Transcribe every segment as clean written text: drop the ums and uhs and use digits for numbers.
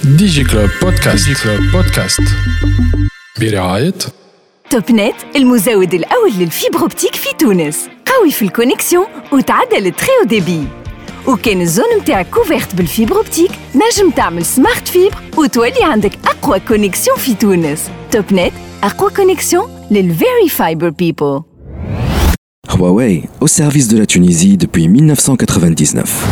ديجي كلوب بودكاست برعاية توب نت، المزود الأول للفيبر أوبتيك في تونس. قوي في الكونيكسيون وتعدل التريو ديبي. وكان الزون متاعك كوفيرت بالفيبر أوبتيك نجم تعمل سمارت فيبر وتولي عندك أقوى كونيكسيون في تونس. توب نت، أقوى كونيكسيون للفيري فايبر بيبل. Huawei, au service de la Tunisie depuis 1999.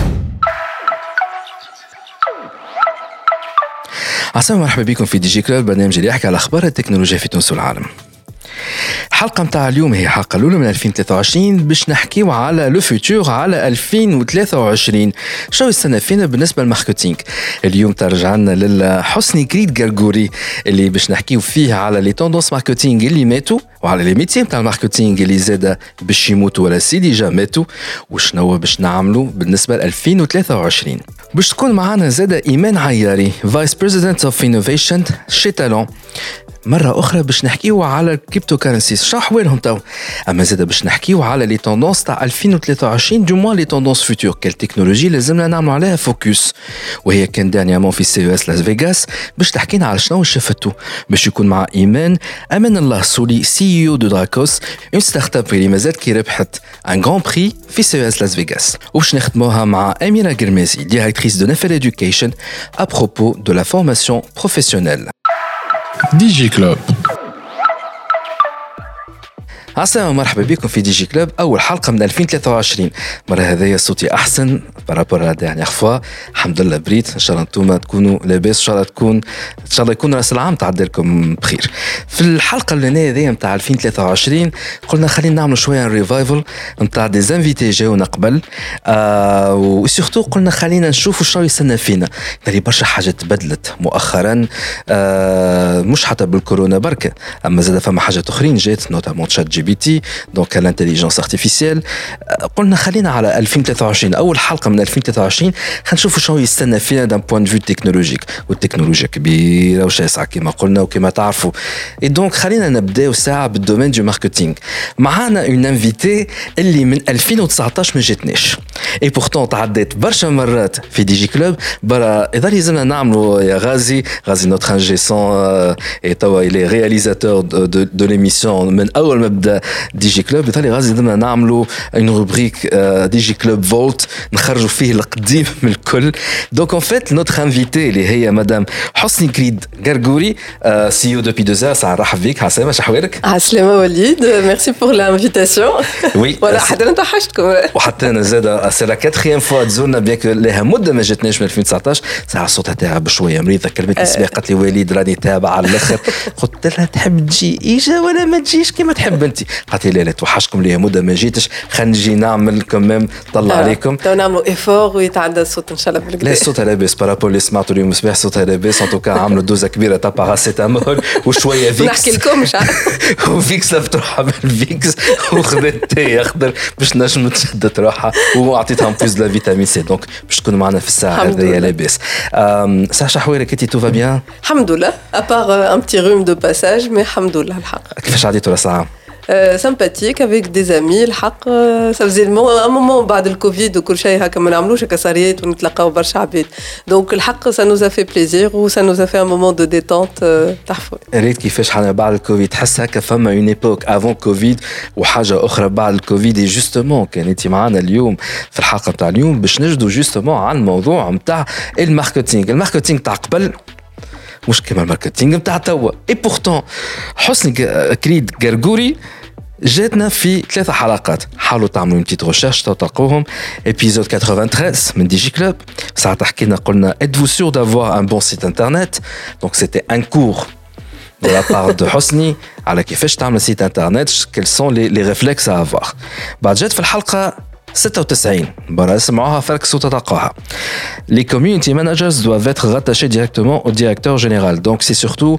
عسلامة، مرحبا بكم في دي جي كلوب، برنامج اللي يحكي على أخبار التكنولوجيا في تونس والعالم. الحلقة متاع اليوم هي الحلقة الأولى من 2023 باش نحكيو على لو فيتور، على 2023. شو يستنى فينا بالنسبة للماركتينغ. اليوم ترجعنا للحسني كريد غرغوري اللي باش نحكيو فيه على لي توندونس ماركتينغ اللي ماتوا، وعلى لي ميتيم تاع الماركتينغ اللي زاد باش يموتوا ولا سي ديجا ماتوا، وشنو باش نعملوا بالنسبة ل 2023. باش تكون معنا زاد إيمان عياري فايس بريزيدنت اوف انوفيشن شي تالون. مرة أخرى باش نحكيو على الكريبتو كارنسيز شو أحوالهم تو، أما زاد باش نحكيو على لي توندونس تاع 2023 دو موان لي توندونس فيتور، كال تكنولوجي لازمنا نعملوا عليها فوكس. وهي كان دانيامون في سي اس لاس فيغاس باش تحكينا على شنو شفتو. باش يكون مع إيمان أمان الله سولي سي او دو دراكوس، اون ستارت اب اللي مازالت كي ربحت ان غران بري في سي اس لاس فيغاس. وباش نخدموها مع أميرة قرمازي ديريكتريس دو نفل إدوكيشن أبروبو دو لا فورماسيون بروفيسيونيل. دي جي كلوب. عسلامة، مرحبا بكم في دي جي كلوب، أول حلقة من 2023. مرة هذايا صوتي أحسن بارابور على ديرنيير فوا، الحمد لله بريت. إن شاء الله أنتم تكونوا لاباس، إن شاء الله يكون رأس العام تعدي لكم بخير. في الحلقة اللي هذيا متاع 2023 قلنا خلينا نعملوا شوية ريفايفل متاع دي زانفيتي جاونا قبل، وسورتو قلنا خلينا نشوفوا شنو يستنى فينا. داري برشا حاجات تبدلت مؤخرا، مش حتى بالكورونا بركة، أما زاد فما حاجات أخرين جات، نوتامون تشات جي بي تي، دونك الانتليجنس ارتيفيسيال. قلنا خلينا على 2023، اول حلقه من 2023 خنشوفوا شنو يستنى فينا دان بوين فيو تكنولوجيك. والتكنولوجيا كبيره وشاسعه كما قلنا وكما تعرفوا. اي دونك خلينا نبداو ساعه بالدومين دو ماركتينغ. معانا اون انفيتي اللي من 2019 ما جاتناش، اي بورتون تعديت برشا مرات في دي جي كلوب. برا اذا لازمنا نعملوا يا غازي نوتر انجي سون، اي توا الي رياليزاتور دو ليميسيون من اول ما بدا دي جي كلوب. يطلع غازي بدنا نعملوا اون روبريك دي جي كلوب فولت نخرجوا فيه القديم من الكل. دونك ان فيت نوتر انفيتي اللي هي مدام حسني كريد غرغوري، سي او دوبي 2 ans. نرحب بك. عسلامة، شو احوالك؟ عسلامة وليد، ميرسي بور لانفيتاسيون. وي ولا حتى انا توحشتكم، وحتى انا زاد سي لا كاتريام فوا تزورنا، بيان كو لها مده ما جاتناش من 2019. ساعه صوتها تعب شويه، مريضه. كلمتني الصباح قالت لي وليد راني تابع على الاخر. قلت لها تحب تجي اجا ولا ما تجيش كما تحب انت؟ قالت لي لا توحشكم لي مده ما جيتش، خلينا نجي نعمل كمام طلع عليكم. تو نعملوا ايفور ويتعدى الصوت ان شاء الله بالكدا. لا الصوت لاباس بارابول اللي سمعتوا اليوم الصباح، صوتها لاباس. ان توكا عملوا دوزه كبيره تاع باراسيتامول وشويه فيكس. نحكي لكم مش وفيكس لفت روحها بالفيكس وخذت تي اخضر باش نجم تشدت روحها، وعطيتها بوز لا فيتامين سي. دونك باش تكون معنا في الساعه هذيا لاباس. ساعه حوالك انت؟ تو فا بيان الحمد لله، ابار ان بتي روم دو باساج، مي الحمد لله الحق. كيفاش عديتوا راس العام؟ sympathique avec des amis. الحق ça faisait un moment بعد الكوفيد وكل شيء هكا ما نعملوش هكا ساريات ونتلاقاو برشا عباد. دونك الحق ça nous a fait plaisir و ça nous a fait un moment de détente تحفه. ريت كيفاش حنا بعد الكوفيد تحس هكا فما اون ايبوك افون كوفيد وحاجه اخرى بعد الكوفيد. اي جوستومون كان انت معنا اليوم في الحلقه نتاع اليوم باش نجدوا جوستومون على الموضوع نتاع الماركتينغ تاع قبل مش كما الماركتينغ نتاع توا. اي بورتون حسني كريد غرغوري جاتنا في 3 حلقات. حاولوا تعملوا une petite recherche تلقوهم. épisode 93 من دي جي كلوب، ساعة حكينا قلنا êtes-vous sûr d'avoir un bon site internet. donc c'était un cours de la part de حسني على كيفاش تعمل سيت انترنت، quels sont les réflexes à avoir. بعد جات في الحلقة 96 برا اسمعوها فركسوا تلقاها. Les community managers doivent être rattachés directement au directeur général. Donc c'est surtout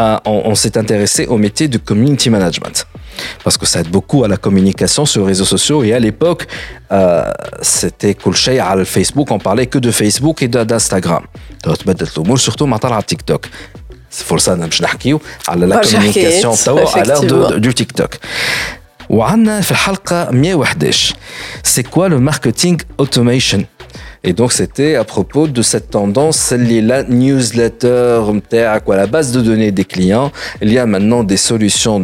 on s'est intéressé au métier du community management parce que ça aide beaucoup à la communication sur les réseaux sociaux. Et à l'époque c'était كل شيء على الفيسبوك، on parlait que de Facebook et d'Instagram. تبدلت الامور surtout مع طلع تيك توك. فرصة باش نحكيو على لا communication توا على l'heure du TikTok. وعندنا في الحلقة 111 c'est quoi le marketing automation. Et donc, c'était à propos de cette tendance, la newsletter, ou la base de données des clients. Il y a maintenant des solutions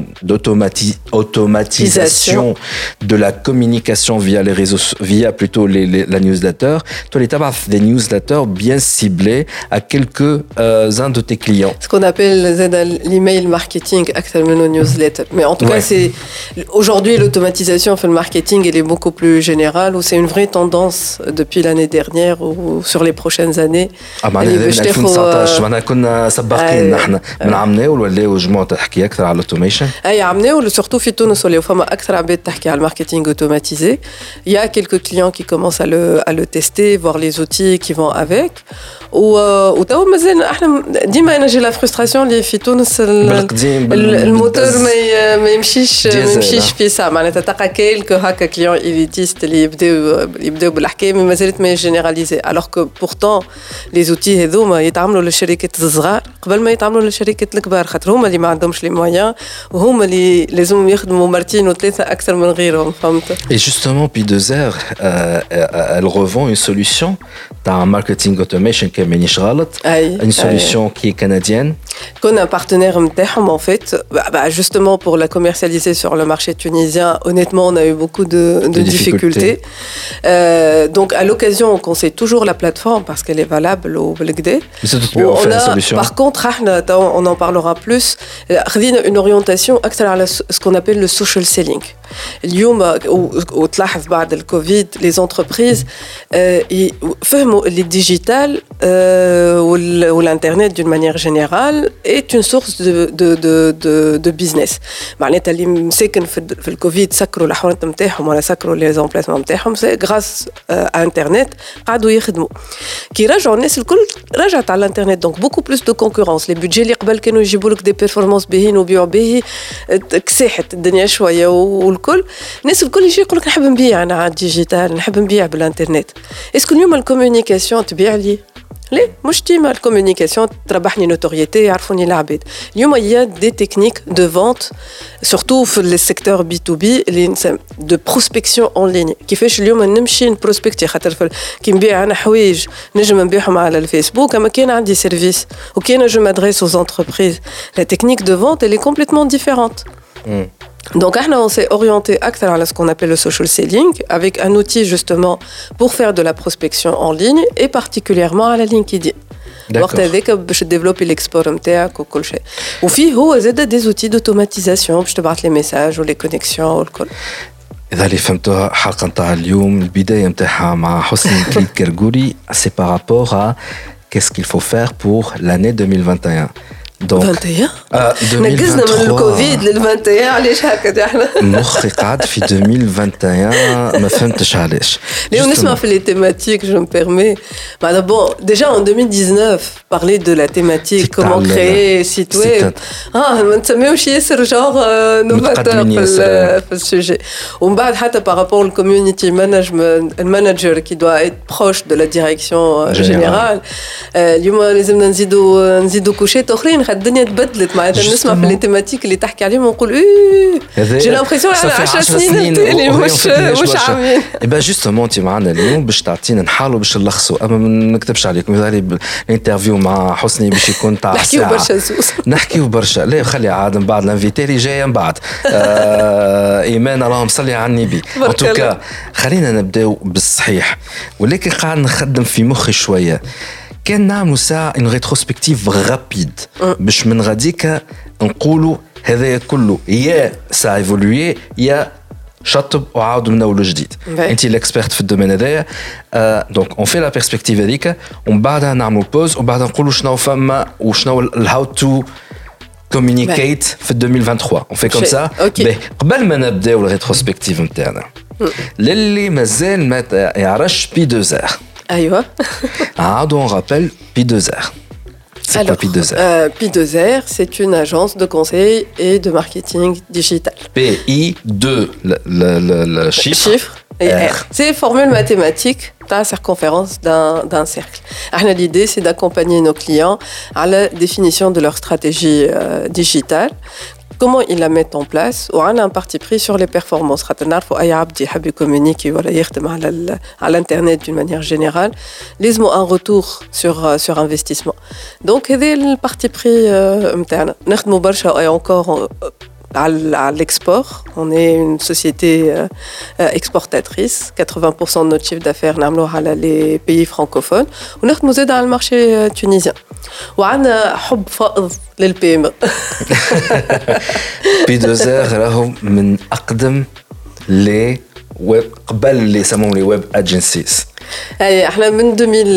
d'automatisation de la communication via les réseaux, via plutôt la newsletter. Toi, les tabac des newsletters bien ciblés à quelques-uns de tes clients. Ce qu'on appelle l'email marketing, actuellement newsletter. Mais en tout cas, c'est aujourd'hui l'automatisation fait le marketing, elle est beaucoup plus générale, ou c'est une vraie tendance depuis l'année dernière ou sur les prochaines années. معناها 2019 معناها كنا سباقين نحن من عمناو ولاو جماعه تحكي اكثر على الاوتوميشن. اي عمناو سورتو في تونس ولاو فما اكثر عباد تحكي على الماركتينغ اوتوماتيزي. Il y a quelques clients qui commencent à le tester, voir les outils qui vont avec. وتوا مازال احنا ديما انا جي لا فرستراسيون اللي في تونس الموتور ما يمشيش في ساعه معناتها تلقى كيلكو هكا كليون إليتيست اللي يبداو بالحكايه مي مازالت ما جينيراليزي الوغ كو بورتون لي زوتي هذوما يتعاملوا للشركات الصغار قبل ما يتعاملوا للشركات الكبار خاطر هما اللي ما عندهمش لي مويان وهما اللي لازم يخدموا مرتين وثلاثه اكثر من غيرهم فهمت. Et justement P2R elle revend une solution d'un marketing automation qui est مانيش غلط une solution qui est canadienne. Qu'on a un partenaire نتاعهم en fait justement pour la commercialiser sur le marché tunisien. Honnêtement on a eu beaucoup de difficultés. Donc à l'occasion on conseille toujours la plateforme parce qu'elle est valable au Belgdé. Par contre on en parlera plus. une orientation أكثر على ce qu'on appelle le social selling. اليوم وتلاحظ بعد الكوفيد les entreprises فهموا اللي الديجيتال والانترنت d'une manière générale est une source de business. معناتها اللي مساكن في الكوفيد سكروا الحوانت نتاعهم ولا سكروا لي زامبلاسمون نتاعهم سي غراس انترنت قعدوا يخدموا كي رجعوا الناس الكل رجعت على الانترنت دونك بوكو بلوس دو كونكورونس لي بودجي اللي قبل كانوا يجيبوا لك دي بيرفورمانس باهين وبيعوا باهي كساحت الدنيا شويه والكل الناس الكل يجي يقول لك نحب نبيع انا على الديجيتال نحب نبيع بالانترنت. اسكو اليوم الكومونيكاسيون تبيع لي ليه مش ديما الكومونيكاسيون تربحني نوتوريتي يعرفوني العباد. اليوم il y a des techniques de vente surtout في السيكتور بي تو بي اللي de prospection en ligne. كيفاش اليوم نمشي نبروسبكتي خاطر كي نبيع انا حوايج نجم نبيعهم على الفيسبوك اما كان عندي سيرفيس وكان جو مادريس aux entreprises. La technique de vente elle est complètement différente. Donc, on s'est orienté à ce qu'on appelle le social selling, avec un outil justement pour faire de la prospection en ligne et particulièrement à la LinkedIn. وقت هذاك باش تديفلوبي الاكسبور نتاعك وكل شيء. وفيه هو زاد دي زوتي دوتوماتيزاسيون باش تبعث لي ميساج ولي كونيكسيون والكل. إذا اللي فهمتوها الحلقة نتاع اليوم البداية نتاعها مع حسني كرغوري سي par rapport à qu'est-ce qu'il faut faire pour l'année 2021. Donc 21 نقزنا من الكوفيد لل 21 علاش هكا احنا مخي قاعد في 2021 ما فهمتش علاش ليه نسمع في لي تيماتيك جو مبيرمي معناتها بون ديجا en 2019 parler de la thématique comment créer site web ما نسميوش ياسر جور نوفاتور في السوجي ومن بعد حتى par rapport au community management المانجر qui doit être proche de la direction générale اليوم لازمنا نزيدوا كوشات اخرين الدنيا تبدلت معناتها نسمع في التيماتيك اللي تحكي عليهم ونقول جي لامبرسيون على 10 سنين تالي مش عامين. اي جوستومون انت معنا اليوم باش تعطينا نحاولوا باش نلخصوا اما ما نكتبش عليكم مثالي الانترفيو مع حسني باش يكون تاع نحكيو برشا زوز نحكيو برشا لا خلي عاد من بعد الانفيتي اللي جايه من بعد ايمان اللهم صل على النبي ان توكا خلينا نبداو بالصحيح ولكن قاعد نخدم في مخي شويه كان نعملوا ساعة إن ريتروسبكتيف غابيد باش من غاديك نقولوا هذا كله يا سا ايفولوي يا شطب وعاودوا من أول جديد. أنت الإكسبرت في الدومين هذايا دونك أون في لا بيرسبكتيف هذيك ومن بعدها نعملوا بوز وبعدها نقولوا شنو فما وشنو الهاو تو communicate في 2023 on fait comme ça. قبل ما نبداو الريتروسبكتيف نتاعنا للي مازال ما يعرفش P2R. أيوة. On rappelle P2R. C'est alors, quoi P2R P2R, c'est une agence de conseil et de marketing digital. P-I-2, le chiffre. Et R. C'est une formule mathématique de la circonférence d'un cercle. L'idée, c'est d'accompagner nos clients à la définition de leur stratégie digitale. comment ils la mettent en place. Ou on a un parti pris sur les performances. خاطر نعرفوا أي عبد يحب يكومونيكي ولا يخدم على l'internet d'une manière générale. لازم un retour sur investissement. Donc هذا البارتي بري نتاعنا. نخدموا برشا et encore à l'export. On est une société exportatrice. 80% de notre chiffre d'affaires نعملوه على les pays francophones. ونخدموا زاد على المارشي tunisien. وعندنا حب فائض للبيم. P2R راهم من أقدم les web قبل اللي يسموهم les web agencies. Allez, من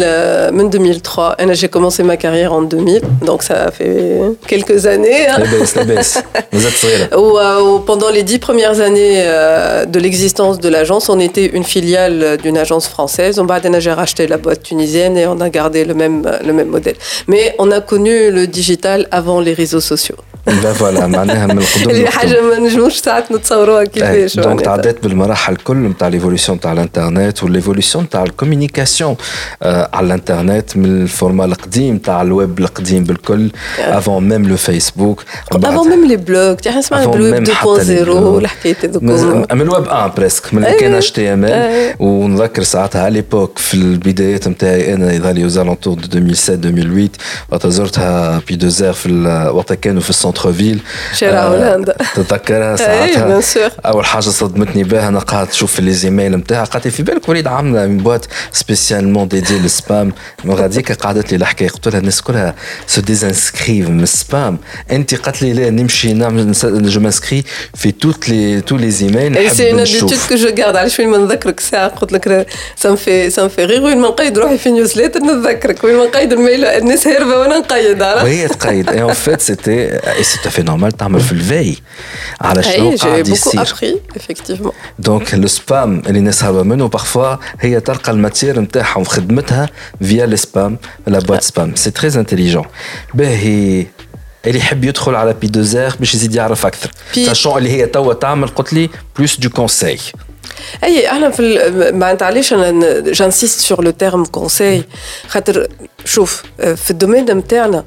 2003, j'ai commencé ma carrière en 2000, donc ça fait quelques années. Hein. La baisse. Vous êtes sérieux. Pendant les 10 premières années de l'existence de l'agence, on était une filiale d'une agence française. J'ai racheté la boîte tunisienne et on a gardé le même modèle. Mais on a connu le digital avant les réseaux sociaux. Ben voilà, معناها من القدم اللي حاجة ما نجموش ساعات نتصوروها كيفاش. دونك تعديت بالمراحل الكل نتاع ليفوليسيون تاع الانترنت والليفوليسيون تاع الكوميونيكاسيون على الانترنت من الفورما القديم تاع الويب القديم بالكل افون ميم لو فيسبوك افون ميم لي بلوج تاع نسمع الويب 2.0 والحكايات هذوك من الويب 1 بريسك من اللي كان HTML ونذكر ساعتها على ليبوك في البدايات نتاعي انا يظهر لي زالونتور 2007 2008 وقت زرتها P2R في وقت كانوا في السنتر فيل شارع هولندا تتذكرها ساعتها اول حاجه صدمتني بها انا قاعد نشوف لي زيميل نتاعها قالت لي في بالك وليد عامله من بوات سبيسيالمون ديدي للسبام غاديك قعدت لي الحكايه قلت لها الناس كلها سو ديزانسكريف من السبام انت قالت لي لا نمشي نعمل جو مانسكري في تو لي زيميل نحب نشوف سي كو جو غارد علاش وين ما نذكرك ساعه قلت لك سام في غير وين ما نقيد روحي في نيوزليتر نذكرك وين ما نقيد الميل الناس هاربه وانا نقيد وهي تقيد اي ان فيت سيتي tout à fait normal تعمل في الفي على شنو قاعد يصير. J'ai beaucoup appris effectivement. Donc le spam اللي الناس هربوا منه parfois هي تلقى الماتير نتاعها وخدمتها via le spam la boîte spam. C'est très intelligent. باهي اللي يحب يدخل على P2R باش يزيد يعرف اكثر. sachant اللي هي توا تعمل قلت لي plus du conseil. اي احنا في معناتها علاش انا جانسيست سور لو تيرم كونساي خاطر شوف في الدومين نتاعنا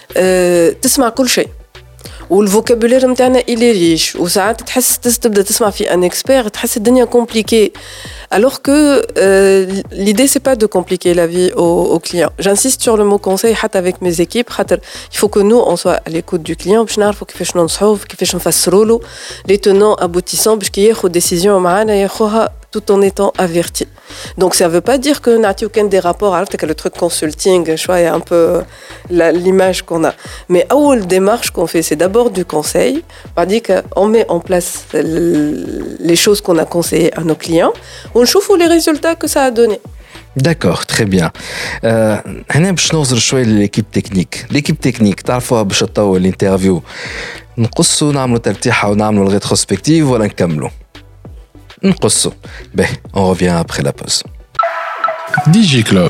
تسمع كل شيء والفوكابولير نتاعنا إلي ريش وساعات تحس تبدا تسمع في ان اكسبير تحس الدنيا كومبليكي alors que l'idée c'est pas de compliquer la vie aux clients. J'insiste sur le mot conseil حتى avec mes équipes خاطر il faut que nous on soit à l'écoute du client باش نعرفوا كيفاش ننصحوه كيفاش نفسروا له les tenants aboutissants باش كي ياخذ ديسيزيون معانا ياخذها tout en étant averti. Donc ça veut pas dire que نعطي وكان des rapports عرفت que le truc consulting شويه un peu l'image qu'on a. Mais أول démarche qu'on fait c'est d'abord du conseil, c'est-à-dire qu'on met en place les choses qu'on a conseillées à nos clients. On chauffe les résultats que ça a donné. D'accord, très bien. هنا باش نوصل شويه لليكيب تكنيك. ليكيب تكنيك تعرفوها باش تطول الانترفيو نقصوا نعملوا ترتيحه ونعملوا الريتروسبكتيف ولا نكملوا؟ نقصوا. باهي on revient après la pause. ديجي كلوب.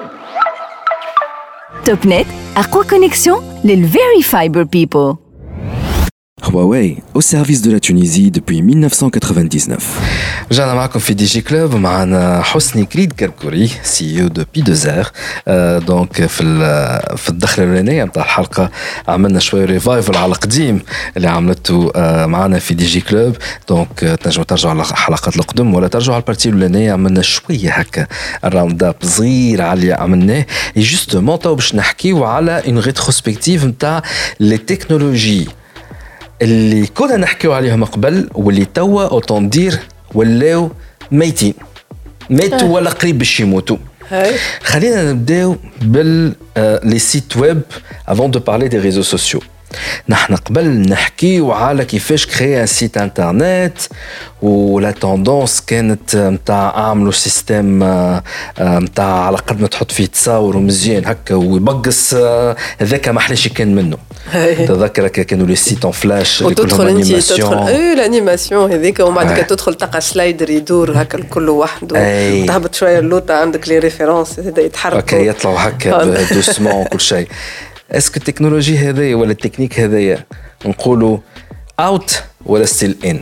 توب نت أقوى كونيكسيون للفيري فايبر بيبل. Huawei, au service de la Tunisie depuis 1999. رجعنا معكم في دي جي كلوب معنا حسني كريد كركوري سي او دو P2R. دونك في الدخله الاولانيه نتاع الحلقه عملنا شويه ريفايفل على القديم اللي عملته معنا في دي جي كلوب. دونك تنجموا ترجعوا على الحلقات القدم ولا ترجعوا على البارتي الاولانيه عملنا شويه هكا الراوند اب صغير على اللي عملناه. اي جوستومون تو باش نحكيو على اون ريتروسبكتيف نتاع لي تكنولوجي اللي كنا نحكيو عليهم قبل واللي توا اوتوندير ولاو ميتين ماتوا ولا قريب باش يموتوا. خلينا نبداو بال لي سيت ويب افون دو بارلي دي ريزو سوسيو. نحن قبل نحكيو على كيفاش كريا سيت انترنت ولا توندونس كانت نتاع اعملوا سيستم نتاع على قد ما تحط فيه تصاور ومزيان هكا ويبقص هذاك ما حلاش كان منه. تذكرك كانوا لي سيت اون فلاش اللي كلهم انيماسيون الانيماسيون هذيك ومن بعد تدخل تلقى سلايدر يدور هكا الكل وحده تهبط شويه اللوطه عندك لي ريفيرونس هذا يتحرك اوكي يطلعوا هكا دوسمون وكل شيء. اسكو التكنولوجي هذه ولا التكنيك هذايا نقولوا اوت ولا ستيل ان؟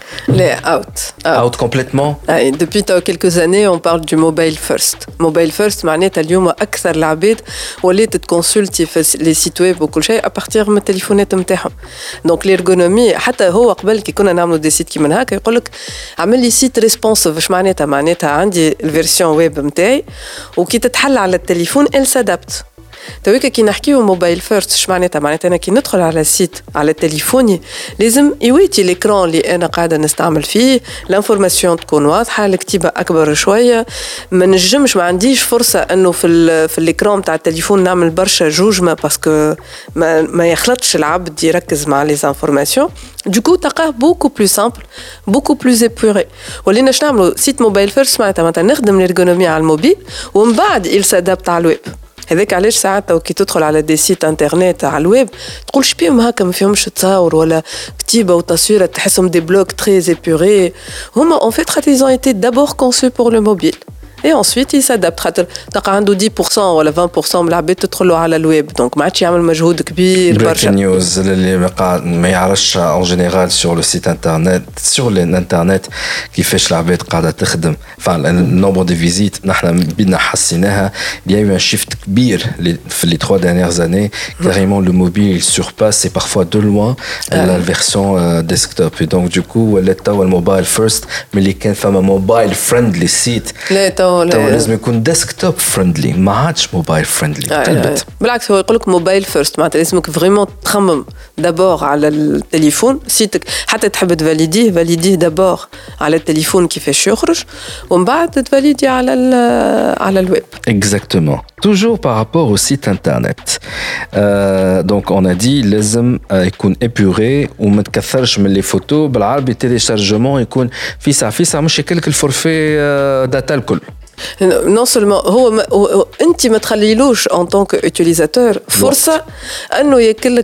Les out complètement. Depuis quelques années, on parle du mobile first. Mobile first, معناتها اليوم أكثر العباد ولات تكونسلتي في les sites web وكل شيء à partir من التليفونات نتاعهم. Donc l'ergonomie حتى هو قبل كي كنا نعملوا دي سيت كيما هكا يقول لك عمل لي سيت ريسبونسيف. اش معناتها عندي الفيرسيون ويب نتاعي وكي تتحل على التليفون ال سادابت. تويكا كي نحكيو موبايل فيرست اش معناتها انا كي ندخل على السيت على تليفوني لازم يويتي ليكران اللي انا قاعده نستعمل فيه الانفورماسيون تكون واضحه الكتيبه اكبر شويه ما نجمش ما عنديش فرصه انه في الاكران تاع التليفون نعمل برشا جوجما باسكو ما يخلطش العبد يركز مع لي انفورماسيون Du coup, تلقاه beaucoup plus simple, beaucoup plus épuré. ولينا شنو نعملوا سيت موبايل فيرست معناتها نخدم الارغونومي على الموبيل ومن بعد il s'adapte على الويب. هذاك علاش ساعات كي تدخل على دي سيت انترنت على الويب تقول شبيهم هكا ما فيهمش تصاور ولا كتيبه وتصويره تحسهم دي بلوك تري épurés. هما en fait ils ont été d'abord conçus pour le mobile. Et ensuite il s'adapte خاطر تلقى عنده 10% ولا 20% من العباد تدخلوا على الويب دونك ما عادش يعمل مجهود كبير برشا. نيوز اللي ما يعرفش en général sur le site internet sur l'internet كيفاش العباد قاعده تخدم النومبر دي فيزيت نحن بدنا حسيناها. il y a eu un shift كبير في les 3 dernières années carrément le mobile surpasse et parfois de loin la version desktop et donc du coup ولات توا الموبايل فيرست ملي كان فما موبايل فريندلي سيت تو لازم يكون ديسكتوب فريندلي ما عادش موبايل فريندلي. بالعكس هو يقول لك موبايل فيرست معناتها لازمك فريمون تخمم دابور على التليفون سيتك حتى تحب فاليديه دابور على التليفون كيفاش يخرج ومن بعد تفاليدي على الويب. Exactement. Toujours par rapport au site internet. Donc on a dit لازم يكون épuré وما تكثرش من لي فوتو بالعربي تيليشارجمون يكون في ساعه مش يكلك الفورفي داتا الكل. Non seulement هو انت ما تخليلوش en tant qu'utilisateur فرصه انه ياكلك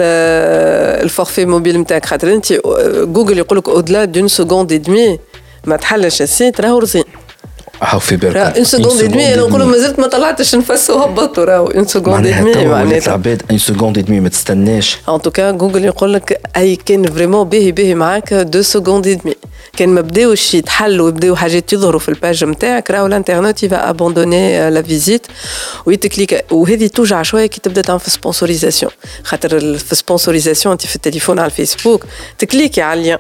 الفورفي موبيل نتاعك خاطر انت جوجل يقول لك au-delà d'une seconde et demie ما تحلش السيت راهو رزين. في بالك une seconde et demie انا نقولوا مازلت ما طلعتش نفس وهبطوا راهو une seconde et demie معناتها العباد une seconde et demie ما تستناش. en tout cas جوجل يقول لك اي كان فريمون باهي معاك 2 secondes et demie كان ما بداوش يتحلوا ويبداو حاجات يظهروا في الباج نتاعك راهو الانترنت يفا ابوندوني لا فيزيت ويتكليك وهذه توجع شويه كي تبدا تعمل في سبونسوريزاسيون خاطر في سبونسوريزاسيون انت في التليفون على الفيسبوك تكليكي على اللين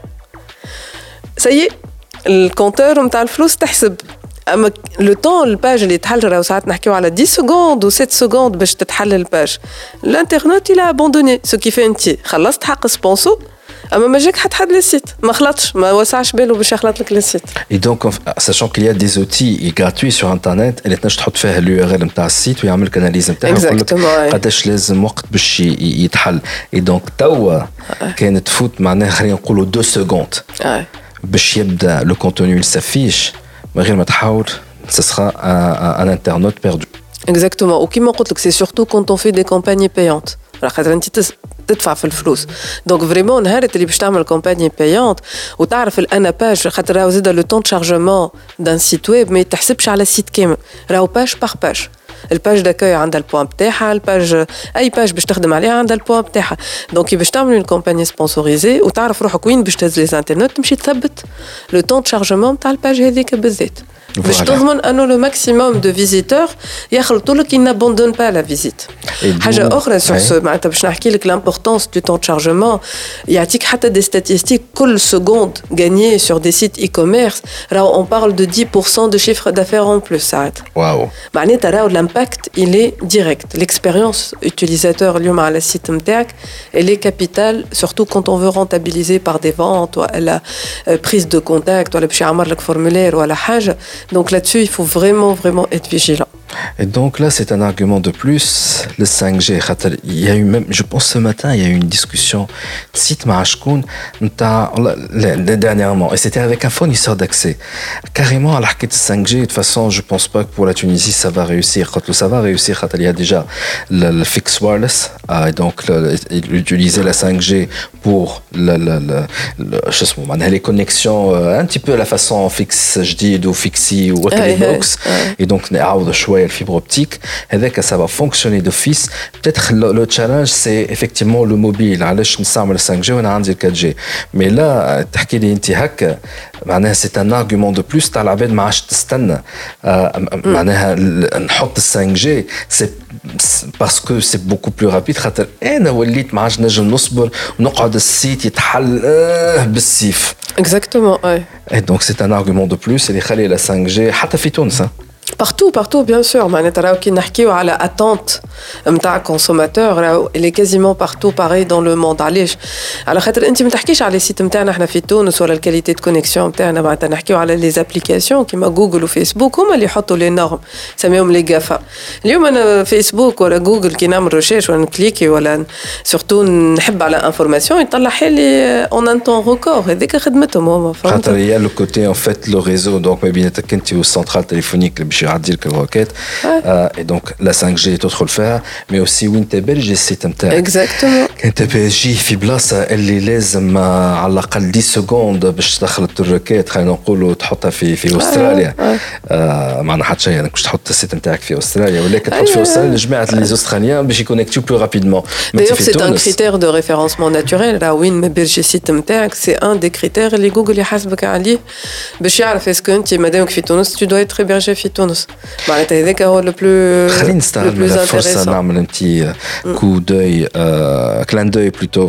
سي الكونتور نتاع الفلوس تحسب اما لو طون الباج اللي تحل راهو ساعات نحكيو على 10 سكوند و 7 سكوند باش تتحل الباج الانترنت الى ابوندوني سو كيفاه انت خلصت حق سبونسور اما ما جاك حد السيت ما خلطش ما وسعش باله باش يخلط لك السيت. Et donc sachant qu'il y a des outils gratuits sur internet اللي تنجم تحط فيها اليو ار ال نتاع السيت ويعمل لك اناليز نتاعها ويقول لك قداش لازم وقت باش يتحل. اي دونك توا كانت تفوت معناها خلينا نقولوا 2 سكوند باش يبدا لو كونتوني يسافيش من غير ما تحاول ce sera un internaute perdu. Exactement. Ou qui m'a dit que c'est surtout quand on fait des campagnes payantes. خاطر انت تدفع في الفلوس دونك فريمون نهار اللي باش تعمل كومباني بايونت وتعرف الانا باج خاطر راهو زيد لو طون شارجمون دان سيت ويب ما يتحسبش على السيت كامل راهو باج باغ باج. الباج داكاي عندها البوان بتاعها الباج اي باج باش تخدم عليها عندها البوان بتاعها دونك باش تعمل اون كومباني سبونسوريزي وتعرف روحك وين باش تهز لي انترنت تمشي تثبت لو طون شارجمون تاع الباج هذيك بالذات باش تضمن انه لو ماكسيموم دو فيزيتور يخلطوا لك ان ابوندون با لا فيزيت. حاجه اخرى سور سو معناتها باش نحكي لك l'importance du temps de chargement يعطيك حتى دي statistiques كل سكوند غانيي sur des sites e-commerce راهو on parle de 10% de chiffre d'affaires en plus ساعات. واو معناتها راهو l'impact il est direct. L'expérience utilisateur اليوم على السيت نتاعك elle est capitale surtout quand on veut rentabiliser par des ventes ولا prise de contact ولا باش يعمر لك formulaire ولا حاجه. Donc là-dessus, il faut vraiment être vigilant. Et donc là, c'est un argument de plus, le 5G. Il y a eu même, je pense ce matin, il y a eu une discussion site Mahashkoun dernièrement, et c'était avec un fournisseur d'accès. Carrément, à l'arcade 5G, de toute façon, je pense pas que pour la Tunisie, ça va réussir. Quand ça va réussir, il y a déjà le fixed wireless, et donc utiliser la 5G pour les connexions un petit peu à la façon fixe, je dis, ou fixie ou box. Et donc, شوية شويه الفيبر اوبتيك هذاك ça va fonctionner d'office. Peut-être le challenge c'est effectivement le mobile علاش نستعمل 5G وانا عندي 4G. Mais là تحكي لي انت هكا معناها c'est un argument de plus تاع العباد ما عادش تستنى معناها نحط 5G c'est parce que c'est beaucoup plus rapide خاطر انا وليت ما عادش نجم نصبر ونقعد السيت يتحل بالسيف. Exactement, ouais. Et donc c'est un argument de plus اللي يخلي la 5G حتى في تونس. Partout, bien sûr. معناتها راهو كي نحكيو على attente نتاع consommateur راهو elle est quasiment partout pareil dans le monde. علاش؟ على خاطر انت ما تحكيش على السيت نتاعنا احنا في تونس ولا الكاليتي دو كونيكسيون نتاعنا معناتها نحكيو على لي زابليكاسيون كيما جوجل وفيسبوك هما اللي يحطوا لي نورم سميهم لي غافا. اليوم انا فيسبوك ولا جوجل كي نعمل ريشيرش ولا نكليكي ولا سورتو نحب على انفورماسيون يطلع لي اون ان طون ريكور هذيك خدمتهم هما. خاطر هي لو كوتي ان فيت لو ريزو دونك ما بيناتك انت والسنترال تليفونيك اللي باش يعدي لك الروكيت اي دونك لا 5G تدخل فيها مي اوسي وين تبرج السيت نتاعك. اكزاكتومون كنت بيجي في بلاصه اللي لازم على الاقل 10 سكوند باش تدخل الروكيت خلينا نقولوا تحطها في استراليا. معنا حتى شيء انك باش تحط السيت نتاعك في استراليا ولكن تحط في استراليا جماعه لي استراليان باش يكونيكتيو بلو رابيدمون. D'ailleurs, c'est un critère de référencement naturel. Là, وين ما بيرجي السيت نتاعك c'est un des critères اللي جوجل يحاسبك عليه باش يعرف اسكو انت مادامك في تونس tu dois être hébergé في تونس. معناتها هذاك هو لو بلو. خلينا نستعمل الفرصه نعمل انتي كو دوي كلان دوي بلوتو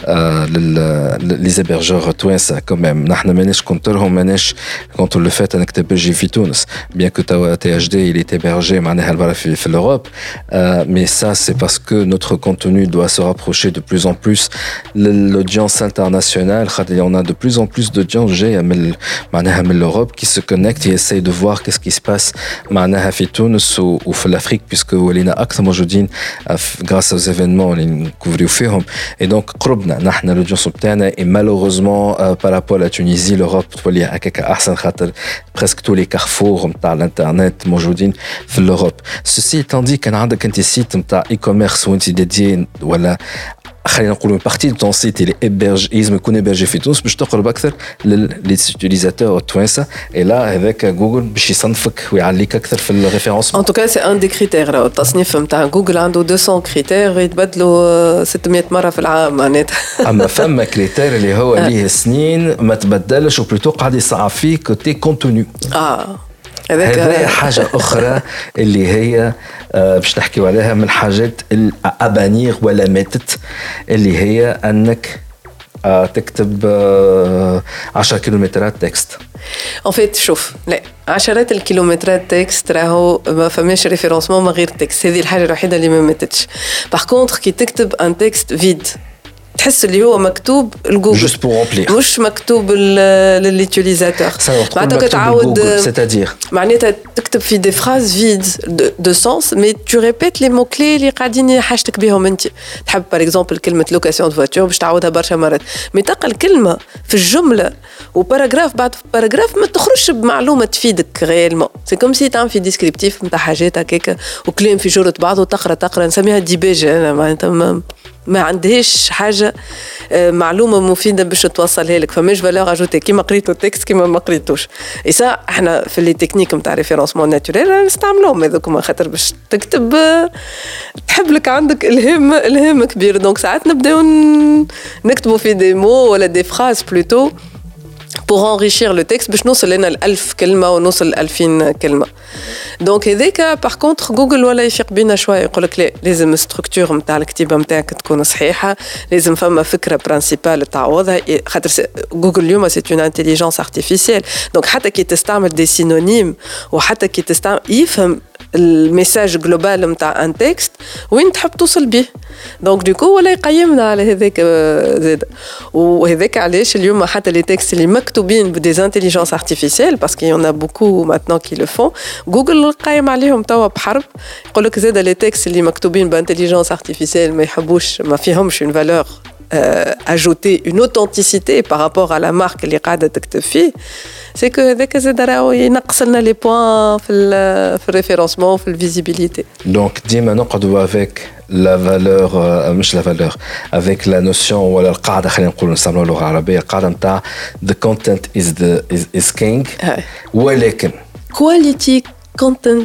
لي زيبرجور توانسه كوميم. نحن ماناش كونترهم ماناش كونتر لو فات انك تبرجي في تونس بيان كو تي اتش دي il est hébergé معناها برا في l'Europe mais ça c'est parce que notre contenu doit se rapprocher de plus en plus l'audience internationale. On a de plus en plus d'audience جايه من l'Europe qui se connecte et essaye de voir qu'est-ce qui se passe معناها في تونس وفي l'Afrique puisque ولينا اكثر موجودين grâce aux événements اللي نكوفريو فيهم et donc قربنا نحن الاودينس بتاعنا et malheureusement par rapport à la Tunisie l'Europe تولي هكاك احسن خاطر presque tous les carrefours نتاع الانترنت موجودين في l'Europe. Ceci étant dit كان عندك انت سيت نتاع اي كوميرس وانت ديدي ولا خلينا نقولوا بارتي دو طون سيت اللي ابرج لازم يكون ابرجي في تونس باش تقرب اكثر لي يوتيليزاتور التوانسه اي لا هذاك جوجل باش يصنفك ويعليك اكثر في الريفيرونس. ان توكا سي ان دي كريتير التصنيف نتاع جوجل عنده 200 كريتير يتبدلوا 600 مره في العام معناتها. اما فما كريتير اللي هو ليه سنين ما تبدلش وبلوتو قاعد يصعب فيه كوتي كونتوني. هذا حاجة أخرى اللي هي باش نحكيو عليها من حاجات الأبانير ولا ماتت اللي هي أنك تكتب 10 كيلومترات تكست. En fait شوف لا عشرات الكيلومترات تكست راهو ما فماش ريفيرونسمون من غير تكست. هذه الحاجة الوحيدة اللي ما ماتتش. باغ كونتر كي تكتب ان تكست فيد تحس اللي هو مكتوب الجوجل مش مكتوب لليوتيليزاتور. معناتها تعاود معناتها تكتب في دي فراز فيد دو سونس مي تو ريبيت لي مو كلي اللي قاعدين حاجتك بهم انت. تحب باغ اكزومبل كلمه لوكاسيون دو فواتور باش تعاودها برشا مرات مي تلقى الكلمه في الجمله وباراغراف بعد باراغراف ما تخرجش بمعلومه تفيدك غيالمون. سي كوم سي تعمل في ديسكريبتيف نتاع حاجات هكاك وكلام في جرة بعض وتقرا نسميها ديباجه. انا معناتها ما عندهاش حاجه معلومه مفيده باش توصلها لك فماش فالور اجوتي كيما قريتو التكست كيما ما قريتوش. ايسا احنا في لي تكنيك نتاع ريفيرونسمون ناتوريل نستعملوهم هذوك خاطر باش تكتب تحب لك عندك الهام كبير. دونك ساعات نبداو نكتبوا في دي مو ولا دي فراز بلوتو pour enrichir le texte باش نوصل لنا 1000 كلمه ونوصل 2000 كلمه. دونك هذاك باغ كونتر جوجل ولا يفيق بينا شويه يقول لك لا لازم الستركتور نتاع الكتيبه نتاعك تكون صحيحه لازم فما فكره برينسيبال تعوضها خاطر جوجل اليوم سي اون انتيليجنس ارتيفيسيال. دونك حتى كي تستعمل دي سينونيم وحتى كي تستعمل يفهم الميساج جلوبال نتاع ان تكست وين تحب توصل به. دونك دوكو ولا يقيمنا على هذاك زاد. وهذاك علاش اليوم حتى لي تكست اللي مكتوبين بدي انتيليجنس ارتيفيسيال باسكو يون ا بوكو ماتنون كي لو فون جوجل قايم عليهم توا بحرب يقول لك زاد لي تكست اللي مكتوبين بانتيليجنس ارتيفيسيال ما يحبوش ما فيهمش اون فالور ajouter une authenticité par rapport à la marque اللي قاعدة تكتب فيه. c'est que هذاك زاد راهو ينقص لنا لي بوين في الريفيرونسمون في الفيزيبيليتي. دونك ديما نقعدوا avec la valeur مش la valeur avec la notion ولا القاعدة خلينا نقولوا نستعملوا اللغة العربية القاعدة نتاع the content is king ولكن quality content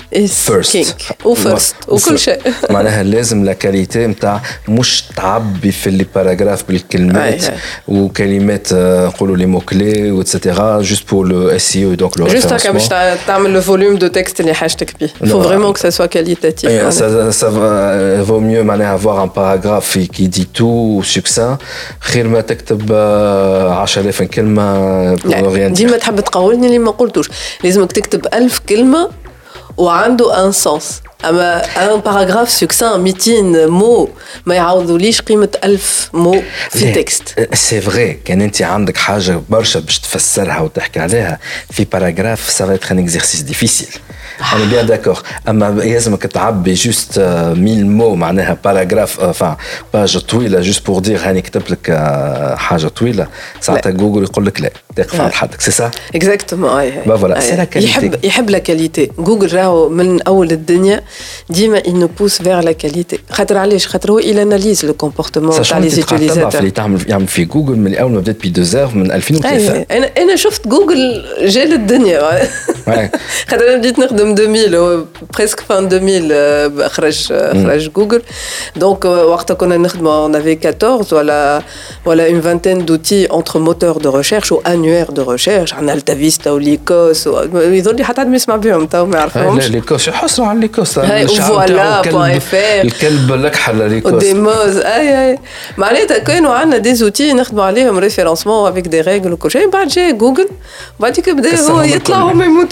first وكل شيء معناها لازم لا كاليتي نتاع مش تعبي في لي باراغراف بالكلمات وكلمات نقولوا لي مو كلي واتسيتيرا جوست بور لو اس اي او دونك لو جوست هكا باش تعمل لو فوليوم دو تكست اللي حاجتك بيه faut vraiment que ça soit qualitatif ça vaut mieux معناها avoir un paragraphe qui dit tout succinct خير ما تكتب 10,000 كلمه pour rien ديما تحب تقولني اللي ما قلتوش لازمك تكتب 1000 كلمه وعنده ان سنس اما ان باراغراف سكسان 200 مو ما يعوضوليش قيمه 1000 مو في تكست سي فري كان انت عندك حاجه برشا باش تفسرها وتحكي عليها في باراغراف سا فا ان اكزرسيس ديفيسيل انا بيان داكور اما لازمك تعبي جوست 1000 مو معناها باراغراف enfin باج طويله جوست بور دير هاني كتبت لك حاجه طويله ساعتها جوجل يقول لك لا تقف على حدك سي سا اكزاكتومون اي فوالا سي لا كاليتي يحب لا كاليتي جوجل راهو من اول الدنيا ديما il nous pousse vers la qualité خاطر علاش خاطر هو il analyse le comportement تاع لي utilisateurs اللي يعمل في جوجل من اول ما بدات بي 2 heures من 2003 انا شفت جوجل جال الدنيا خاطر انا بديت نخدم 2000 presque fin 2000 خرج جوجل دونك وقتها كنا نخدموا on avait 14 ولا une vingtaine d'outils entre moteurs de recherche ou annuaires de recherche عندنا التافيستا وليكوس يظل لي حتى يسمع بهم تو ما يعرفهمش لا ليكوس حصروا على ليكوس فوالا .fr الكلب لكحل ليكوس وديموز اي معناتها كانوا عندنا دي زوتي نخدموا عليهم ريفيرونسمون افيك دي ريغل وكل شيء بعد جاي جوجل بعديك بدا هو يطلع هما يموتوا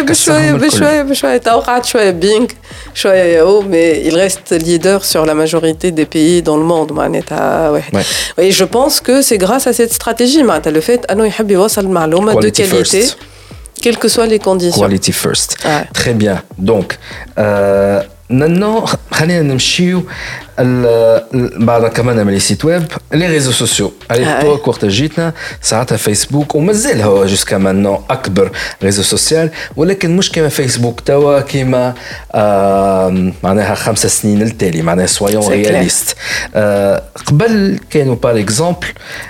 بشويه تو قعد شويه بينك شويه ياهو مي il reste leader sur la majorité des pays dans le monde معناتها واحد et je pense que c'est grâce à cette stratégie معناتها le fait انه يحب يوصل معلومه de qualité quelles que soient les conditions quality first très bien donc maintenant خلينا نمشيو بعد كمان من لي سيت ويب لي ريزو سوسيو على وقت جيتنا ساعتها فيسبوك ومازال هو جوسكا مانو اكبر ريزو سوسيال ولكن مش كما فيسبوك توا كما معناها 5 سنين التالي معناها سويون رياليست قبل كانوا بار اكزومبل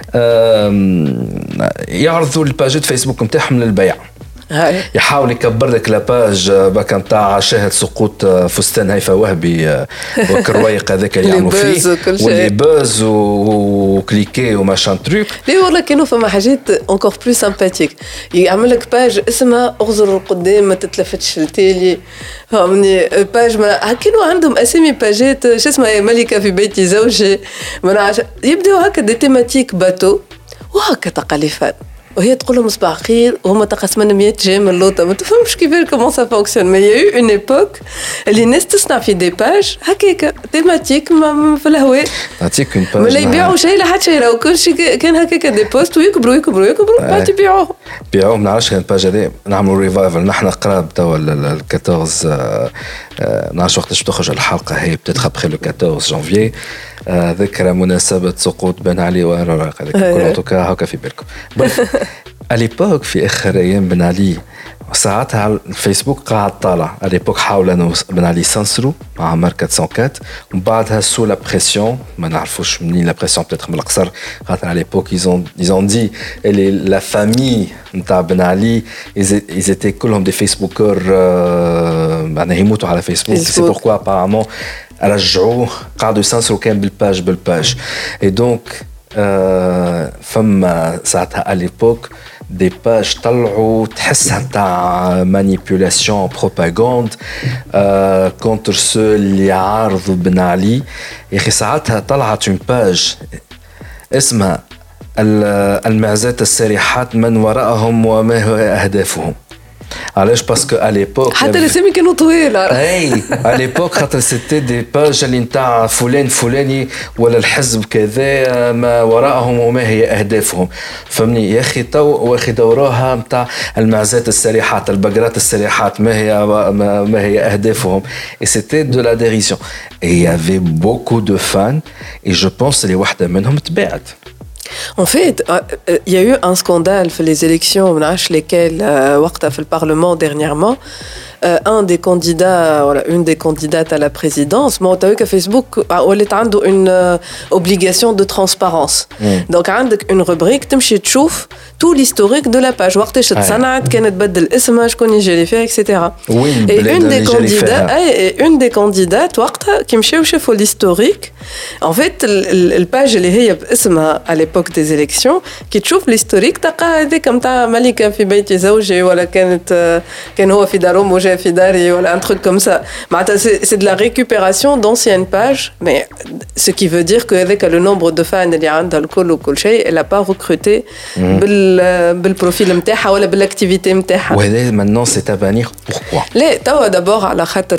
يعرضوا الباجات فيسبوك نتاعهم للبيع يحاول يكبر لك لاباج باك نتاع شاهد سقوط فستان هيفا وهبي وكرويق هذاك اللي يعملوا فيه واللي باز وكليكي وماشان تروك ليه والله كانوا فما حاجات انكور بلو سامباتيك يعمل لك باج اسمها اغزر القدام ما تتلفتش التالي فهمني باج ما كانوا عندهم اسامي باجات شو اسمها ملكه في بيت زوجي يبداو هكا دي تيماتيك باتو وهكا تقاليفات وهي تقول لهم صباح خير وهما تقسمنا 100 جيم اللوطه ما تفهمش كيفاش كومون سا فونكسيون مي يا اون ايبوك اللي الناس تصنع في دي باج هكاك تيماتيك في الهواء نعطيك اون باج ولا يبيعوا شيء لحد شيء راهو كل شيء كان هكاك دي بوست ويكبروا بعد يبيعوهم ما نعرفش الباج هذه نعملوا ريفايفل نحن قراب توا ال 14 نعرفش وقتاش تخرج الحلقه هي بتتخ ابخي لو 14 جانفي ذكرى مناسبة سقوط بن علي وراق هذاك كل توكا هكا في بالكم اليبوك في اخر ايام بن علي ساعتها على الفيسبوك قاعد طالع اليبوك حاول انه بن علي سانسرو مع ماركة 404 ومن بعدها سو لا بريسيون ما نعرفوش منين لا بريسيون بتاتر من القصر خاطر على اليبوك ils ont dit la famille نتاع بن علي ils étaient كلهم دي فيسبوكر معناها يموتوا على فيسبوك سي بوركوا apparemment رجعوه قاعدوا يسانسروا كان بالباج et donc فما ساعتها اليبوك دي باج طلعوا تحسها نتاع مانيبيولاسيون بروباغاند كونتر سو اللي يعارضوا بن علي يا اخي ساعتها طلعت اون باج اسمها المعزات السارحات من وراءهم وما هو اهدافهم علاش باسكو على ليبوك حتى الاسامي كانوا طويله اي على ليبوك خاطر سيتي دي باج اللي نتاع فلان فلاني ولا الحزب كذا ما وراءهم وما هي اهدافهم فهمني يا اخي تو واخي دوروها نتاع المعزات السريحات البقرات السريحات ما هي اهدافهم et c'était de la dérision et il y avait beaucoup de fans et je pense اللي واحده منهم تباعت. En fait, il y a eu un scandale في les élections, on a lesquelles وقتها في البرلمان dernièrement. un des candidats, voilà, une des candidates à la présidence, mais tu as vu que Facebook a une obligation de transparence. Donc, tu as une rubrique, tu peux voir tout l'historique de la page. وقتاش تصنعت كانت بدل اسمها شكون يجري فيها etc. Et une des candidates وقتها كي مشاو شافوا l'historique. En fait, الباج اللي هي باسمها à l'époque des élections كي تشوف l'historique تلقى هذيك نتاع ملكة في بيت زوجي ولا كان هو في دارهم وجا في داري ولا un truc comme ça. معناتها c'est de la récupération d'anciennes pages, mais ce qui veut dire que avec le nombre de fans اللي عندها الكل وكل شيء, elle a pas recruté بالبروفيل نتاعها ولا بالاكتيفيتي نتاعها. وهذا maintenant c'est à bannir. Pourquoi? لا توا d'abord على خاطر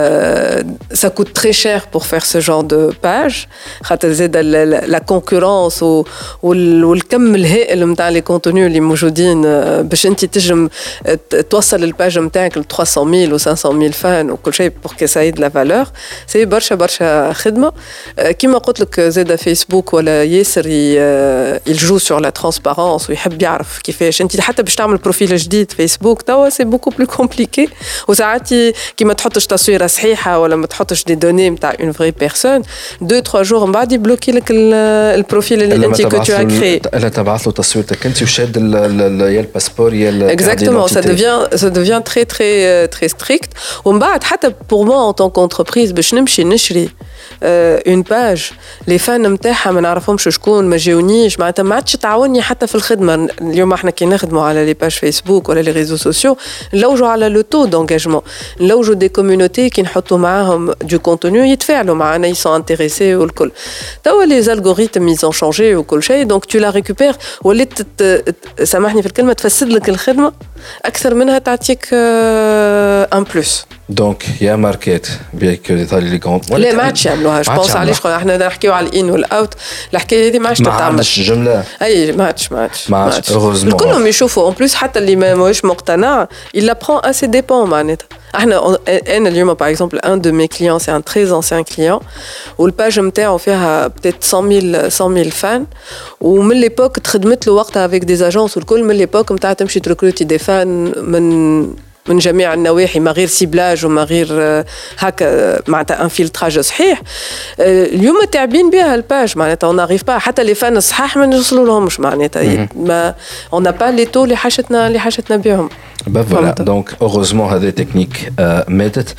ça coûte très cher pour faire ce genre de page, خاطر زاد la concurrence والكم الهائل نتاع les contenus اللي موجودين باش انت تجم توصل الباج نتاعك ل 300,000 و 500,000 فان وكل شيء pour que ça ait de la valeur. c'est برشا خدمه. كيما قلت لك زاد فيسبوك ولا ياسر il joue sur la transparence ويحب يعرف كيفاش انت حتى باش تعمل بروفيل جديد فيسبوك توا سي بوكو بلو كومبليكي. وساعات كيما تحطش تصويره صحيحه ولا ما تحطش دي دوني نتاع اون فري بيرسون 2-3 جور من بعد يبلوكي لك البروفيل اللي انت كنت تو كري. الا تبعث له تصويرتك انت وشاد يا الباسبور يا exactement. ça devient très très très strict. ومن بعد حتى pour moi en tant qu'entreprise باش نمشي نشري une page les fans نتاعها ما نعرفهمش شكون ما جاونيش معناتها ما عادش تعاوني حتى في الخدمه. اليوم احنا كي نخدموا على لي باج فيسبوك ولا لي ريزو سوسيو نلوجوا على لو تو دونجاجمون, نلوجوا دي كوميونيتي كي نحطوا معاهم دو كونتوني يتفاعلوا معنا يسون انتريسي والكل. توا لي الغوريثم يزون شانجي وكل شيء دونك تو لا ريكوبير ولات سامحني في الكلمه تفسد لك الخدمه اكثر منها تعطيك ان بلس. دونك يا ماركات بيك لي كونت لا ما عادش يعملوها. جو بونس علاش احنا نحكيو على الان والاوت الحكايه هذه ما عادش تتعمل. ما عادش جمله اي ما عادش كلهم يشوفوا اون بليس حتى اللي ماهوش مقتنع il apprend à ses dépens معناتها. احنا انا اليوم باغ اكزومبل ان دو مي كليون سي ان تري انسيان كليون والباج نتاعو فيها بتيت 100,000 فان ومن ليبوك تخدمت له وقتها افيك دي اجونس والكل من ليبوك نتاع تمشي تركروتي دي فان من جميع النواحي ما غير سيبلاج وما غير هكا معناتها انفلتراج صحيح. اليوم تعبين بها الباج معناتها اون ناريف با حتى لي فان الصحاح ما نوصلوا لهمش معناتها ما اون نا با لي تو اللي حاجتنا بهم. فوالا دونك اوغوزمون هذه تكنيك ماتت.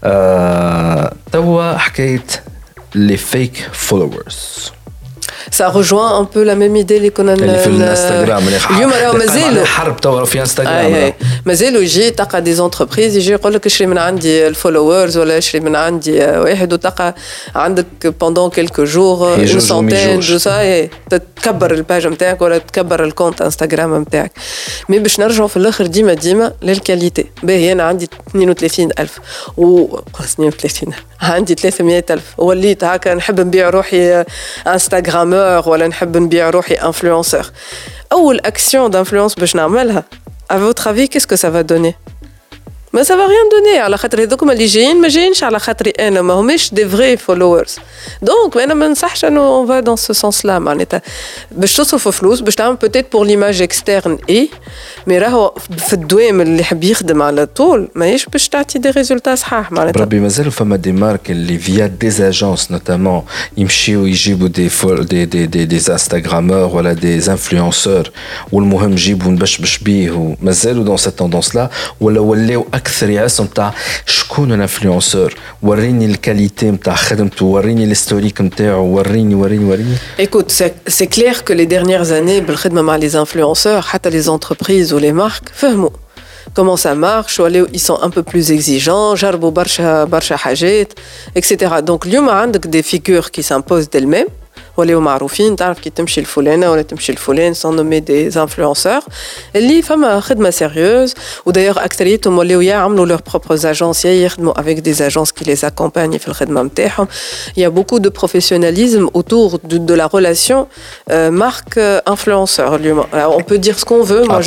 توا حكايه لي فيك فولورز ça rejoint un peu la même idée اللي كنا في الانستغرام اليوم راهو مازالوا حرب توا في انستغرام مازالوا يجي تلقى دي زونتربريز يجي يقول لك اشري من عندي الفولورز ولا اشري من عندي واحد وتلقى عندك pendant quelques jours une centaine de ça تكبر الباج نتاعك ولا تكبر الكونت انستغرام نتاعك. مي باش نرجعوا في الاخر ديما للكاليتي. باهي انا عندي 32,000 و 32 عندي 300,000 وليت هكا نحب نبيع روحي انستغرامور ولا نحب نبيع روحي انفلونسور. اول اكسيون دانفلونس باش نعملها à votre avis qu'est-ce que ça va donner? ما ça va rien donner على خاطر هذوكم اللي جايين ما جايينش على خاطري انا ما هماش دي فري فولورز. دونك انا ما نصحش انه اون فا دون سو سونس لا معناتها باش تصرف فلوس باش تعمل بوتيت بور ليماج اكسترن اي مي راهو في الدوام اللي يحب يخدم على طول ماهيش باش تعطي دي ريزولتا صحاح معناتها. ربي مازالوا فما دي مارك اللي فيا دي اجونس نوتامون يمشيو يجيبوا دي انستغرامور ولا دي انفلونسور والمهم يجيبوا نبشبش بيه ومازالوا دون سيت توندونس لا ولا ولاو اكثر يعسوا نتاع شكون الانفلونسور وريني الكاليتي نتاع خدمته وريني الهيستوريك نتاعو وريني. Écoute, c'est clair que les dernières années بالخدمه مع les influenceurs حتى les entreprises ou les marques فهموا comment ça marche ولاو ils sont un peu plus exigeants جربوا برشا حاجات etc. donc اليوم عندك des figures qui s'imposent d'elles-mêmes ولاو معروفين تعرف كي تمشي الفلانه ولا تمشي الفلان سون نومي دي انفلونسور اللي فما خدمه سيريوز. ودايوغ اكثريتهم ولاو يعملوا لور بروبر اجونس يخدموا افيك دي اجونس كي لي اكومباني في الخدمه نتاعهم. يا بوكو دو بروفيسيوناليزم autour de la relation marque influenceur. On peut dire ce qu'on veut. Moi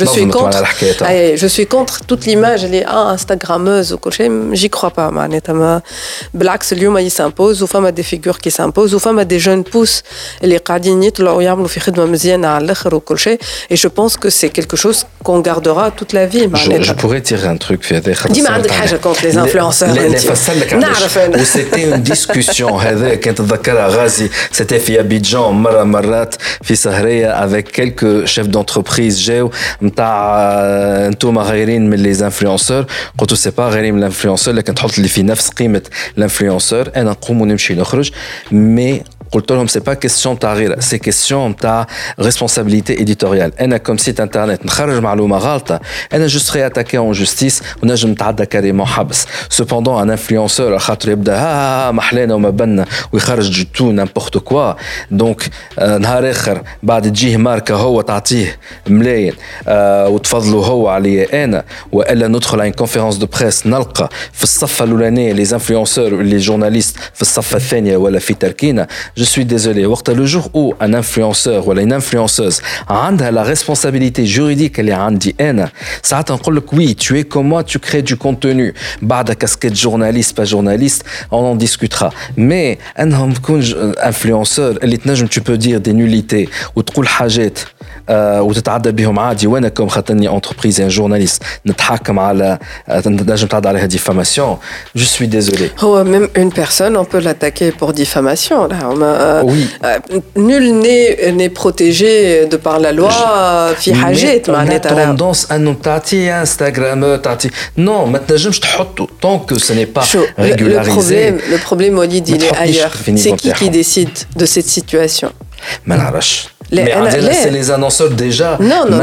je suis contre toute l'image اللي instagrammeuse وكل شيء j'y crois pas معناتها بالعكس اليوم il s'impose وفما des figures qui s'imposent وفما des jeunes pousses اللي قاعدين يطلعوا ويعملوا في خدمه مزيانه على الاخر وكل شيء et je pense que c'est quelque chose qu'on gardera toute la vie je pourrais tirer un truc في هذا خاطر ديما عندك حاجه contre les influenceurs لا فسرلك نعرف انا وسيتي اون ديسكوسيون هذا كنت تذكرها غازي سيتي في ابيجان مرات في سهريه avec quelques chefs d'entreprise جاو نتاع انتوما غايرين من لي انفلونسور قلت سي با غيرين من الانفلونسور لكن تحط لي في نفس قيمه الانفلونسور انا نقوم ونمشي نخرج مي قلت لهم سي با كيسيون تاع غير سي كيسيون تاع ريسبونسابيلتي اديتوريال انا كوم سيت انترنت نخرج معلومه غلطه انا جو سري اتاكي اون جوستيس ونجم نتعدى كاريمون حبس سوبوندون ان انفلونسور خاطر يبدا محلانا وما بنا ويخرج تو نامبورت كوا دونك نهار اخر بعد تجيه ماركه هو تعطيه ملايين وتفضلوا هو عليا انا والا ندخل على كونفيرونس دو بريس نلقى في الصفه الاولانيه لي انفلونسور لي جورناليست في الصفه الثانيه ولا في تركينا. Je suis désolé. Le jour où un influenceur ou une influenceuse a la responsabilité juridique اللي عندي أنا ساعات نقول لك oui tu es comme moi tu crées du contenu بعد casquette journaliste pas journaliste on en discutera mais أنهم تكون influenceur اللي تنجم tu peux dire des nullités وتقول حاجات وتتعدى بهم عادي وانا كم خاطرني entreprise un journaliste نتحكم على نجم تعدى عليها diffamation je suis désolé. هو même une personne on peut l'attaquer pour diffamation là. Oui. Nul n'est protégé de par la loi في حاجات معناتها tendance أنه تعطي انستغرام تعطي non ما تنجمش تحطه tant que ce n'est pas régularisé. Le problème Walid il est ailleurs. C'est qui décide de cette situation? ما نعرفش. Mais c'est les annonceurs déjà. ما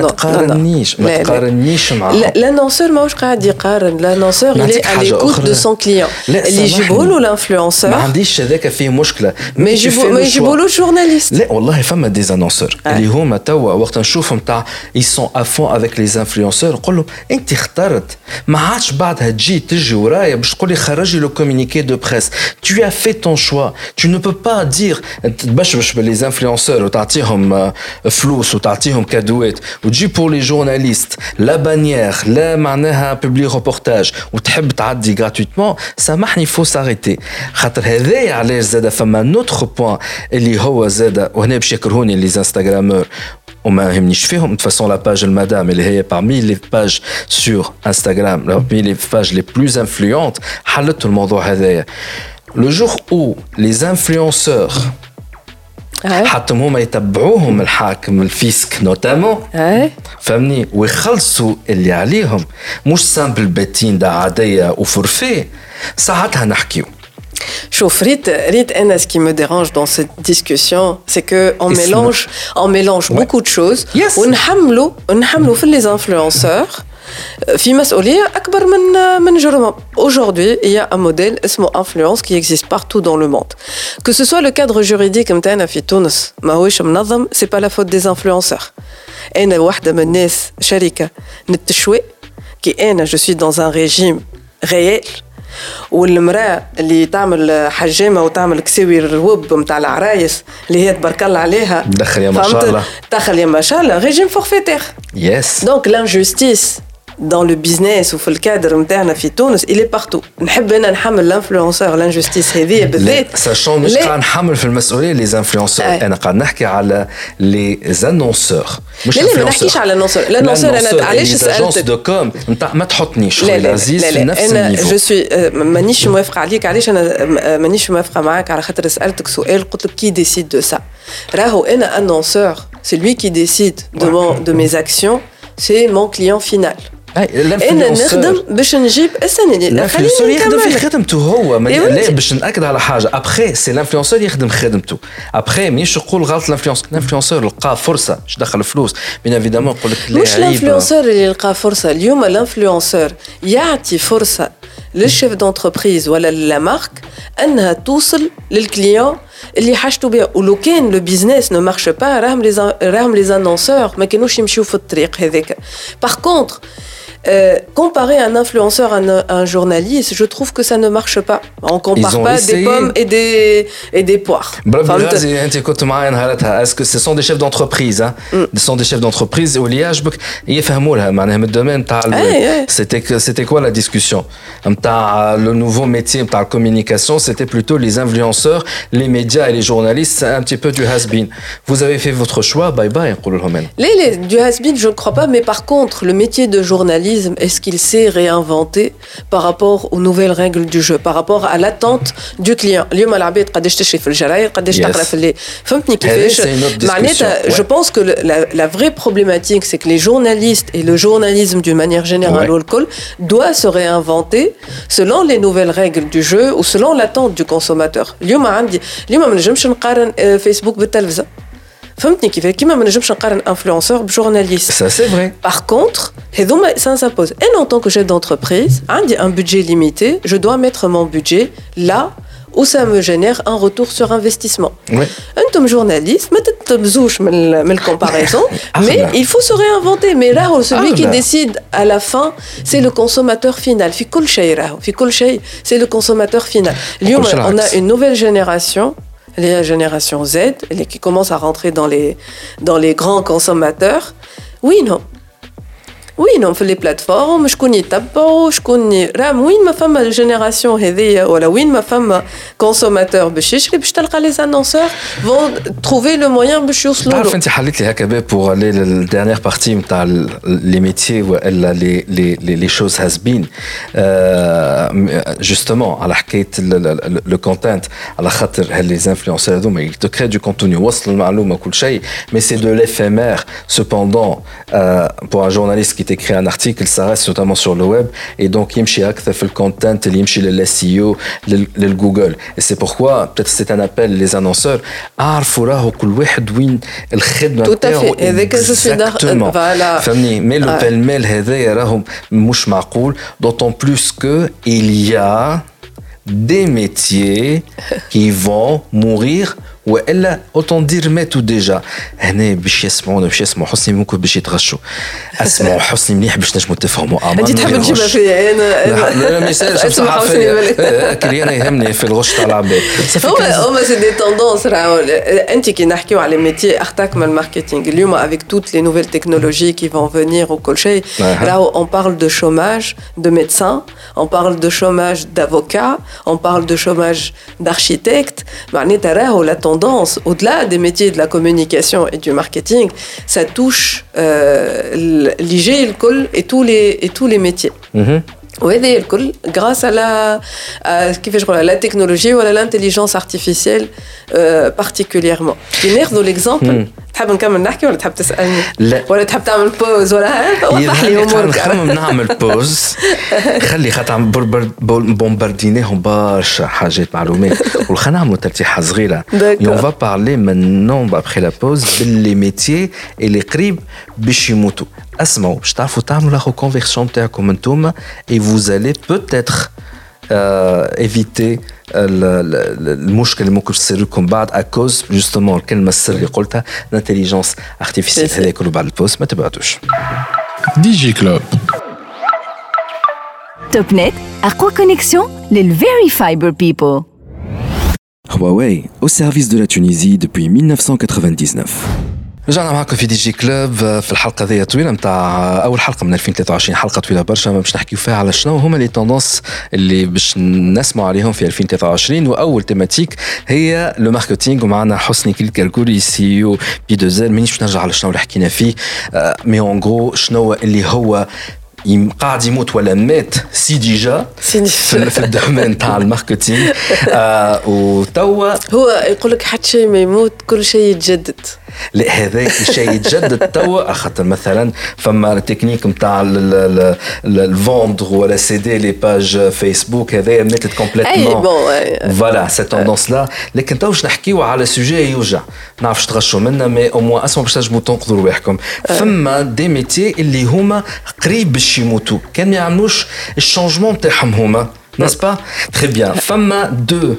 تقارنيش معهم. L'annonceur ماهوش قاعد يقارن. L'annonceur il est à l'écoute de son client. اللي يجيبوا له l'influenceur. ما عنديش هذاك فيه مشكلة. ما يجيبوا له الجورناليست. لا والله فما des annonceurs اللي هما توا وقت نشوفهم تاع ils sont à fond avec les influenceurs نقول لهم أنت اخترت ما عادش بعدها تجي ورايا باش تقول لي خرجي لو communiqué de presse. Tu as fait ton choix. Tu ne peux pas dire تبشبش باللي influenceurs وتعطيهم فلوس وتعطيهم كادوات وتجي pour les journalistes la bannière لا معناها publier reportage وتحب تعدي gratuitement سامحني faut s'arrêter خاطر هذايا علاش زاد فما نوتر بوين اللي هو زاد وهنا باش يكرهوني لي انستغرامور وما يهمنيش فيهم de façon la page المدام اللي هي parmi les pages sur Instagram parmi les pages les plus influentes حلت الموضوع هذايا le jour où les influenceurs حتى هما يتبعوهم الحاكم الفيسك نوتامون فهمني ويخلصوا اللي عليهم مش سامبل باتين دا عادية وفورفي ساعتها نحكيو. شوف ريت أنا ce qui me dérange dans cette discussion c'est que on mélange beaucoup de choses ونحملوا في les influenceurs في مسؤولية أكبر من جرمهم. Aujourd'hui, il y a un modèle اسمه influence qui existe partout dans le monde. Que ce soit le cadre juridique متاعنا في تونس ماهوش منظم, c'est pas la faute des influenceurs. أنا واحدة من الناس شركة نتشوي كي أنا je suis dans un régime réel والمرأة اللي تعمل حجامة وتعمل كساوي الروب متاع العرايس اللي هي تبارك الله عليها دخل يا ما شاء الله دخل يا ما شاء الله régime forfaitaire. Yes. Donc l'injustice dans le business ou في الكادر نتاعنا في تونس il est partout. نحب انا نحمل الانفلونسور الانجستيس هذه بالذات ساشون مش قاعد نحمل في المسؤوليه لي انفلونسور انا قاعد نحكي على لي انونسور مش لا ما نحكيش على الانونسور انا علاش سالتك دو كوم انت ما تحطنيش خويا عزيز في نفس النيفو. جو سوي مانيش موافقه عليك علاش انا مانيش موافقه معاك على خاطر سالتك سؤال قلت لك كي ديسيد دو سا راهو انا انونسور سي لوي كي ديسيد دو ميز اكسيون سي مون كليون فينال. انا نخدم باش نجيب السنه الانفلونسور يخدم في خدمته هو لا باش ناكد على حاجه ابخي سي الانفلونسور يخدم خدمته ابخي مش يقول غلط الانفلونسور لقى فرصه باش دخل فلوس بين ايفيدامون يقول لك لا مش الانفلونسور اللي لقى فرصه اليوم الانفلونسور يعطي فرصه للشيف دونتربريز ولا لا مارك انها توصل للكليون اللي حاجته بها ولو كان لو بيزنس نو مارش با راهم لي انونسور ما كانوش يمشيو في الطريق هذاك. باغ كونطر comparer un influenceur à un journaliste, je trouve que ça ne marche pas. On compare pas des pommes et des poires. Est-ce que ce sont des chefs d'entreprise Ce sont des chefs d'entreprise où le domaine c'était quoi la discussion le nouveau métier de la communication, c'était plutôt les influenceurs, les médias et les journalistes, c'est un petit peu du has-been. Vous avez fait votre choix, bye bye. Du has-been, je ne crois pas, mais par contre, le métier de journalisme, est-ce qu'il s'est réinventé par rapport aux nouvelles règles du jeu, par rapport à l'attente du client? Je pense que la vraie problématique, c'est que les journalistes et le journalisme d'une manière générale doit se réinventer selon les nouvelles règles du jeu ou selon l'attente du consommateur. اليوم ما نجمش نقارن فيسبوك بالتلفزة. فهمتني كيما ما نجمش نقارن انفلونسور بجورناليست. Ça c'est vrai. Par contre, ça s'impose. Et en tant que chef d'entreprise, عندي un budget limité, je dois mettre mon budget là où ça me génère un retour sur investissement. انتم journaliste, ما تتبزوش من comparaison, mais il faut se réinventer. Mais là, celui qui décide à la fin, c'est le consommateur final. في كل شيء, c'est le consommateur final. اليوم, on a une nouvelle génération, la génération Z, qui commence à rentrer dans les grands consommateurs. وين في لي بلاتفورم شكون يتبعوا شكون راه وين ما فما جينيراسيون هذيا ولا وين ما فما كونسوماتور باش يشري باش تلقى لي انونسور فون تروفي لو مويان باش يوصلوا له. تعرف انت حليت لي هكا بور لي الديرنيير بارتي نتاع لي ميتيي ولا لي شوز هاز بين جوستومون على حكايه لو كونتنت على خاطر هاللي انفلونسور هذوما يتو كري دو كونتوني وصل المعلومه كل شيء مي سي دو ليفيمير سوبوندون pour un journaliste qui écrit un article, ça reste notamment sur le web et donc يمشي أكثر في الcontent, يمشي للSEO, للجوجل. Et c'est pourquoi peut-être c'est un appel les annonceurs عارفوا راهو كل واحد وين الخدمة نتاعو. Exactement. فهمني mais le pêle-mêle هذايا راهو مش معقول d'autant plus que il y a des métiers qui vont mourir والا autant dire ماتوا ديجا. هنا باش يسمعونا باش يسمعوا حسني ممكن باش يتغشوا. اسمعوا حسني مليح باش نجموا تفهموا. انت تحب تجيبها فيا انا ميساج صحافي كلي انا يهمني في الغش تاع العباد. هما سي دي توندونس. انت كي نحكيو على ميتي اختك من الماركتينغ اليوم avec toutes les nouvelles technologies qui vont venir وكل شيء راهو on parle de chômage de médecins, on parle de chômage d'avocats, on parle de chômage d'architectes. معناتها راهو la tendance au-delà des métiers de la communication et du marketing, ça touche l'IG et tous les métiers. وهذا الكل grâce كيفاش نقولها la technologie ولا l'intelligence artificielle particulièrement. كي ناخذوا l'exemple تحب نكمل نحكي ولا تحب تسألني؟ لا. ولا تحب تعمل بوز ولا وضح لي امورك. نخمم نعمل بوز. خلي خاطر بومباردينيهم برشا حاجات معلومات وخلينا نعملوا ترتيحه صغيره. On va parler maintenant après la pause باللي métiers اللي قريب باش يموتوا. اسمعوا باش تعرفوا تعملوا لا reconversion تاعكم انتوما et vous allez peut-être éviter المشكل اللي ممكن تصير لكم بعد à cause justement الكلمه السر اللي قلتها l'intelligence artificielle. هذا كله بعد البوست ما تبعتوش. ديجي كلوب توب نت أقوى كونيكسيون للفيري فايبر بيبل. Huawei, au service de la Tunisie depuis 1999. رجعنا معكم في دي جي كلوب في الحلقه ذي طويله نتاع اول حلقه من 2023. حلقه طويله برشا باش نحكيو فيها على شنو هما لي توندونس اللي باش نسمعوا عليهم في 2023. واول تيماتيك هي لو ماركتينغ ومعنا حسني كالكولي سي او بي 2 مانيش باش نرجع على شنو اللي حكينا فيه مي اون غرو شنو اللي هو قاعد يموت ولا مات سي ديجا في الدومين تاع الماركتينغ وتوا هو يقول لك حتى شيء ما يموت كل شيء يتجدد. لا هذا الشيء يتجدد توا خاطر مثلا فما تكنيك نتاع الفوندر ولا سيدي لي باج فيسبوك هذا ماتت كومبليتمون فوالا سي توندونس لا. لكن تو باش نحكيو على سوجي يوجع نعرفش تغشوا منا مي او موان اسمعوا باش تنجموا تنقذوا رواحكم. فما دي ميتي اللي هما قريب باش يموتوا كان ما يعملوش الشونجمون تاعهم هما ناس با تري بيان. فما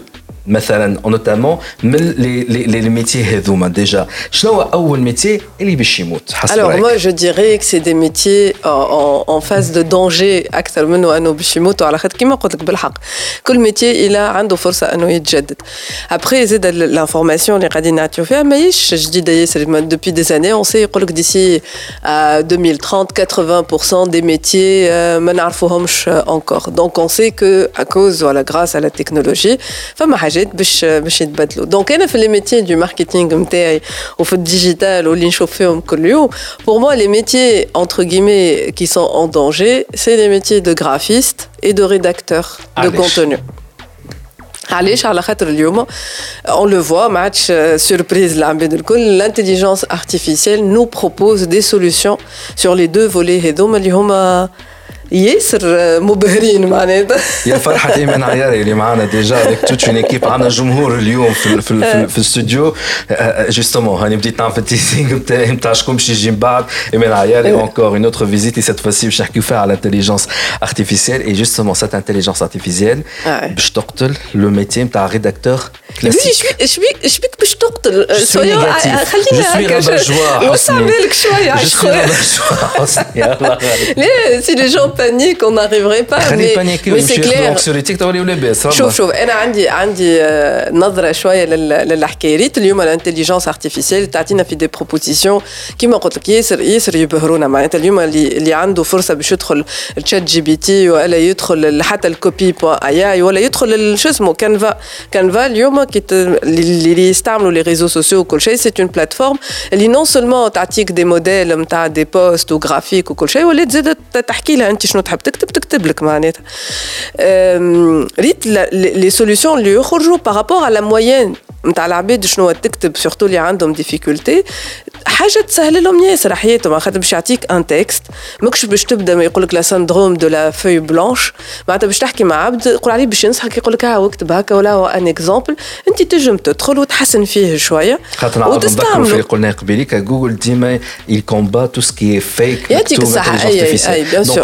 مثلا notamment من les métiers هذوما déjà شنو هو اول métier اللي باش يموت حسب Alors رأيك؟ moi je dirais que c'est des métiers en phase de danger اكثر منه انه باش يموتوا على خاطر كيما قلت لك بالحق كل métier إلا عنده فرصه انه يتجدد. Après زاد l'information اللي قاعدين نعطيو فيها ماهيش جديده ياسر depuis des années on sait يقول لك d'ici 2030 80% des métiers ما نعرفوهمش encore. Donc on sait que à cause voilà grâce à la technologie فما حاجات باش يتبدلوا. Donc انا في les métiers du marketing نتاعي وفي الديجيتال واللي نشوف فيهم كل يوم pour moi les métiers entre guillemets qui sont en danger c'est les métiers de graphiste et de rédacteur de contenu. علاش على خاطر اليوم on le voit match surprise العباد الكل l'intelligence artificielle nous propose des solutions sur les deux volets هذوما اللي هما ياسر مبهرين معناتها. يا فرحة إيمان عياري اللي معنا ديجا avec toute une équipe عنا جمهور اليوم في الاستوديو justement هاني بديت نعمل التيزينغ نتاع شكون باش يجي من بعد إيمان عياري encore une autre visite et cette fois-ci باش نحكيو فيها على l'intelligence artificielle et justement cette intelligence artificielle باش تقتل le métier نتاع rédacteur classique. ايش بيك باش تقتل شويه خلينا هكا وصعبالك شويه لا si les gens paniquent on n'arriverait pas mais c'est clair شوف انا عندي نظره شويه للحكايات اليوم الانتليجنس ارتيفيسيال تعطينا في دي بروبوزيسيون كيما قلت لك ياسر يبهرونا معناتها اليوم اللي عنده فرصه باش يدخل الشات جي بي تي ولا يدخل حتى الكوبي .ai ولا يدخل شو اسمه كانفا اليوم اللي يستعملوا لي ريزو سوسيو وكل شيء سي اون بلاتفورم اللي نون سولمون تعطيك دي موديل نتاع دي بوست وغرافيك وكل شيء ولا تزيد تحكي لها انت شنو تحب تكتب لك معناتها ريت لي سوليوشن اللي يخرجوا بارابور على موين نتاع العباد شنو تكتب سورتو اللي عندهم ديفيكولتي حاجه تسهل لهم ياسر حياتهم خاطر باش يعطيك ان تكست ماكش باش تبدا ما يقول لك لا سندروم دو لا فوي بلانش معناتها باش تحكي مع عبد يقول عليه باش ينصحك يقول لك ها اكتب هكا ولا هو ان اكزامبل انت تنجم تدخل وتحسن فيه شويه وتستعمل في قلنا قبيليك جوجل ديما il combat tout ce qui est fake يعطيك الصحه donc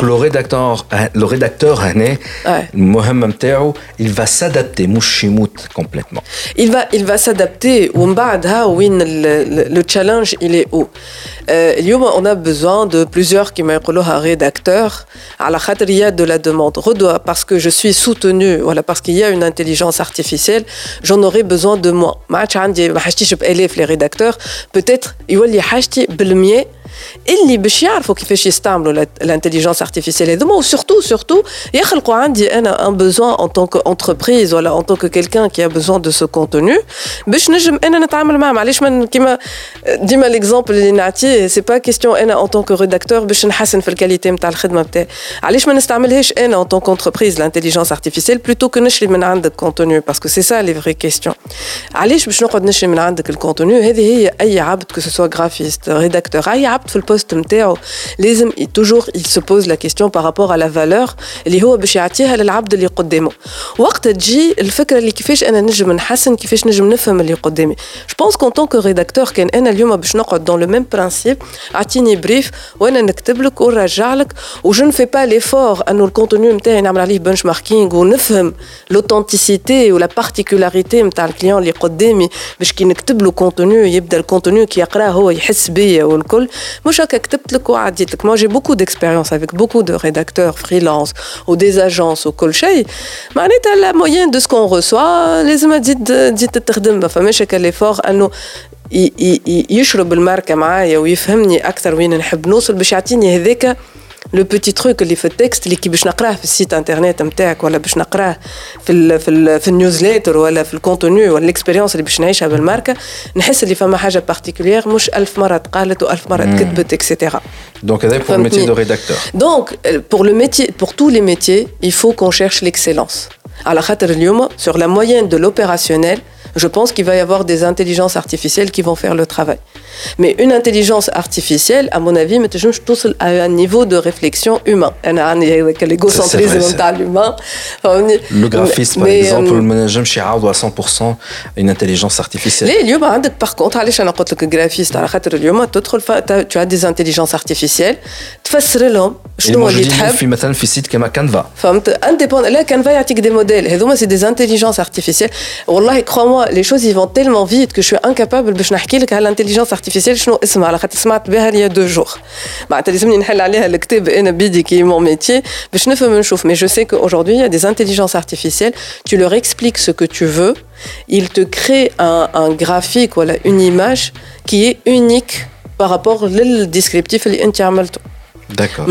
le rédacteur هنا المهمه نتاعو il va s'adapter مش يموت complètement il va s'adapter ومن بعدها وين le challenge il est où اليوم on a besoin de plusieurs كما يقولوها rédacteurs على خاطر il y a de la demande parce que je suis soutenu voilà parce qu'il y a une intelligence artificielle j'en aurai besoin de moi ما عادش عندي ما حاجتيش بآلاف les rédacteurs peut-être يولي حاجتي بالمية اللي باش يعرفوا كيفاش يستعملوا الانتليجنس ارتيفيسيال هذوما وسورتو يخلقوا عندي انا ان besoin en tant qu'entreprise ولا en tant que quelqu'un qui a besoin de ce contenu باش نجم انا نتعامل معهم. علاش من كيما ديما ليكزامبل اللي نعطيه سي با كيستيون انا en tant que rédacteur باش نحسن في الكاليتي نتاع الخدمه نتاعي علاش ما نستعملهاش انا en tant qu'entreprise الانتليجنس ارتيفيسيال plutôt que نشري من عندك كونتوني باسكو سي سا لي فري كيستيون. علاش باش نقعد نشري من عندك الكونتوني هذه هي اي عبد كو سو غرافيست ريداكتور اي عبد في البوست نتاعو لازم توجور il se pose la question par rapport à la valeur اللي هو باش يعطيها للعبد اللي قدامه. وقت تجي الفكره اللي كيفاش انا نجم نحسن كيفاش نجم نفهم اللي قدامي. Je pense qu'en tant que rédacteur كان انا اليوم باش نقعد dans le même principe اعطيني بريف وانا نكتب لك ونرجع لك وجو نفي با ليفور انه الكونتوني نتاعي نعمل عليه بنش ماركينغ ونفهم l'authenticité ولا particularité نتاع الكليون اللي قدامي باش كي نكتب له كونتوني يبدا الكونتوني كي يقراه هو يحس بيا والكل مش هكا كتبت لك وعديت لك. Moi j'ai beaucoup d'expérience avec beaucoup de rédacteurs freelance ou des agences وكل شيء معناتها la moyenne de ce qu'on reçoit لازم تزيد تخدم ما فماش هكا ليفور انه يشرب الماركه معايا ويفهمني اكثر وين نحب نوصل باش يعطيني هذاك لو بيتي تروك اللي في التكست اللي كي باش نقراه في السيت انترنت نتاعك ولا باش نقراه في النيوزليتر ولا في الكونتوني ولا الاكسبيريونس اللي باش نعيشها بالماركه نحس اللي فما حاجه بارتيكولير مش 1000 مره تقالت و1000 مره كتبت اكسيتيرا. Donc pour le métier de rédacteur. Donc pour tous les métiers il faut qu'on cherche l'excellence. على خاطر اليوم sur la moyenne de l'opérationnel je pense qu'il va y avoir des intelligences artificielles qui vont faire le travail. Mais une intelligence artificielle, à mon avis, je touche à un niveau de réflexion humain. L'égocentrisme de l'humain. Le graphiste, par exemple, je ne sais pas à 100% une intelligence artificielle. Par contre, le graphiste, tu as des intelligences artificielles, تفسر لهم شنو اللي تحب في مثلا في سيت كما كانفا فهمت انت لا كانفا يعطيك دي موديل هذوما سي دي انتيليجنس ارتيفيسيال والله crois-moi les choses ils vont tellement vite que je suis incapable باش نحكي لك على الانتيليجنس ارتيفيسيال شنو اسمها على خاطر سمعت بها il y a 2 jours معناتها لازمني نحل عليها الكتاب انا بيدي كي مون ميتي باش نفهم نشوف mais je sais qu'aujourd'hui il y a des intelligences artificielles tu leur expliques ce que tu veux ils te créent un graphique voilà une image qui est unique par rapport au descriptif اللي انت عملته. D'accord.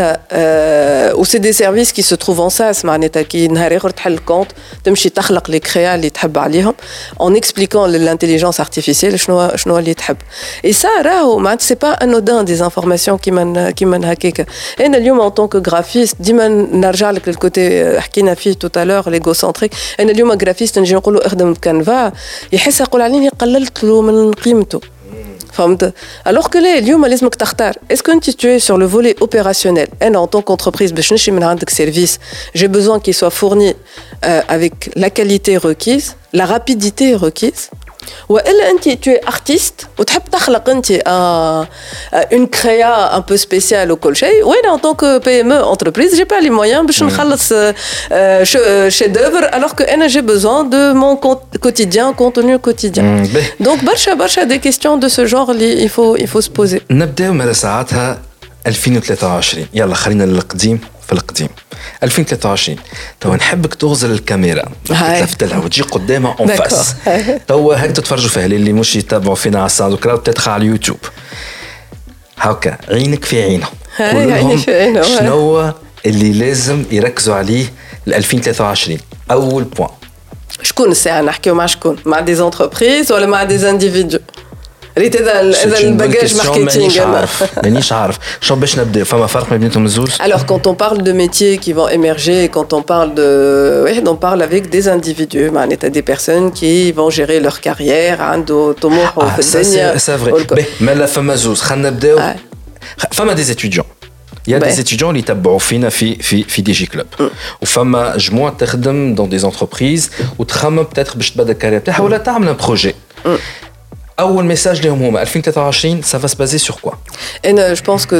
Ou c'est des services qui se trouvent en SaaS معناتها كي نهار اخر تحل كونت تمشي تخلق لي كريا اللي تحب عليهم en expliquant l'intelligence artificielle شنو اللي تحب. Et ça راهو معناتها c'est pas anodin des informations كيما هكاك. انا اليوم en tant que graphiste ديما نرجع لك للكوتي حكينا فيه tout à l'heure l'égocentrique. انا اليوم graphiste نجي نقول له اخدم بكانفا يحس يقول عليني قللت له من قيمته. فهمت alors que là اليوم لازمك تختار est-ce que tu es sur le volet opérationnel انا en tant qu'entreprise باش نمشي من عندك service j'ai besoin qu'il soit fourni avec la qualité requise la rapidité requise والا انت tu es artiste وتحب تخلق انت une créa un peu spéciale وكل شيء وانا en tant que PME entreprise j'ai pas les moyens باش نخلص chef d'œuvre alors que انا j'ai besoin de mon quotidien contenu quotidien donc برشا des questions de ce genre il faut se poser. نبداو مع ساعتها 2023 يلا خلينا للقديم في القديم 2023 توا نحبك تغزل الكاميرا تلفت لها وتجي قدامها اون فاس توا هاك تتفرجوا فيها اللي مش يتابعوا فينا على الساوند كلاود تدخل على اليوتيوب هاكا عينك في عينه كلهم شنو اللي لازم يركزوا عليه ل 2023 اول بوين شكون الساعه نحكيو مع شكون مع دي زونتربريز ولا مع دي انديفيدو ريت هذا الباجاج ماركتينغ مانيش عارف شنو باش نبدا فما فرق ما بينهم الزوز. Alors quand on parle de métiers qui vont émerger quand on parle de on parle avec des individus معناتها des personnes qui vont gérer leur carrière عنده طموح في الدنيا c'est vrai mais la فما زوز خلينا نبداو فما des étudiants il y a des étudiants اللي يتبعوا فينا في دي جي كلوب وفما جموعه تخدم dans des entreprises وتخمم peut-être باش تبدا الكارير تاعها ولا تعمل un projet. أول message لهم هما 2023 ça va se baser sur quoi? Et je pense que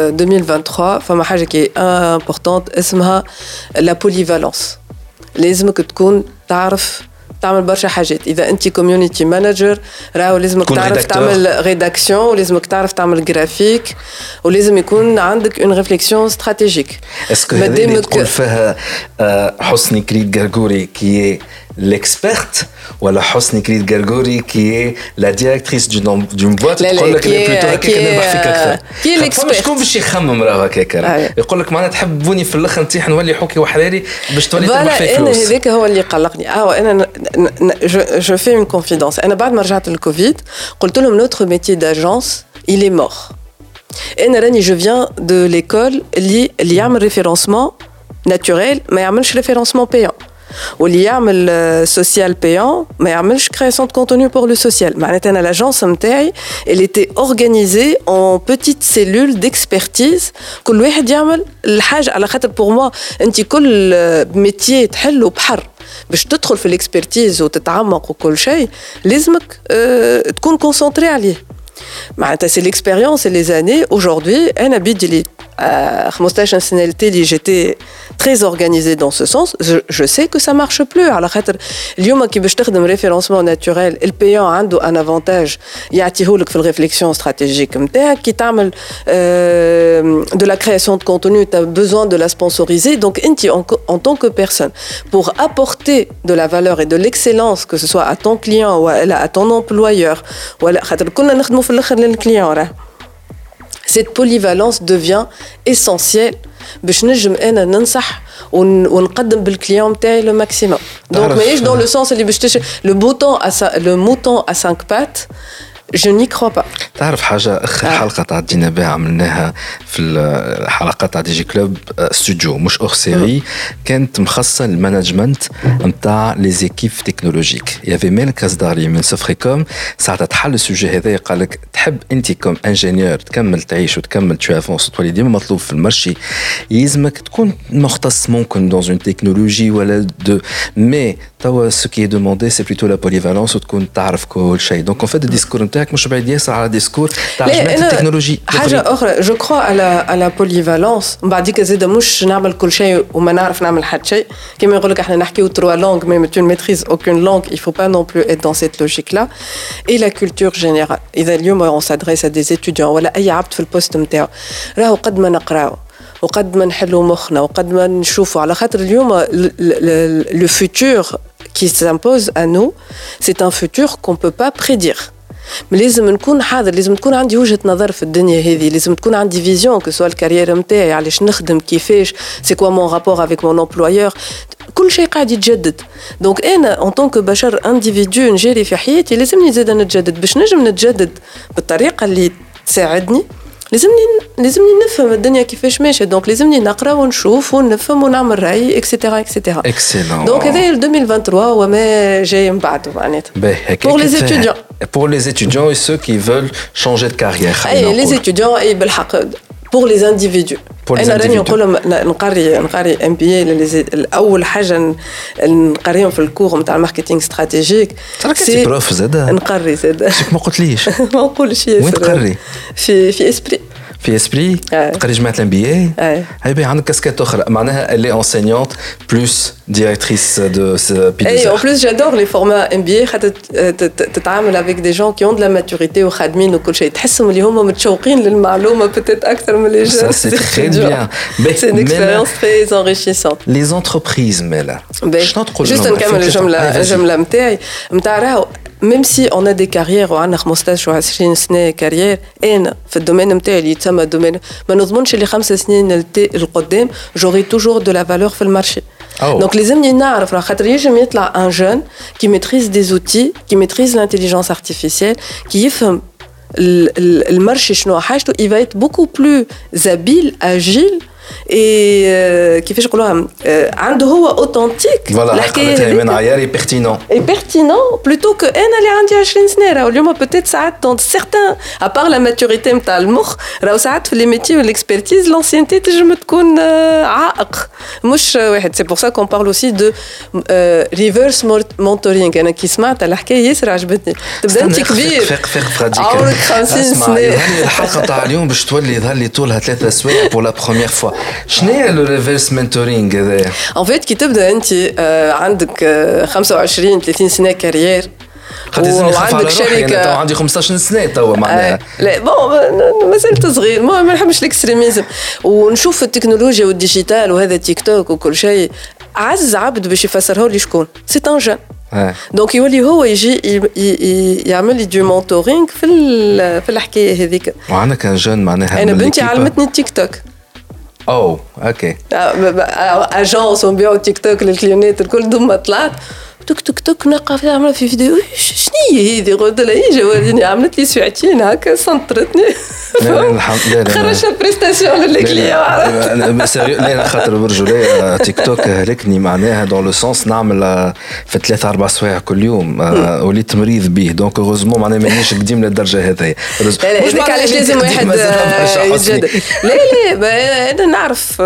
2023 فما حاجة qui est importante اسمها la polyvalence. لازمك تكون تعرف تعمل برشا حاجات. إذا أنت community manager راهو لازمك تعرف تعمل rédaction ولازمك تعرف تعمل graphique ولازم يكون عندك une réflexion stratégique. Est-ce que هذا اللي تقول فيها حسني كريد غرغوري qui est l'experte ولا حسني كريد غرغوري qui est la directrice d'une boîte تقول لك اللي بلوتو هكاك نربح فيك اكثر كي الاكسبيرت شكون باش يخمم راه هكاك يقول لك معناتها تحبوني في الاخر نتيح نولي حوكي وحراري باش تولي تربح فيه فلوس. انا هذاك هو اللي قلقني انا je fais une confidence انا بعد ما رجعت الكوفيد قلت لهم notre métier d'agence il est mort. انا راني je viens de l'école اللي يعمل référencement naturel ما يعملش référencement payant واللي يعمل social payant ما يعملش création de contenu pour le social. معناتها انا l'agence نتاعي elle était organisée en petites cellules d'expertise كل واحد يعمل الحاجه على خاطر pour moi انت كل métier تحله بحر باش تدخل في الاكسبرتيز وتتعمق وكل شيء لازمك تكون كونسونطري عليه. معناتها سي ليكسبيريونس et les années aujourd'hui انا بيدي لي 15 سنه اللي j'étais très organisée dans ce sens je sais que ça marche plus على خاطر اليوم كي باش تخدم ريفيرونسمون ناتوريل البيان عنده ان افونتاج يعطيهولك في الريفليكسيون استراتيجيك نتاعك كي تعمل de la création de contenu tu as besoin de la sponsoriser donc انت en tant que personne pour apporter de la valeur et de l'excellence que ce soit à ton client ou à ton employeur ولا خاطر كنا نخدموا في الاخر للكليون راه cette polyvalence devient essentielle باش نجم انا ننصح ونقدم بالكليون تاعي le maximum. Donc ماهيش dans le sens اللي باش le mouton à 5 pattes je n'y crois pas. تعرف حاجة آخر حلقة تعدينا بها عملناها في الحلقات تاع دي جي كلوب استوديو مش أور سيري كانت مخصصة للمانجمنت نتاع لي زيكيب تكنولوجيك. يافي مالك كازداري من سفريكوم ساعتها تحل السوجي هذا قال لك تحب أنت كوم انجينيور تكمل تعيش وتكمل تو افونس وتولي ديما مطلوب في المارشي يلزمك تكون مختص ممكن dans une technologie ولا دو مي توا ce qui est demandé c'est plutôt la polyvalence وتكون تعرف كل شيء. دونك en fait الديسكور نتاعك مش بعيد ياسر على ديسكور تاع جماعة التكنولوجي. حاجة أخرى جو كرو على polyvalence بعديك زيدا مش نعمل كل شيء وما نعرف نعمل حد شيء كما يقول لك احنا نحكيو 3 langues mais tu ne maîtrises aucune langue il faut pas non plus être dans cette logique là. Et la culture générale إذا اليوم on s'adresse à des étudiants ولا أي عبد في البوست نتاعو راهو قد ما نقراو وقد ما نحلوا مخنا وقد ما نشوفوا على خاطر اليوم le futur qui s'impose à nous c'est un futur qu'on peut pas prédire. لازم نكون حاضر لازم تكون عندي وجهة نظر في الدنيا هذه لازم تكون عندي فيزيون كسوا الكارير نتاعي علاش نخدم كيفاش سي كوا مون رابور افيك مون امبلويور كل شيء قاعد يتجدد. دونك انا ان طونك بشر انديفيدو نجري في حياتي لازمني زاد نتجدد باش نجم نتجدد بالطريقه اللي تساعدني لازمني نفهم الدنيا كيفاش ماشيه. دونك لازمني نقرا ونشوف ونفهم ونعمل راي اكسيتيرا اكسيتيرا. اكسلون. دونك هذا 2023 وما جاي من بعده معناتها pour les étudiants. Pour les étudiants et ceux qui veulent changer de carrière. اي les étudiants اي بالحق pour les individus. أنا راني نقول نقري MBA الأول حاجة نقريهم في الكور متاع الماركتينغ استراتيجيك. سي بروف زادا. نقري زادا. ما قلتليش. ما نقولش ياسر. وين تقري؟ في إسبري. في اسبري تقري جماعه الانبياء هاي بي عندك كاسكيت اخرى معناها اللي انسينيونت بلس ديريكتريس دو بي دي. اي en plus j'adore les formats MBA خاطر تتعامل avec des gens qui ont de la maturité وخادمين وكل شيء تحسهم اللي هم متشوقين للمعلومه peut-être اكثر من les jeunes. Ça c'est très bien. C'est une expérience très enrichissante. Les entreprises مالا شنو تقول لهم؟ juste نكمل الجمله نتاعي نتاع راهو même si on a des carrières وعندنا 15 و 20 سنه كارير انا في الدومين نتاعي اللي يتسمى دومين ما نضمنش اللي 5 سنين القدام j'aurai toujours de la valeur في المارشي. Donc لازمني نعرف خاطر يجم يطلع un jeune qui maîtrise des outils qui maîtrise l'intelligence artificielle qui يفهم المارشي شنو حاجته il va être beaucoup plus habile agile et كيفاش نقولوها عنده هو اوثنتيك الحكايه من عياري بيرتينون اي بيرتينون بلوتو كو انا اللي عندي 20 سنه راهو اليوم بوتيت ساعات دون سيغتان ابار لا ماتوريتي نتاع المخ راهو ساعات في لي ميتي والاكسبرتيز لانسيانتي تنجم تكون عائق مش واحد. سي بور سا كون بارل اوسي دو ريفيرس مونتورينغ. انا كي سمعت الحكايه ياسر عجبتني. تبدا انت كبير عمرك 50 سنه الحلقه تاع اليوم باش تولي يظهر لي طولها 3 سوايع بور لا بروميير فوا. شنو هي لو ريفيرس مونتورينغ هذا؟ ان فيت كي تبدا انت عندك 25 30 سنه كارير وعندك شركه تو عندي 15 سنه توا معناها لا بون مازلت صغير ما نحبش الاكستريميزم ونشوف التكنولوجيا والديجيتال وهذا تيك توك وكل شيء عز عبد باش يفسره لي شكون سي ان جون. دونك يولي هو يجي يعمل لي دو مونتورينغ في الحكايه هذيك. وعندنا كان جون معناها انا بنتي علمتني التيك توك. اوه اوكي اجونس ونبيعوا تيك توك للكليونات الكل ثم طلعت توك توك توك نقف عامله في فيديو شنو هي هذه قلت لها يجي وريني عملت لي ساعتين هكا سنطرتني خرجت بريستاسيون للكليون لا خاطر برجولي تيك توك هلكني معناها دون لو سونس نعمل في 3-4 سوايع كل يوم وليت مريض به دونك هوزمون معناها مانيش قديم للدرجه هذه. مش علاش لازم واحد يتجدد. لا انا نعرف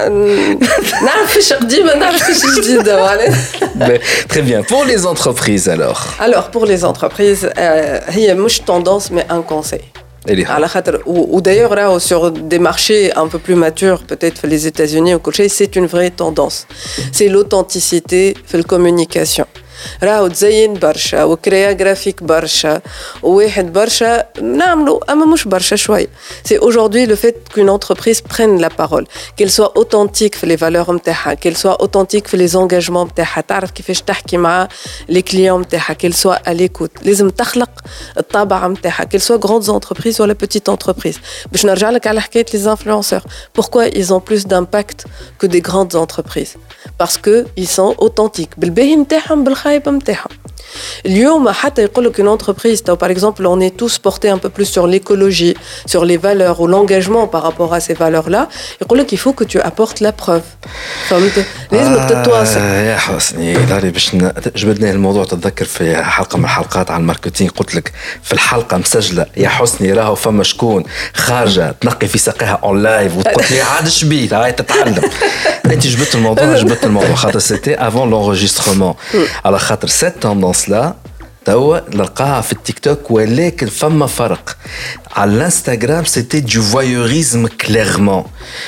فيش قديمه نعرف فيش جديده معناها. Très bien. Pour les entreprises alors. Alors pour les entreprises, هي مش tendance mais un conseil. على خاطر ou d'ailleurs là sur des marchés un peu plus matures peut-être les États-Unis ou كل شيء c'est une vraie tendance. C'est l'authenticité في الcommunication. راهو تزين برشا وكريا جرافيك برشا وواحد برشا نعملوا اما مش برشا شويه. C'est aujourd'hui le fait qu'une entreprise prenne la parole, qu'elle soit authentique في les valeurs نتاعها, qu'elle soit authentique في les engagements نتاعها, تعرف كيفاش تحكي مع les clients نتاعها, qu'elle soit à l'écoute. لازم تخلق الطابع نتاعها, qu'elle soit grandes entreprises ولا petite entreprise. باش نرجع لك على حكايه les influenceurs. Pourquoi ils ont plus d'impact que des grandes entreprises? Parce que ils sont authentiques بالباهي نتاعهم بالخايب نتاعهم. اليوم حتى يقول لك une entreprise par exemple on est tous portés un peu plus sur l'écologie sur les valeurs ou l'engagement par rapport à ces valeurs là يقول لك il faut que tu apportes la preuve فهمت لازم تتواصل يا حسني داري باش جبدني الموضوع. تتذكر في حلقه من الحلقات عن الماركتينغ قلت لك في الحلقه مسجله يا حسني راهو فما شكون خارجه تنقي في ساقيها اون لايف وتقول لي عاد شبيت هاي تتعلم. انت جبت الموضوع خاطر سيتي افون لونجسترمون على خاطر سيت توندونس لا توا نلقاها في التيك توك ولكن فما فرق. على الانستغرام سيتي دو voyeurisme clairement.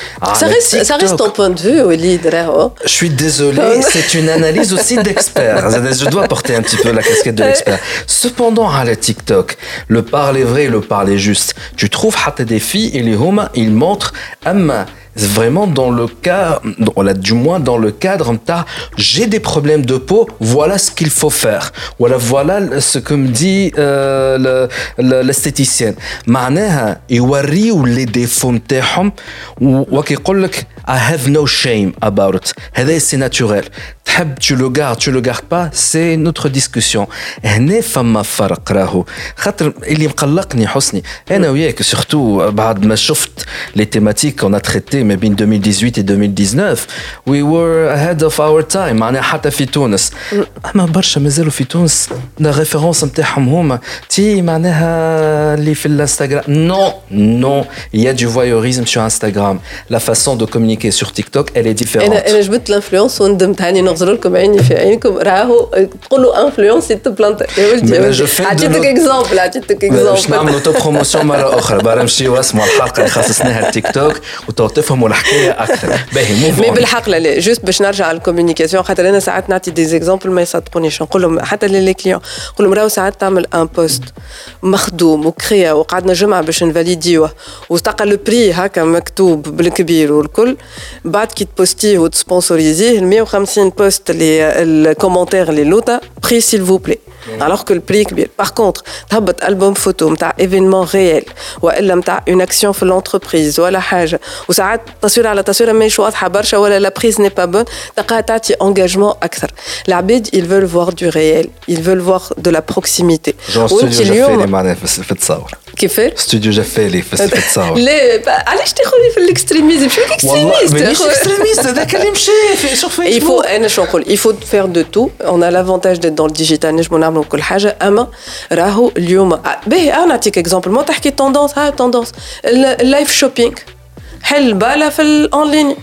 Ça reste ton point de vue Walid راهو. Je suis désolé, c'est une analyse aussi d'expert. Je dois porter un petit peu la casquette de l'expert. Cependant à la TikTok, le parler vrai et le parler juste. Tu trouves حتى des filles et les hommes ils montrent vraiment dans le cas, du moins dans le cadre j'ai des problèmes de peau, voilà ce qu'il faut faire, voilà ce que me dit l'esthéticienne. معناها يوريوا les défauts نتاعهم وكيقول لك I have no shame about it. هذا c'est naturel. تحب tu le gardes pas, c'est notre discussion. هنا فما فرق راهو خاطر اللي مقلقني حسني انا وياك surtout بعد ما شفت les thématiques qu'on a traitées ما بين 2018 et 2019 we were ahead of our time. معناها حتى في تونس اما برشا مازالوا في تونس الريفيرونس نتاعهم هما تي معناها اللي في الانستغرام. non il y a du voyeurisme sur Instagram. La façon de communiquer sur TikTok elle est différente. انا جبت الانفلونس وندمت هاني نغزر لكم عيني في عينكم راهو تقولوا انفلونس تبلانت يا ولدي عطيتك اكزامبل باش نعملوا تو بروموسيون مره اخرى بقى نمشيو واسمعوا الحلقه اللي خصصناها التيك توك وتفهموا الحكايه اكثر. باهي مي بالحق لا جوست باش نرجع على الكوميونيكاسيون خاطر انا ساعات نعطي دي زيكزامبل ما يصدقونيش نقول لهم حتى لي كليون نقول لهم راهو ساعات تعمل ان بوست مخدوم وكريا وقعدنا جمعه باش نفاليديوه وتلقى لو بري هكا مكتوب بالكبير والكل بعد كي تبوستيه وتسبونسوريزيه 150 بوست اللي الكومنتير اللي لوطا بري سيل فو بلي alors que le prix كبير. Par contre تهبط ألبوم فوتو متاع événement réel وإلا متاع une action في l'entreprise ولا حاجة وساعات تصوير على تصوير ماهيش واضحة برشا ولا la prise n'est pas bonne تلقاها تعطي engagement أكثر. العباد ils veulent voir du réel, ils veulent voir de la proximité. وانت اليوم معناها في التصاور كيفاش؟ استوديو جفالي في التصاور. لا علاش تاخذني في الاكستريميزم؟ شو الاكستريميست؟ مانيش اكستريميست هذاك اللي مشى في سور فيسبوك. Il faut انا شو نقول il faut faire de tout. On a l'avantage d'être dans le digital نجمو نعملوا كل حاجه اما راهو اليوم باهي انا نعطيك اكزامبل ما تحكي توندونس اللايف شوبينغ حل بالا في الاونلاين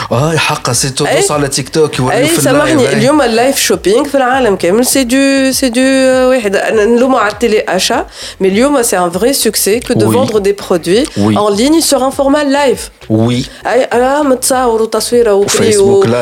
حقا سي توندونس على تيك توك يوريو في سامحني اليوم اللايف شوبينغ في العالم كامل سي دو واحد نلوموا على التيلي اشا مي اليوم سي ان فري سوكسي كو دو فوندر دي برودوي ان ليني سور ان فورمات لايف وي انا متصور وتصويره وبري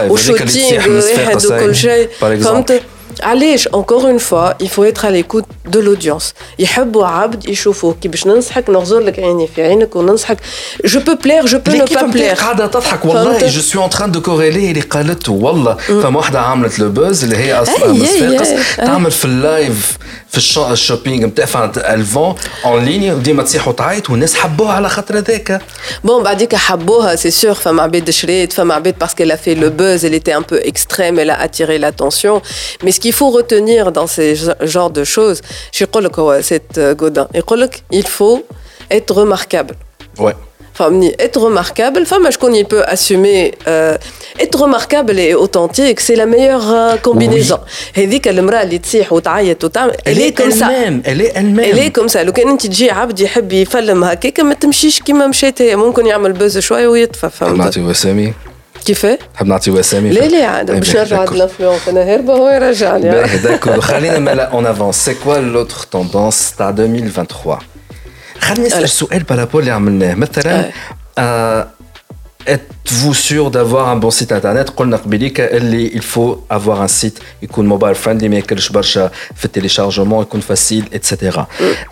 وشوتينغ واحد وكل شيء فهمت علاش encore une fois il faut être à l'écoute de l'audience يحبوا عبد يشوفوه كي باش ننصحك نغزر لك عيني في عينك وننصحك je peux plaire je peux ne pas plaire قاعده تضحك والله je suis en train de corréler اللي قالته والله فما واحده عملت لو بوز اللي هي اصلا تعمل في اللايف في الشوبينغ نتاع الفون اون ليني وديما تصيح وتعيط والناس حبوها على خاطر هذاك بون بعديك حبوها سي سور فما عباد شريت فما عباد باسكو elle a fait le buzz elle était un peu extrême elle a attiré l'attention mais ce qu'il faut retenir dans ces genres de choses je يقول لك هو سيت غودان يقول لك il faut être remarquable ouais فهمني être remarquable فما شكون il peut assumer être remarquable et authentique c'est la meilleure combinaison هذيك المرأة اللي تصيح وتعيط وتعمل elle est elle-même comme ça لو كان انت تجي عبد يحب يفلم هكاك ما تمشيش كيما مشيت هي ممكن يعمل بوز شويه ويطفى فهمت نعطي وسامي كيفاه تحب نعطي وسامي لا عاد باش نرجع للانفلونس انا هربه هو يرجعني داكور خلينا مالا اون افونس سي كوا لوتر توندونس تاع 2023 خلينا نسال سؤال بارابول اللي عملناه مثلا êtes-vous sûr d'avoir un bon site internet قلنا قبيليك اللي il faut avoir un site يكون موبايل فريندلي ما يكلش برشا في التيليشارجمون يكون فاسيل اتسيتيرا.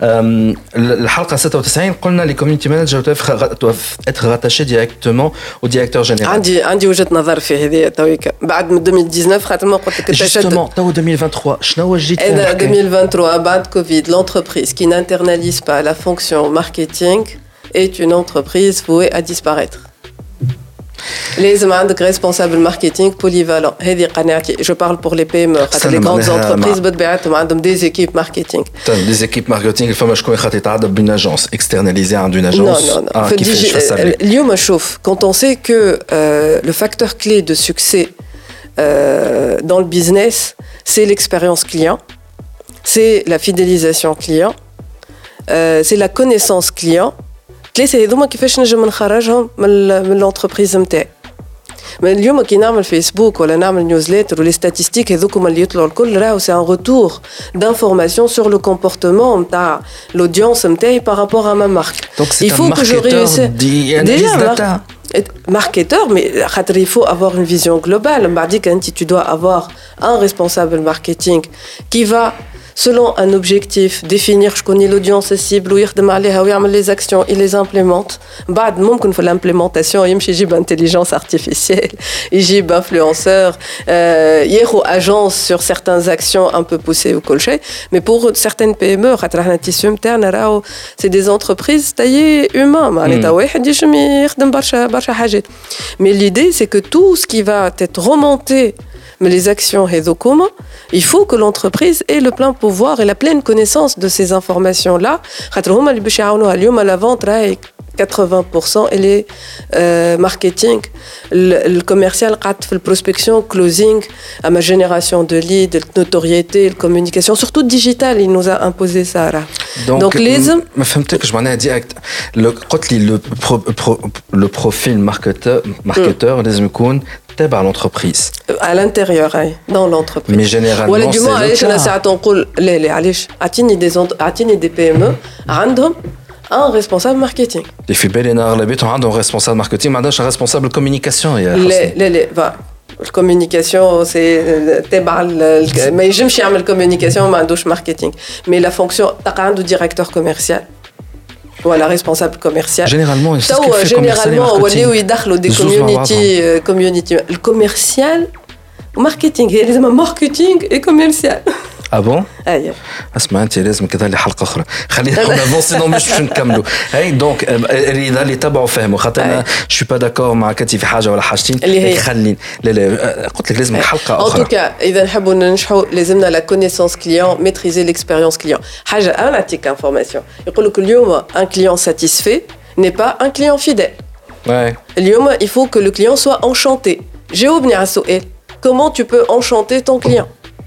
الحلقه 96 قلنا لي كوميونيتي مانجر doivent être rattachés directement au directeur général. عندي وجهه نظر في هذه تويك بعد من 2019 خاطر ما قلت لك justement تو 2023 شنو جيت 2023 بعد كوفيد l'entreprise qui n'internalise pas la fonction marketing est une entreprise vouée à disparaître. لازم عندك responsable marketing polyvalent. هذه قناعتي. Je parle pour les PME. خاطر les grandes entreprises بطبيعتهم عندهم des équipes marketing. Des équipes marketing, الفما شكون خاطر يتعدى d'une agence externalisée à une agence. Non. اليوم شوف, quand on sait que le facteur clé de succès dans le business, c'est l'expérience client, c'est la fidélisation client, c'est la connaissance client. C'est هذوما كيفاش نجم نخرجهم من l'entreprise نتاعي. من اليوم كي نعمل فيسبوك ولا نعمل نيوزليتر ولي ستاتستيك هذوكم اللي يطلعوا الكل راهو سي ان روتور d'information sur le comportement نتاع l'audience نتاعي par rapport à ma marque. Donc c'est un marketeur d'analyse data. Marketeur, mais il faut avoir une vision globale. Tu dois avoir un responsable marketing qui va, selon un objectif, définir je connais l'audience cible, les actions, il les implémente. Même pour l'implémentation, il y a intelligence artificielle, il y a influenceur, il y a agence sur certaines actions un peu poussées ou colchées. Mais pour certaines PME, c'est des entreprises taillées humaines. Mais l'idée, c'est que tout ce qui va être remonté, mais les actions Hedokoma, il faut que l'entreprise ait le plein pouvoir et la pleine connaissance de ces informations-là. À la vente, 80% et les marketing, le commercial, le prospection, closing, à ma génération de leads, de notoriété, de communication, surtout digital, il nous a imposé ça. Donc les ما فهمتك je m'en ai direct le profil marketeur لازم يكون تابع l'entreprise à l'intérieur dans l'entreprise. Mais généralement c'est علاش انا ساعات نقول لا علاش اعطيني دي PME عندهم un responsable marketing. اللي في بالي انا اغلبيتهم عندهم responsable marketing ما عندهاش responsable communication يا لا الكوميونيكاسيون سي تبع ما يجمش يعمل كوميونيكاسيون ما عندوش ماركتينغ مي لا فونكسيون تاع عنده ديريكتور كوميرسيال ولا ريسبونسابل كوميرسيال جينيرالمون ولاو يدخلوا دي كوميونيتي الكوميرسيال وماركتينغ هي لازم ماركتينغ اي كوميرسيال. اه بون اييه اسمع انت لازم كذا لي حلقه اخرى خلينا نافونسي نو مش باش نكملوا هاي دونك اذا اللي تبعوا فهموا خاطر انا شو با داكور مع كاتي في حاجه ولا حاجتين خليني لا قلت لك لازم حلقه اخرى. ان توكا اذا نحبوا ننجحوا لازمنا لا كونيسونس كليون ميتريزي ليكسبيريونس كليون. حاجه انا نعطيك انفورماسيون يقول لك اليوم ان كليون ساتيسفي ني با ان كليون فيديل. اليوم il faut que le client soit enchanté. جاوبني على السؤال comment tu peux enchanter ton client.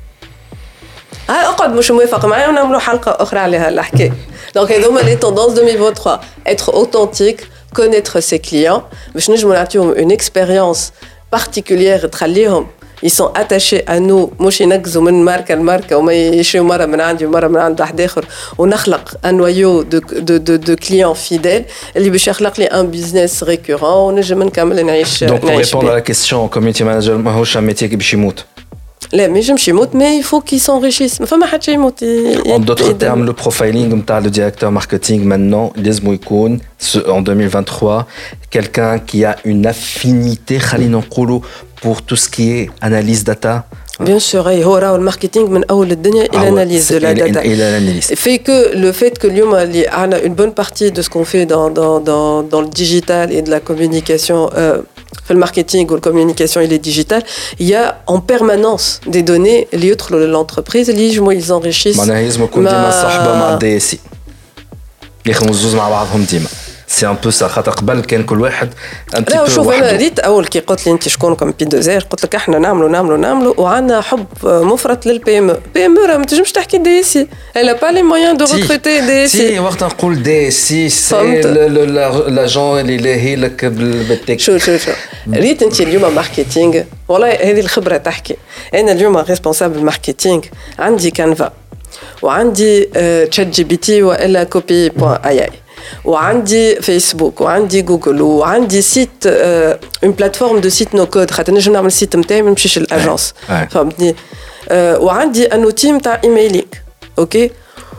اقعد مش موافق معايا ونعملوا حلقه اخرى على هالحكايه. دونك هذوما لي توندونس 2023 être authentique, connaître ses clients باش نجموا نعطيهم une expérience particulière تخليهم ils sont attachés à nous مش ينقزوا من ماركه لماركه وما يشريوا مره من عندي ومره من عند واحد اخر ونخلق un noyau de clients fidèles اللي باش يخلق لي un business récurrent ونجم نكمل نعيش. Donc pour répondre à la question community manager ماهوش un métier باش يموت. لا ما يجمش يموت mais il faut qu'il s'enrichisse. ما فما حد شي يموت. En d'autres termes, le profiling نتاع le directeur marketing maintenant لازم يكون en 2023 quelqu'un qui a une affinité خلينا نقولوا pour tout ce qui est analyse data. Bien sûr, هو راهو الماركتينغ من اول الدنيا الى analyse de la data. Fait que le fait que اليوم اللي عندنا une bonne partie de ce qu'on fait dans le digital et de la communication في الماركتينغ والكوميونيكاسيون il est digital, il y a en permanence des données اللي يدخلوا للانتربريز اللي يجموا يزنريشيس. معناها لازم يكون ديما صحبه مع الدي اس يخدموا زوز مع بعضهم ديما. سي ان بو سا خاطر قبل كان كل واحد ان تي بو. شوف انا ريت اول كي قلت لي انت شكونكم بي دوزير قلت لك احنا نعملوا وعندنا حب مفرط للبي ام راه ما تنجمش تحكي دي اس سي الا با لي مويان دو ريكروتي دي اس سي. وقت نقول دي اس سي سي لاجون اللي لاهي لك بالتك. شوف ريت انت اليوم ماركتينغ والله هذه الخبره تحكي. انا اليوم ريسبونسابل ماركتينغ عندي كانفا وعندي تشات جي بي تي والا كوبي بوان اي وعندي فيسبوك وعندي جوجل وعندي سيت اون بلاتفورم دو سيت نو كود خاطر نجم نعمل سيت نتاعي ما نمشيش للاجونس فهمتني. وعندي ان اوتي نتاع ايميلينغ اوكي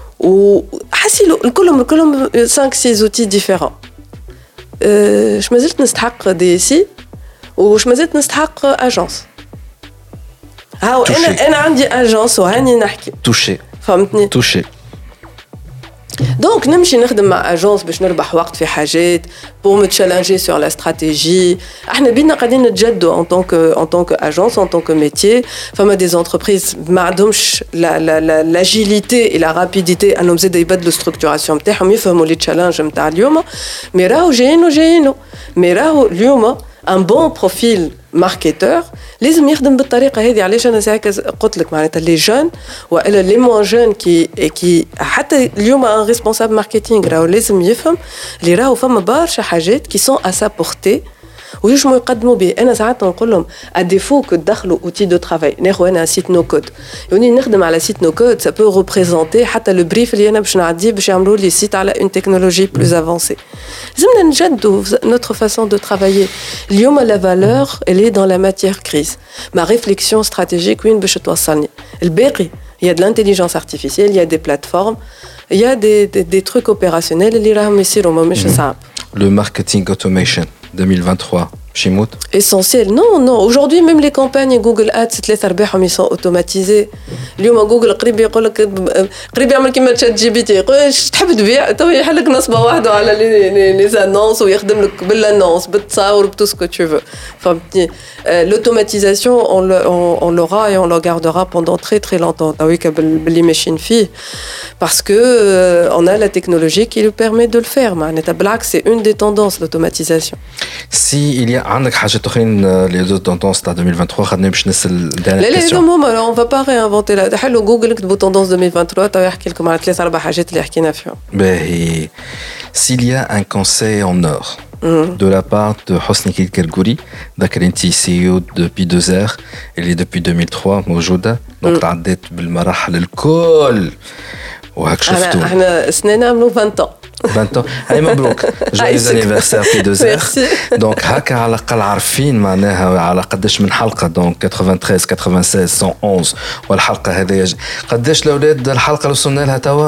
وحسي كلهم 5 6 اوتي ديفيرون. اش مازلت نستحق دي سي وش مازلت نستحق اجونس. هاو انا عندي اجونس وهاني نحكي توشي فهمتني توشي دونك نمشي نخدم مع اجونس باش نربح وقت في حاجات pour me challenger sur la stratégie. احنا بينا قاعدين نتجدوا en tant que agence, en tant que métier. فما des entreprises ما عندهمش l'agilité et la rapidité انهم زاد يبدلوا structuration نتاعهم يفهموا لي تشالنج نتاع اليوم. مي راهو جايينو مي راهو اليوم un bon profil marketeur لازم يخدم بالطريقه هذه. علاش انا ساعه قلت لك معناتها لي جون والا لي مون جون كي حتى اليوم ان ريسبونسابل ماركتينغ راهو لازم يفهم اللي راهو فما برشا حاجات كي سون ا سا بورتي ويجموا يقدموا به. انا ساعات نقول لهم اديفو كو تدخلوا اوتي دو ترافاي ناخذ انا سيت نو كود يعني نخدم على سيت نو كود سا بو ريبريزونتي حتى لو بريف اللي انا باش نعديه باش يعملوا لي سيت على اون تكنولوجي بلوز افونسي. لازمنا نجدوا notre façon de travailler. اليوم la valeur elle est dans la matière grise. Ma réflexion stratégique وين باش توصلني. الباقي il y a de l'intelligence artificielle, il y a des plateformes, il y a des trucs opérationnels اللي راهم يصيروا مش صعب. Le marketing automation 2023 Chimout. Essentiel. Non. Aujourd'hui, même les campagnes Google Ads, ils sont automatisés. اليوم جوجل قريب يقول لك قريب يعمل كيما تشات جي بي تي يقول اش تحب تبيع تو يحل لك نصبه واحده على لي زانونس ويخدم لك بالانونس بالتصاور بتو سكو تو فو. فهمتني l'automatisation on l'aura et on le gardera pendant très longtemps. Ah oui que باللي ماشيين فيه parce que on a la technologie qui nous permet de le faire. معناتها بالعكس c'est une des tendances l'automatisation. Si il y a عندك حاجات اخرين les autres tendances تاع 2023 خدنا باش نسال dernière question. لا on va pas réinventer la حلو جوجل كتبوا tendance 2023 تو يحكي لكم على 3-4 حاجات اللي حكينا فيهم. باهي s'il y a un conseil en or de la part de Hosni Kilkelgouri ذاكر انت CEO depuis 2 heures اللي depuis 2003 موجوده دونك تعديت بالمراحل الكل وهاك شفتوا احنا سنين عملوا 20 ans 20 ans. Allez, مبروك. Joyeux anniversaire في 2 heures. Donc هكا على الأقل عارفين معناها على قداش من حلقة دونك 93 96 111 والحلقة هذه قداش الأولاد الحلقة اللي وصلنا لها توا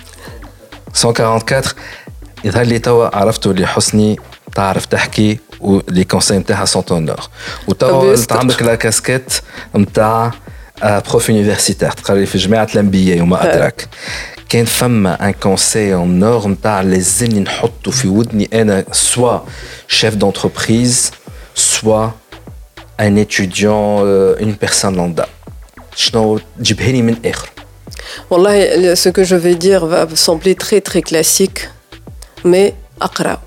144 يظهر لي توا عرفتوا اللي حسني تعرف تحكي ولي كونساي نتاعها سونتونور وتوا عندك لا كاسكيت نتاع بروف يونيفرسيتير تقري في جامعة الأنبياء وما أدراك. كان فما ان كونساي ان نور نتاع لازمني نحطه في ودني انا سوا شيف دونتربريز سوا ان étudiant une personne lambda شنو تجيبها لي من اخر. والله ce que je vais dire va sembler très classique mais اقرأ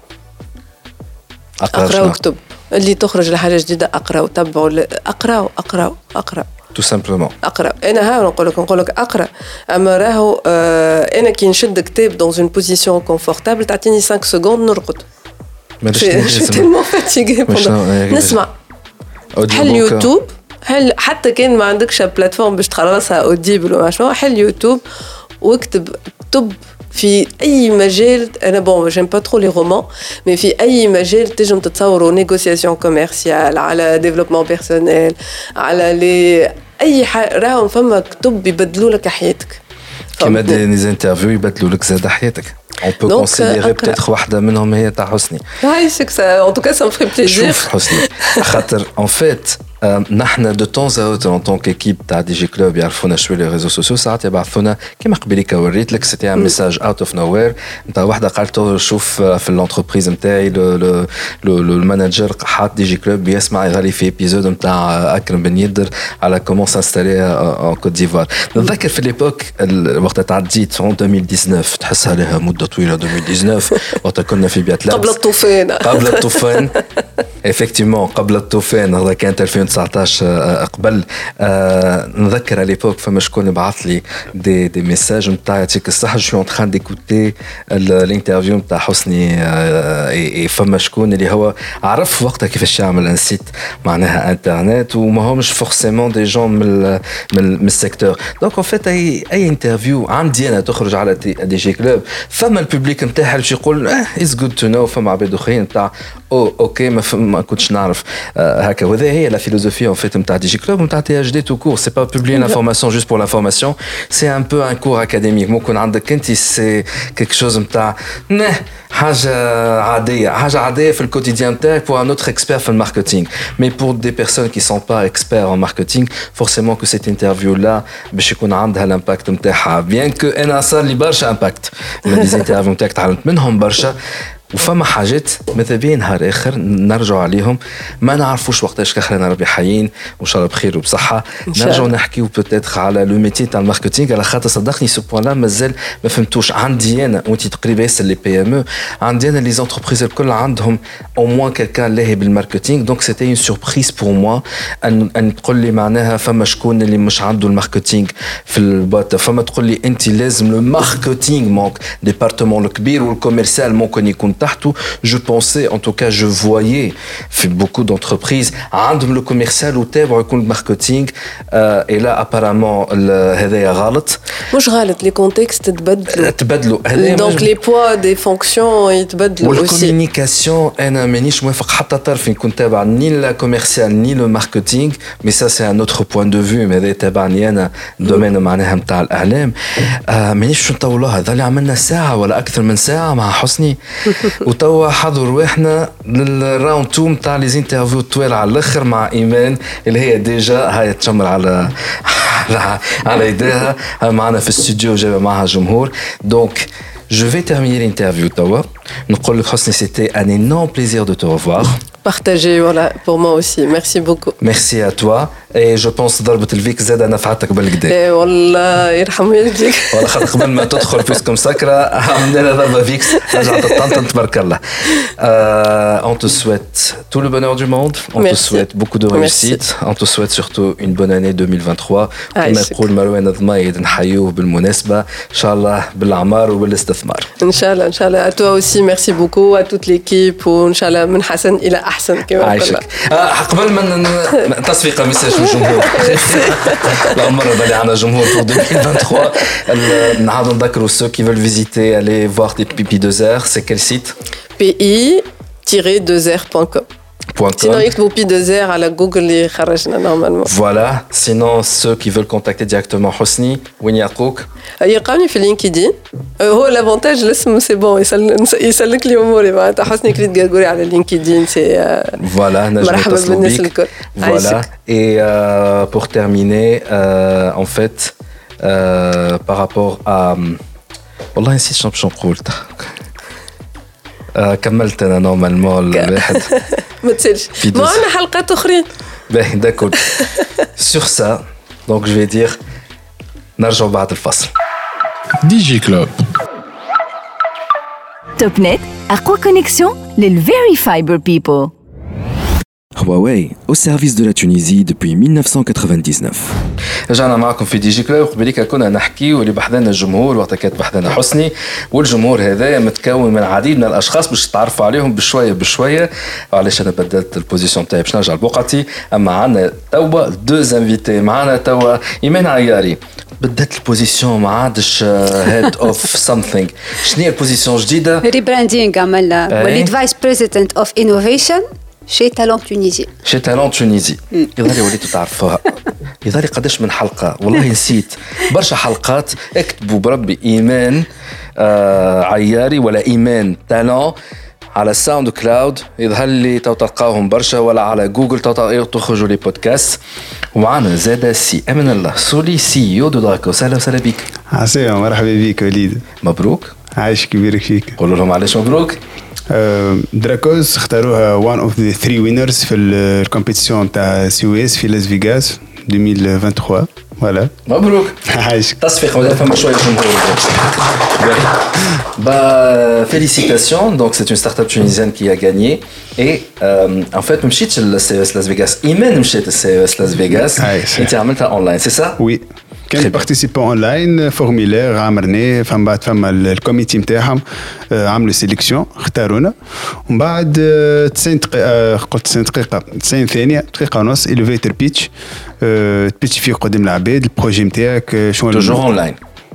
وكتب اللي تخرج لحاجة جديدة اقرأ وتبعوا اقرأ tout simplement. اقرا انا ها نقول لك اقرا اما راهو انا كي نشد كتاب dans une position confortable تعطيني 5 سكوند نرقد. je suis tellement fatiguée نسمع حل يوتيوب حتى كان ما عندكش بلاتفورم باش تخلصها اوديبل ولا شنو حل يوتيوب واكتب في اي مجال. انا بون جيم با ترو لي رومان مي في اي مجال تنجم تتصوروا نيغوسياسيون كوميرسيال على ديفلوبمون بيرسونيل على لي اي راهم فما كتب يبدلوا لك حياتك كيما دي انترفيو يبدلوا لك زاد حياتك. On peut considérer peut-être واحدة منهم هي تاع حسني. عايشك en tout cas ça me ferait plaisir. شوف حسني خاطر en fait نحن de temps à autre en tant qu'équipe تاع دي جي كلوب يعرفونا شويه لي ريزو سوسيو ساعات يبعثونا كيما قبيليك وريت لك سيتي ان ميساج اوت اوف نو وير نتاع واحده قالت شوف في الانتربريز نتاعي لو المانجر حاط دي جي كلوب يسمع يغالي في ايبيزود نتاع اكرم بن يدر على كومون سانستالي ان كوت ديفوار. نتذكر في ليبوك وقت تعديت 2019 تحسها لها مده طويله 2019 وقت كنا في بيات لابس قبل الطوفان effectivement قبل الطوفان هذا كانت 2019 قبل نذكر ليبوك فما شكون يبعث لي دي ميساج نتاع يعطيك الصحه جو ان تران ديكوتي الانترفيو نتاع حسني فما شكون اللي هو عرف وقتها كيفاش يعمل ان سيت معناها انترنت وما همش فورسيمون دي جون من السيكتور. دونك ان فيت اي انترفيو عندي انا تخرج على دي جي كلوب فما الببليك نتاعها باش يقول از جود تو نو فما عباد اخرين نتاع اوكي ما ما كنتش نعرف هكا. وهذا هي لا فيلوزوفي ان فيت نتاع دي جي كلوب نتاع تي اتش دي تو كور. سي با بوبليي l'information juste pour l'information, c'est un peu un cours académique. ممكن عندك انت سي quelque chose نتاع حاجه عاديه في الكوتيديان نتاعك pour un autre expert في الماركتينغ. Mais pour des personnes qui sont pas experts en marketing, forcément que cette interview là باش يكون عندها l'impact نتاعها. bien que انا صار لي برشا امباكت من دي انترفيو نتاعك تعلمت منهم برشا. وفما حاجات ماذا بيا نهار اخر نرجعوا عليهم ما نعرفوش وقتاش كاخرنا ربي حيين وان شاء الله بخير وبصحه نرجعوا نحكيو بوتيتر على لو ميتي تاع الماركتينغ. على خاطر صدقني سو بوان لا مازال ما فهمتوش. عندي انا وانت تقريبا ياسر لي بي ام او عندي انا لي زونتربريز الكل عندهم او موان كالكان لاهي بالماركتينغ. دونك سيتي اون سوربريز بور موا ان تقول لي معناها فما شكون اللي مش عنده الماركتينغ في البوت. فما تقول لي انت لازم لو ماركتينغ مونك ديبارتمون الكبير والكوميرسيال ممكن يكون تحته. Je pensais, en tout cas, je voyais beaucoup d'entreprises عندهم le commercial وتابعوا يكون الماركتينغ. et là apparemment هذايا غلط. مش غلط, les contextes تبدلوا. donc les poids des fonctions يتبدلوا aussi. والكوميونيكاسيون انا مانيش موافق حتى طرف يكون تابع ني لا كوميرسيال ني لو ماركتينغ. mais ça c'est un autre point de vue. هذا تابعني انا دومين معناها نتاع الاعلام. مانيش باش نطولوها. هذا اللي عملنا ساعه ولا اكثر من ساعه مع حسني. وتوا حضر رواحنا للراوند 2 نتاع لي انترفيو طويل على الاخر مع ايمان اللي هي ديجا هاي تشمر على يديها معنا في الاستوديو جايبه معها جمهور. دونك je vais terminer l'interview توا. نقول لك حسني c'était un énorme plaisir de te revoir. Partagé, voilà, pour moi aussi. Merci beaucoup. Merci à toi. Et je pense ضربة الفيك زادة نفعتك بالكدا. إيه والله يرحم والديك. والله خاطر قبل ما تدخل فيسكم سكرة عملنا لها ضربة فيكس رجعت الطنطن تبارك الله. On te souhaite tout le bonheur du monde. On te souhaite beaucoup de réussite. On te souhaite surtout une bonne année 2023. كما يقول مروان الضمايد نحيوه بالمناسبة. إن شاء الله بالأعمار وبالاستثمار. إن شاء الله إن شاء الله. À toi aussi merci beaucoup à toute l'équipe وإن شاء الله من حسن إلى أحسن كما عايشك. قبل ما تصفيق ميساج للجمهور. لا مرة بالي عنا جمهور pour 2023. نعاود نذكروا ceux qui veulent visiter aller voir des Pi2R. C'est quel site? pi-2r.com. Sinon يكتبوا Pi2R على جوجل اللي خرجنا نورمالمون. Voilà. Sinon ceux qui veulent contacter directement حسني وين يلقوك؟ يلقاوني في لينكدين. هو لافونتاج الاسم سي بون يسلك لي اموري معناتها حسني كريت غرغوري على لينكدين سي فوالا مرحبا بالناس الكل. Voilà. Et pour terminer en fait par rapport à والله نسيت شنو باش نقول. كملت انا نورمالمون الواحد ما تسالش ما عندنا حلقات اخرين. باهي داكور. Sur ça donc je vais dire نرجعوا بعد الفصل. دي جي كلوب توب نت أقوى كونيكسيون للفيري فايبر بيبل. Huawei, au service de la Tunisie depuis 1999. رجعنا معكم في دي جي كلوب. قبليك كنا نحكي واللي بحذنا الجمهور وقت كانت بحذنا حسني. والجمهور هذا متكون من العديد من الاشخاص باش تعرفوا عليهم بشويه. علاش انا بدلت البوزيشن تاعي باش نرجع لبقعتي. اما عندنا توا دو انفيتي. معنا توا ايمان عياري. بدلت البوزيشن ما عادش هيد اوف سامثينغ. شنو هي البوزيشن جديده؟ ريبراندينغ عملنا. وليت فايس بريزيدنت اوف انوفيشن chez Talent Tunisie. Chez Talent Tunisie. يظهر وليتوا تعرفوها. يظهر قداش من حلقة والله نسيت برشا حلقات. اكتبوا بربي إيمان عياري ولا إيمان تالون على ساوند كلاود يظهر لي تلقاوهم برشا ولا على جوجل تخرجوا لي بودكاست. ومعنا زاد سي أمن الله سولي سي او دو دراكو. سهلا وسهلا بك. عساك مرحبا بك وليد. مبروك. عايش كبيرك فيك. قولوا لهم علاش مبروك. دراكوز اختاروها one of the 3 winners في الكومبيتيشن تاع سي في لاس فيغاس 2023. فوالا مبروك. عايشك. تصفيق مازال فما شويه جمهور. Félicitations. Donc c'est une start-up tunisienne qui a gagné. Et en fait مشيتش للCES Las Vegas. إيمان مشيت للCES Las Vegas. أنت عملتها online, c'est ça? Oui. كان بارتيسيبون اونلاين فورميلير عمرناه. فما الكوميتي نتاعهم عملوا سيليكسيون اختارونا. ومن بعد 90 دقيقه قلت 90 دقيقه 90 ثانيه دقيقه ونص اليفيتر بيتش. تبيتش فيه قدام العباد البروجي نتاعك شنو توجور اونلاين.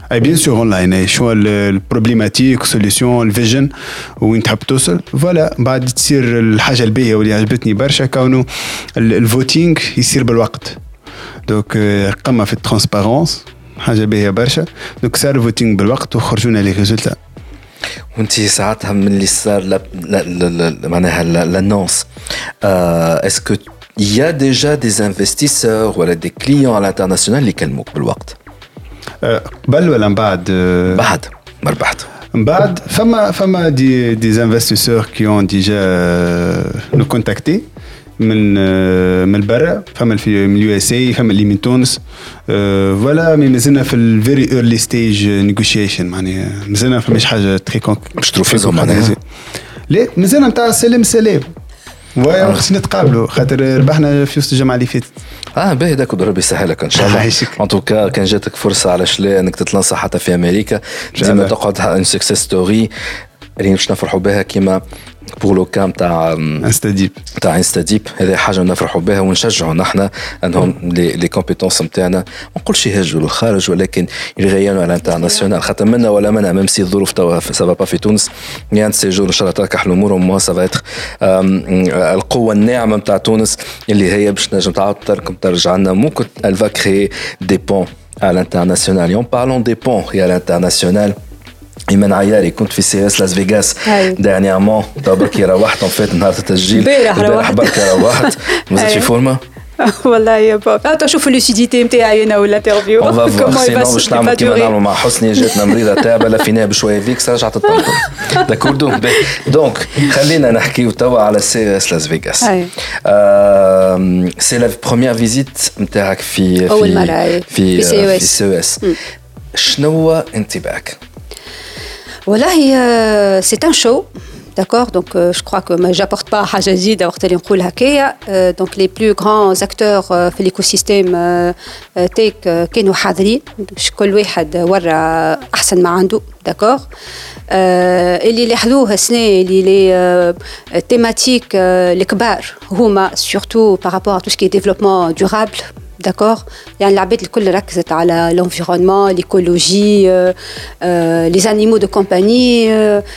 اي بيان سور اونلاين شو البروبليماتيك سوليسيون الفيجن وين تحب توصل فوالا بعد تصير الحاجه الباهيه واللي عجبتني برشا كونه الفوتينغ يصير بالوقت دوك قمه في الترانسبارونس حاجه باهيه برشا دوك صار الفوتينغ بالوقت وخرجونا لي ريزولتا. وانت ساعتها من اللي صار معناها لانونس اسكو يا ديجا دي انفستيسور ولا دي كليون على الانترناسيونال اللي كلموك بالوقت قبل ولا من بعد؟ بعد ما ربحت من بعد فما دي انفستيسور كي اون ديجا نو كونتاكتي من برا فما من اليو اس اي فما اللي من تونس فوالا مي مازلنا في الفيري ايرلي ستيج نيغوشيشن معناها مازلنا فماش حاجه تري باش تروفيزهم معناها لا مازلنا نتاع سلام ويا خصنا نتقابلوا خاطر ربحنا في وسط الجمعه اللي فاتت. باهي داك وربي يسهلك ان شاء الله. ان توكا كان جاتك فرصه علاش لا انك تتلنصح حتى في امريكا ديما تقعد ان سكسيس ستوري اللي باش نفرحوا بها كيما بور لو كام تاع انستاديب هذه حاجه نفرحوا بها ونشجعوا نحن انهم لي كومبيتونس نتاعنا ما نقولش يهجوا للخارج ولكن يغيروا على الانترناسيونال خاطر منا ولا منا ميم سي الظروف توا سافا با في تونس يعني سيجور ان شاء الله تركح الامور وما سافا اتر القوه الناعمه نتاع تونس اللي هي باش تنجم تعاود ترجع لنا ممكن الفا كري دي بون على الانترناسيونال يوم بارلون دي بون يا الانترناسيونال إيمان عياري كنت في سي اس لاس فيغاس دانيامون بركي روحت ان فيت نهار التسجيل البارح بركي روحت مازلت في فورما والله يا بابا تشوفوا لوسيديتي نتاعي انا ولا انترفيو كومون باش نعمل كيما نعملوا مع حسني جاتنا مريضه تعبه لفيناها بشويه فيكس رجعت تطنطن داكوردو دونك خلينا نحكيو توا على سي اس لاس فيغاس سي لا بروميير فيزيت نتاعك في اول مره في سي اس شنو انطباعك؟ والله c'est un show d'accord donc je crois que j'apporte pas حاجه جديده وقت اللي نقول هكايا donc les plus grands acteurs في l'écosystème تيك كانوا حاضرين كل واحد ورا احسن ما عنده d'accord اللي لاحظوه السنه اللي لي تيماتيك الكبار هما surtout par rapport à tout ce qui est développement durable d'accord يعني العباد الكل ركزت على l'environnement l'écologie les animaux de compagnie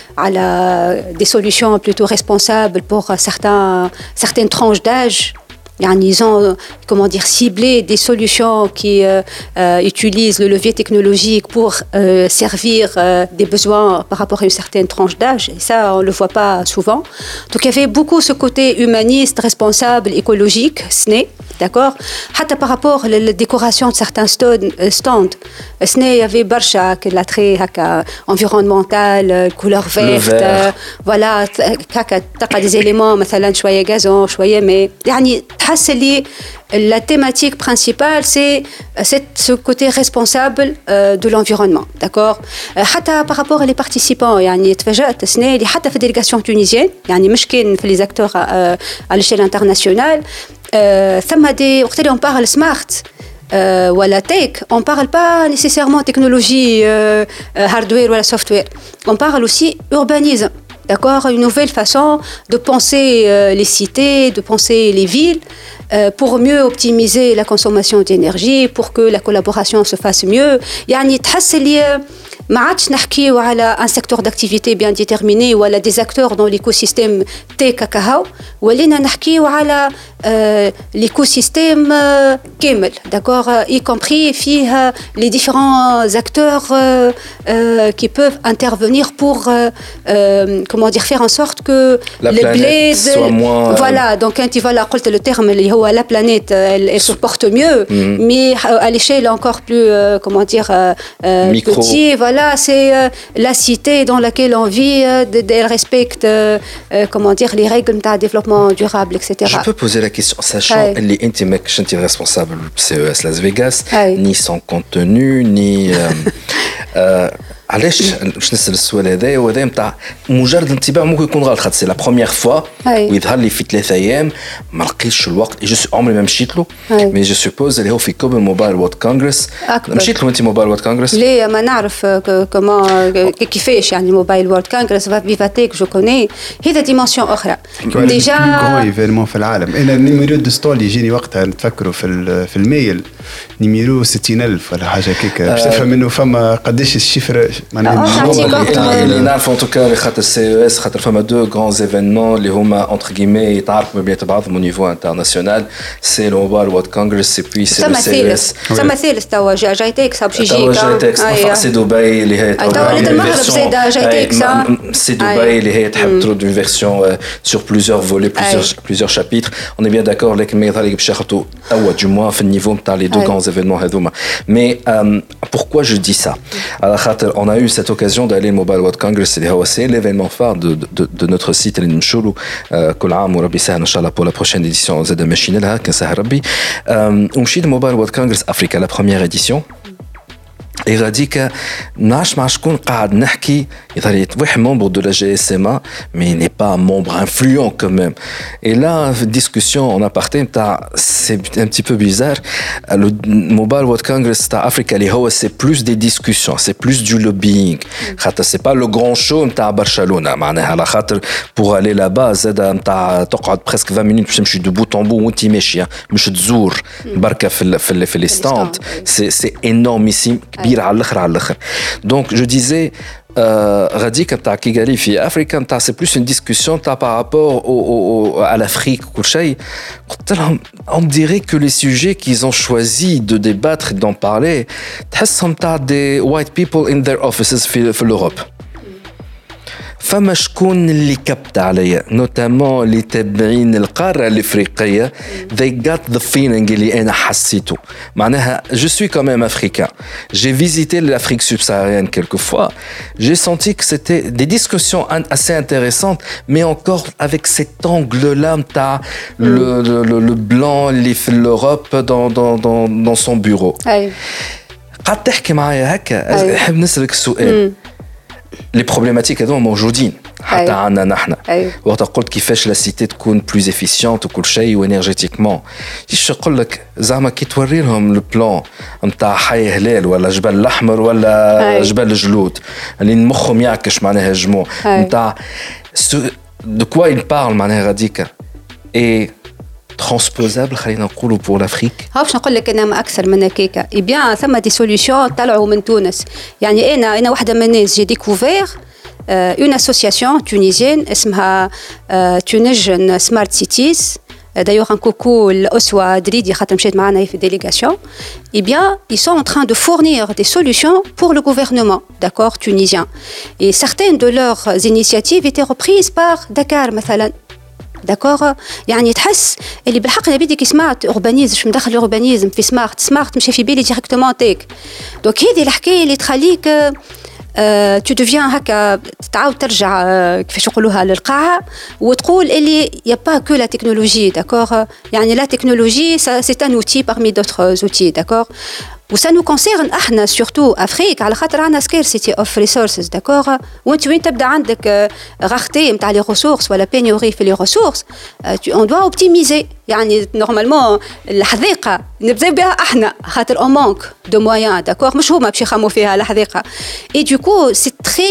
على des solutions plutôt responsables pour certaines tranches d'âge يعني ils ont comment dire ciblé des solutions qui utilisent le levier technologique pour servir des besoins par rapport à une certaine tranche d'âge et ça on le voit pas souvent donc il y avait beaucoup ce côté humaniste responsable écologique SNE d'accord حتى par rapport à la décoration de certains stands SNE il y avait برشا l'attrait هكا environnemental couleur verte voilà هكا تلقى des éléments مثلا شويه gazon شويه mais يعني تحس لي la thématique principale c'est ce côté responsable de l'environnement d'accord حتى par rapport à les participants يعني تفاجأت السنة اللي حتى في الدélégation tunisienne يعني مش كان في les acteurs à l'échelle internationale ثم دي وقت اللي on parle smart ولا tech on parle pas nécessairement technologie hardware ولا software on parle aussi urbanisme d'accord une nouvelle façon de penser les cités de penser les villes pour mieux optimiser la consommation d'énergie pour que la collaboration se fasse mieux يعني تحس لي ما عادش نحكيو على un secteur d'activité bien déterminé ولا des acteurs dans l'écosystème تيك كهو ولينا نحكيو على l'écosystème كامل d'accord y compris فيه les différents acteurs qui peuvent intervenir pour comment dire faire en sorte que les bleds soient moins voilà donc quand tu voilà قلت le terme اللي هو la planète elle se porte mieux mais à l'échelle encore plus comment dire petit voilà c'est la cité dans laquelle on vit elle respecte comment dire les règles de développement durable etc. Je peux poser la question sachant اللي انت ماكش انت responsable CES Las Vegas ni son contenu ni علاش باش نسال السؤال هذايا وهذا نتاع مجرد انطباع ممكن يكون غلط خاطر سي لا بروميير فوا ويظهر لي في 3 ايام ما لقيتش الوقت جو عمري ما مشيت له مي جو سوبوز اللي هو في كوب موبايل وورد كونغرس مشيت له انت موبايل وورد كونغرس ليه ما نعرف كمان كيفاش يعني موبايل وورد كونغرس فيفاتيك جو كوني هذا ديمونسيون اخرى ديجا ايفينمون في العالم انا النيميرو دو ستول يجيني وقتها نتفكروا في الميل نيميرو 60000 ولا حاجه كيك باش تفهم انه فما قداش الشفره اللي نعرف ان توكا خاطر سي اس خاطر فما دو غران ايفينمون اللي هما انتر غيمي يتعرفوا بين بعضهم او نيفو انترناسيونال سي لو موبايل وورد كونغرس سي بي سي ثالث توا جايتكس باش يجيك جايتكس سي دبي اللي هي توا المغرب زاد جايتكس سي دبي اللي هي تحب ترد اون فيرسيون sur plusieurs volets plusieurs chapitres on est bien d'accord لكن ما يظهر لك باش ياخذوا توا du moins في النيفو نتاع لي دو grands événements هذوما mais pourquoi je dis ça على خاطر on a eu cette occasion d'aller au Mobile World Congress اللي هو c'est l'événement phare de notre site اللي نمشوا له كل عام وربي يسهل ان شاء الله pour la prochaine édition زاد ماشيين لها كان سهل ربي ومشيت Mobile World Congress Africa la première édition et غاديك نعرفش مع شكون قاعد نحكي يظهر واحد membre de la GSMA mais il n'est pas un membre influent quand même et là discussion en aparté c'est un petit peu bizarre le Mobile World Congress تاع Africa اللي هو c'est plus des discussions c'est plus du lobbying خاطر c'est pas le grand show نتاع برشلونة معناها على خاطر pour aller là-bas زاد نتاع تقعد presque 20 minutes باش تمشي دو بوت ان بو وانت ماشيه مش تزور بركه في لي ستاند c'est énormissime كبير على الاخر donc je disais غاديك نتاع كيغالي في افريكا نتاع سي بلوس اون ديسكوسيون تاع بارابور à l'Afrique كل شيء قلت لهم on dirait que les sujets qu'ils ont choisi de débattre et d'en parler تحسهم تاع des white people in their offices في الأوروب فما شكون اللي كبت عليا نوتامون اللي تابعين القارة الإفريقية they got the feeling اللي أنا حسيته معناها je suis quand même africain j'ai visité l'Afrique subsaharienne quelques fois j'ai senti que c'était des discussions assez intéressantes mais encore avec cet angle-là تاع le blanc اللي في l'Europe dans son bureau قاعد تحكي معايا هكا نحب نسألك السؤال les problématiques هذوما موجودين حتى عندنا نحن وقت قلت كيفاش لا سيتي تكون بلوز افيسيونت وكل شيء وانرجيتيكمون ايش نقول لك زعما كي توري لهم لو بلان نتاع حي هلال ولا جبل الاحمر ولا جبل الجلود اللي مخهم يعكش معناها الجموع نتاع دو كوا il parle معناها غاديكا اي transposable خلينا نقولوا pour l'Afrique باش نقول لك انا ما اكثر من هكاك اي بيان ثم دي سوليوشن طلعوا من تونس يعني انا واحده من الناس جي ديكوفير اون اسوسياسيون تونيزيان اسمها تونيجن سمارت سيتيز d'ailleurs un coucou l'Oswa Dridi خاطر مشيت معنا في délégation eh bien ils sont en train de fournir des solutions pour le gouvernement d'accord tunisien et certaines de leurs initiatives étaient reprises par Dakar مثلا داكور يعني تحس اللي بالحق انا بديك سمارت اوربانيزم مش مدخل الاوربانيزم في سمارت مش في بالي ديريكتومون تيك دونك هذه الحكايه اللي تخليك تو ديفيان هكا تعاود ترجع كيفاش نقولوها للقاعه وتقول اللي يا با كو لا تكنولوجي داكور يعني لا تكنولوجي سي ان اوتي parmi d'autres outils داكور وسا نو كونسيرن احنا سورتو افريك على خاطر عندنا سكيرسيتي اوف ريسورسز داكور وانت وين تبدا عندك غارتي نتاع لي ريسورس ولا بينيوري في لي ريسورس اون دوا اوبتيميزي يعني نورمالمون الحذيقه نبداو بها احنا خاطر اون مانك دو مويان داكور مش هما باش يخموا فيها الحذيقه اي دوكو سي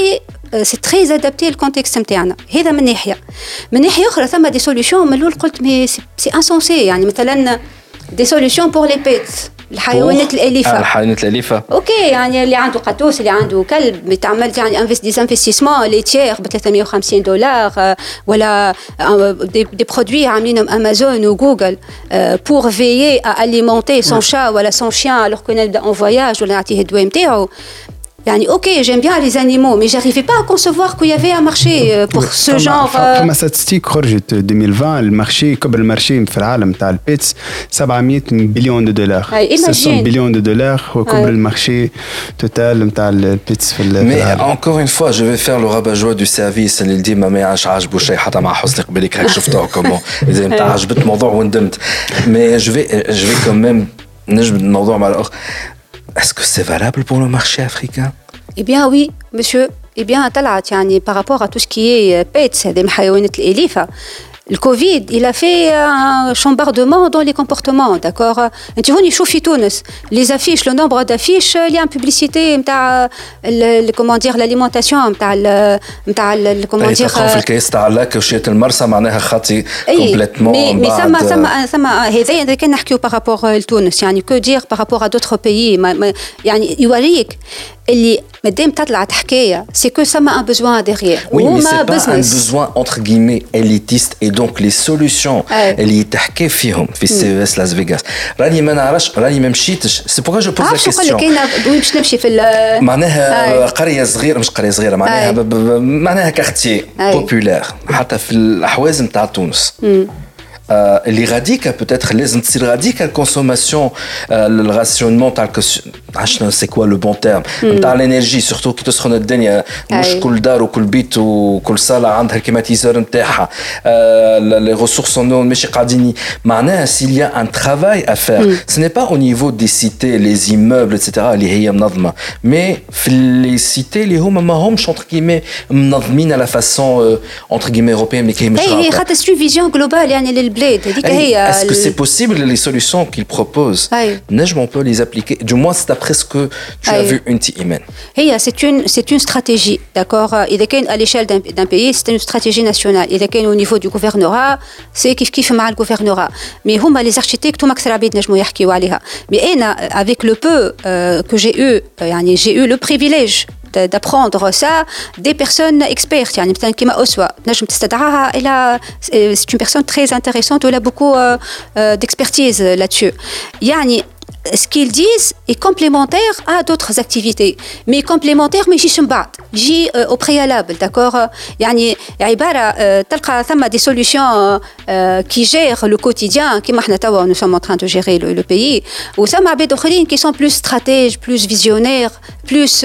تري ادابتي الكونتكست نتاعنا هذا من ناحيه اخرى ثم دي سوليوشن من الاول قلت مي سي انسونسي يعني مثلا دي سوليوشن بور لي بيت الحيوانات الأليفة الحيوانات الأليفة أوكي يعني اللي عنده قطوس اللي عنده كلب بتعمل يعني ديزانفستيسمون ليتير ب $350 ولا دي برودوي عاملينهم أمازون وجوجل بور فيي à alimenter son chat ولا son chien alors qu'on est en voyage ولا نعطيه الدواء نتاعو يعني ok j'aime bien les animaux mais j'arrivais pas à concevoir qu'il y avait un marché pour ce genre فما ستاتستيك خرجت 2020 المارشي قبل المارشي في العالم تاع البيتس $700 بليون $700 بليون هو قبل المارشي توتال نتاع البيتس في العالم. Mais encore une fois je vais faire le rabat-joie du service اللي ديما ما عاجبو شيء حتى مع حسني قبلك هيك شفتوه كومون اذا انت عجبت الموضوع وندمت mais je vais quand même نجبد الموضوع مع الاخ. Est-ce que c'est valable pour le marché africain? Eh bien oui, monsieur. Eh bien, طلعت يعني par rapport à tout ce qui est pets, هذه الحيوانات الأليفة. Le Covid, il a fait un chambardement dans les comportements, d'accord. انت هوني شوفي تونس les affiches, le nombre d'affiches اللي عم publicité نتاع comment dire l'alimentation نتاع comment dire في الكيس تاع لاك وشية المرسى معناها خاطي كومبليتمون مي ثم هذا إذا كان نحكيو par rapport لتونس يعني que dire par rapport à d'autres pays يعني يوريك اللي مادام تطلع حكايه سي كو سما ان بوزوان ديغيير وما بزنس ان بوزوان انتر غيمي اليتيست اي دونك لي سوليوشن اللي تحكي فيهم في السي اس لاس فيغاس راني ما نعرفش راني ما مشيتش سي بوغا جو بوز لا كيسيون كاين وين باش نمشي في معناها قريه صغيره مش قريه صغيره معناها كارتيي بوبولير حتى في الاحواز نتاع تونس اللي غاديكا peut-être لازم تصير غاديكا الكونسوماسيون الراسيونمون تاع عشنا سي كوا لو بون تيرم نتاع الانرجي سورتو كي تسخن الدنيا مش كل دار وكل بيت وكل صاله عندها الكليماتيزور نتاعها لي ريسورس نو ماشي قاعدين معناها s'il y a un travail à faire ce n'est pas au niveau des cités les immeubles etc اللي هي منظمه mais في لي سيتي اللي هما ما همش entre guillemets منظمين على فاسون entre guillemets européenne mais كي مش هي خاطر سوفيزيون جلوبال يعني Est-ce que c'est possible les solutions qu'ils proposent? On peut les appliquer. Du moins, c'est d'après ce que tu as vu une Imen. C'est une stratégie, d'accord. Il y a à l'échelle d'un pays, c'est une stratégie nationale. Il y a au niveau du gouvernorat, c'est qui fait mal le gouvernorat. Mais les architectes, tout max rabid nejmou yahkiou عليها. Mais avec le peu que j'ai eu le privilège d'apprendre ça des personnes expertes يعني مثلا كيما أسوة نجم تستدعاها c'est une personne très intéressante où elle a beaucoup d'expertise là-dessus يعني ce qu'ils disent est complémentaire à d'autres activités mais complémentaire mais يجيش من بعد يجي au préalable d'accord يعني عبارة تلقى ثم des solutions qui gèrent le quotidien كما احنا توا nous sommes en train de gérer le pays وثم عباد أخرين qui sont plus stratèges plus visionnaires plus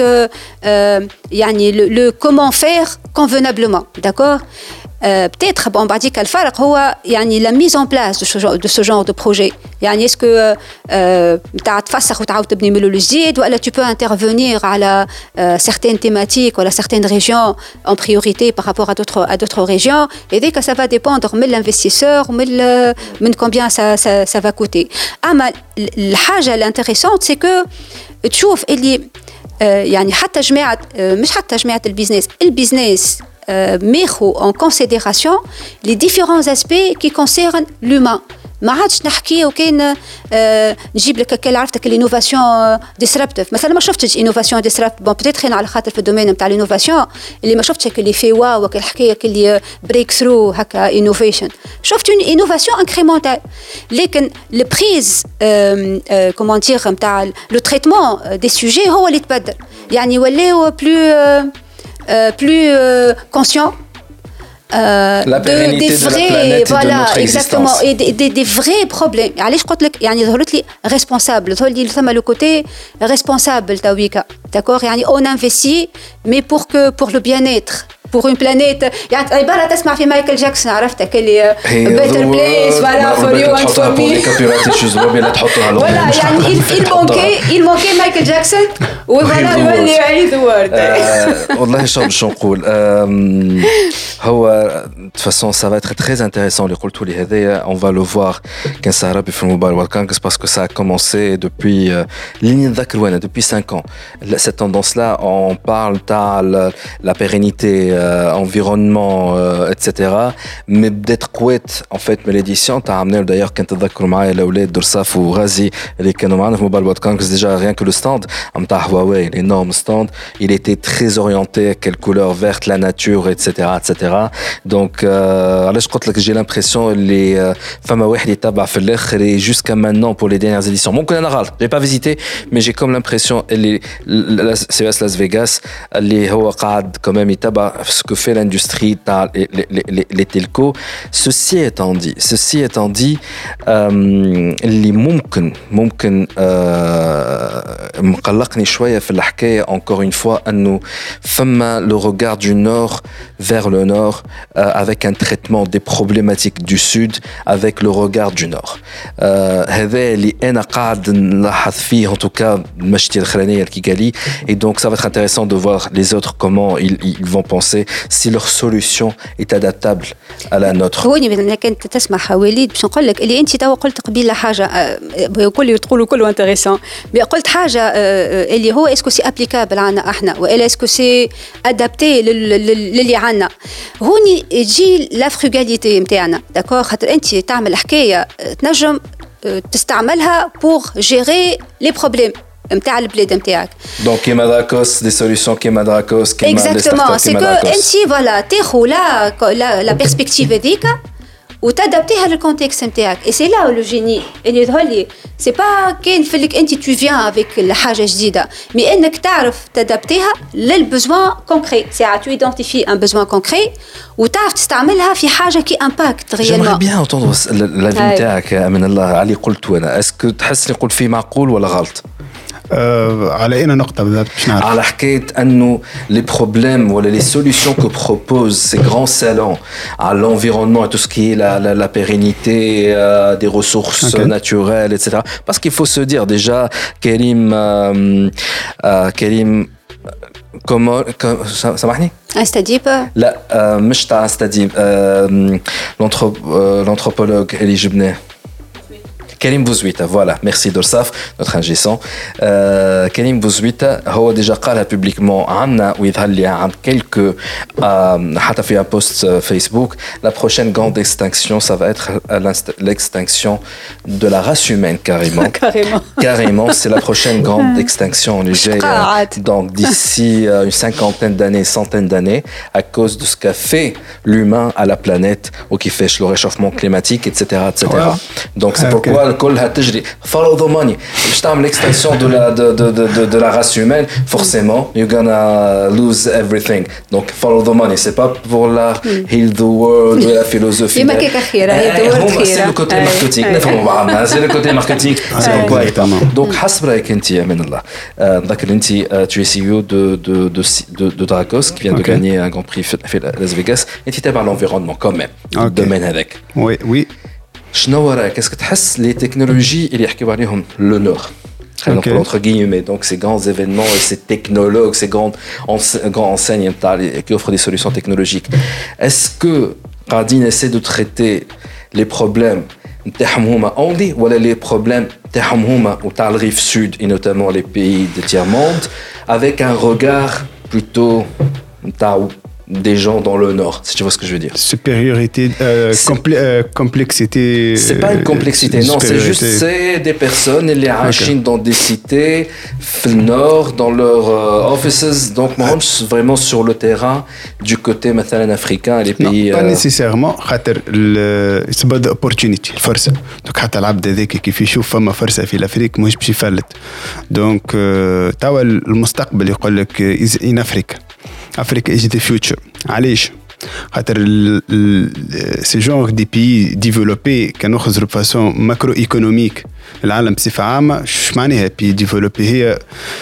يعني le comment faire convenablement d'accord peut-être bon بعد ذيك الفرق هو يعني la mise en place de ce genre de projet يعني est-ce que تاع تفسخ وتعاود تبني من الجديد ولا tu peux intervenir على certaines thématiques ولا certaines régions en priorité par rapport à d'autres régions et dès que ça va dépendre من l'investisseur من combien ça va coûter اما الحاجه الانتريسونت c'est que تشوف اللي يعني حتى جماعه مش حتى جماعه البيزنس mettre en considération les différents aspects qui concernent l'humain. ما عادش نحكي وكان نجيب لك كل عرفتك الانوفاسيون ديسربتيف مثلا ما شفتش انوفاسيون ديسربت بون بتيتر خلينا على خاطر في الدومين نتاع الانوفاسيون اللي ما شفتش اللي في واو وكل حكايه اللي بريك ثرو هكا انوفيشن شفت اون انوفاسيون انكريمونتال لكن البريز كومون دير نتاع لو تريتمون دي سوجي هو اللي تبدل يعني ولاو plus conscient la pérennité des vrais, de la planète voilà, et de notre exactement, existence. Et des vrais problèmes. علاش قلت لك يعني ظهرت لي responsable ظهر لي ثم le côté responsable تاويكا d'accord يعني on investit mais pour le bien-être pour une planète يعني عباره تسمع في مايكل جاكسون عرفتك اللي better place voilà for you and for me voilà يعني il manquait مايكل جاكسون وفوالا يولي يعيد وورد والله شو نقول هو de toute façon ça va être très intéressant اللي قلتوا لي هذايا on va le voir كان سهرة في الموبايل وورلد كونغرس parce que ça a commencé depuis اللي نتذكر وانا depuis 5 ans cette tendance là on parle تاع la pérennité environnement etc mais بدات قوات en fait من l'édition تاع عملنا d'ailleurs كنت تذكروا معايا الاولاد درصاف وغازي اللي كانوا معنا في موبايل وورلد كونغرس déjà rien que le stand نتاع هواوي l'énorme stand il était très orienté quelle couleur verte la nature etc donc علاش قلت لك j'ai l'impression اللي فما واحد يتبع في الاخر jusqu'à maintenant pour les dernières éditions ممكن انا غلط j'ai pas visité mais j'ai comme l'impression اللي CES Las Vegas اللي هو قاعد quand même يتبع ce que fait l'industrie, les telcos. Ceci étant dit, اللي ممكن مقلقني شوية في الحكاية encore une fois أنه فما le regard du nord vers le nord avec un traitement des problématiques du sud avec le regard du nord. هذا اللي أنا قاعد نلاحظ فيه en tout cas المشتي الأخرانية الكيغالي, et donc ça va être intéressant de voir les autres comment ils vont penser si leur solution est adaptable à la nôtre. هوني مثلا كنت تسمع وليد باش نقول لك اللي انت توا قلت قبيله حاجه كل تقولوا كله انتريسون, قلت حاجه اللي هو اسكو سي ابليكابل عنا احنا والا اسكو سي ادابتي للي عنا. هوني تجي لا فروغاليتي نتاعنا داكور, خاطر انت تعمل حكايه تنجم تستعملها بور جيري لي بروبليم نتاع البلاد نتاعك. دونك كيما دراكوس دي سوليوشن كيما دراكوس كيما اكزاكتومون سي كو انت فوالا تاخذ لا بيرسبكتيف هذيك وتادابتيها للكونتكست نتاعك. اي سي لا لو جيني اللي يظهر لي سي با كاين فيك انت تو فيان افيك الحاجه جديده, مي انك تعرف تادابتيها للبوزوان كونكري. ساعه تو ايدونتيفي ان بوزوان كونكري وتعرف تستعملها في حاجه كي امباكت ريالمون. جيمري بيان انتوندر لافي نتاعك من الله علي قلت وانا اسكو تحس لي قلت فيه معقول ولا غلط؟ على أي نقطة بالضبط باش نعرف؟ على حكاية أنه les problèmes ou les solutions que proposent ces grands salons à l'environnement et tout ce qui est la pérennité des ressources naturelles, etc. Parce qu'il faut se dire déjà, Karim comment سامحني؟ استديب؟ لا مش تاع استديب, l'anthropologue اللي جبناه كريم بوزويتا. فوالا ميرسي دورساف نوتر انجي سون. كريم بوزويتا هو ديجا قالها بوبليكمون عندنا ويظهر لي عند كيلكو حتى في بوست فيسبوك. لا بروشين غراند اكستانكسيون سا فا اتر l'extinction de la race humaine carrément c'est la prochaine grande extinction donc d'ici une cinquantaine d'années, centaine d'années, à cause de ce qu'a fait l'humain à la planète ou qui fait le réchauffement climatique, etc. Donc c'est pourquoi الكل هتجري follow the money باش تعمل l'extinction de la race humaine. Forcément you're gonna lose everything, donc follow the money. C'est pas pour la heal the world ou la philosophie. ما كيك خيره هي دور خيره. c'est le côté marketing نفهموا بعضنا, c'est le côté marketing. c'est quoi donc حسب رايك انت يا من الله. نذكر انت tu es CEO de Dracos qui vient de gagner un grand prix في Las Vegas. انت تابع l'environnement quand même الدومين هذاك. oui شنو رايك اسكو تحس لي تكنولوجي اللي يحكيو عليهم لو نور entre guillemets, donc ces grands événements et ces technologues, ces grands enseignes qui offrent des solutions technologiques, est-ce que قاعدين essaie de traiter les problèmes نتاعهم هما only ولا les problèmes نتاعهم هما وتاع الريف sud et notamment les pays de tiers-monde avec un regard plutôt نتاع des gens dans le nord, si tu vois ce que je veux dire. Supériorité, complexité. C'est pas une complexité, non, c'est juste des personnes qui vivent dans des cités, dans le nord, dans leurs offices, donc moi je suis vraiment sur le terrain du côté مثلا africain, les pays. Non, pas nécessairement, خاطر c'est pas d'opportunité, الفرصة. donc حتى العبد هذاك كيف يشوف فما فرصة في الأفريق مش باش يفلت. donc توا المستقبل يقول لك in Africa. Africa is the future. علاش؟ خاطر سي جونغ دي بي ديفلوبي كانوا يخرجوا بفاسون ماكرو ايكونوميك. العالم بصفه عامه اش معناها بي ديفلوبي؟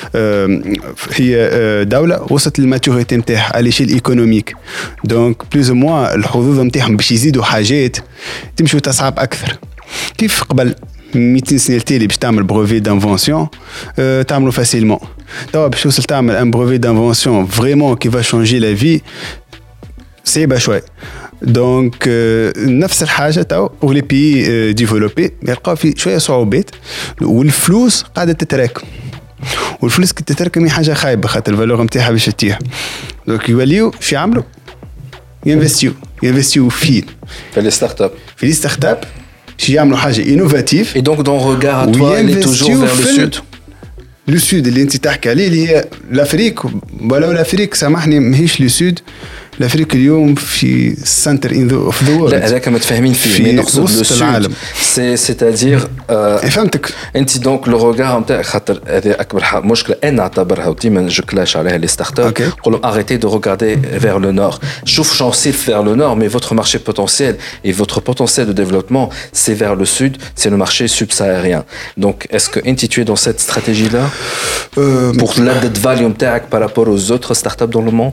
هي دوله وصلت للماتوريتي نتاعها على شيء ايكونوميك, دونك بلوز موا الحظوظ نتاعهم باش يزيدوا حاجات تمشي تصعب اكثر. كيف قبل 200 سنه التالي باش تعمل بروفي دانفونسيون تعملوا فاسيلمون. توا باش توصل تعمل ان بروفي دانفونسيون فريمون كي فا شونجي لا في صعيبه شوي. دونك نفس الحاجه توا ولي بي ديفلوبي يلقاو في شويه صعوبات, والفلوس قاعده تتراكم, والفلوس كي تتراكم هي حاجه خايبه خاطر الفالور نتاعها باش تطيح. دونك يوليو شو يعملوا؟ ينفستيو في les startups. في لي ستارت اب شي يعملوا حاجه انوفاتيف. Et donc ton regard à toi il est toujours vers le sud. لو سود اللي انت تحكي عليه اللي هي الافريق, ولو الافريق سامحني ماهيش لو سود. الافريق اليوم في سنتر اوف ذا وورلد. لا هذاك متفاهمين فيه مي نقصد لو سود سيتادير فهمتك انت دونك لو روغار نتاعك خاطر هذه اكبر مشكله انا نعتبرها وديما جو كلاش عليها لي ستارت اب نقول لهم arrêtez de regarder vers le nord. شوف شانسيف vers le nord mais votre marché potentiel et votre potentiel de développement c'est vers le sud, c'est le marché subsaharien. Donc est-ce que tu es dans cette stratégie là pour l'added value نتاعك par rapport aux autres startups dans le monde?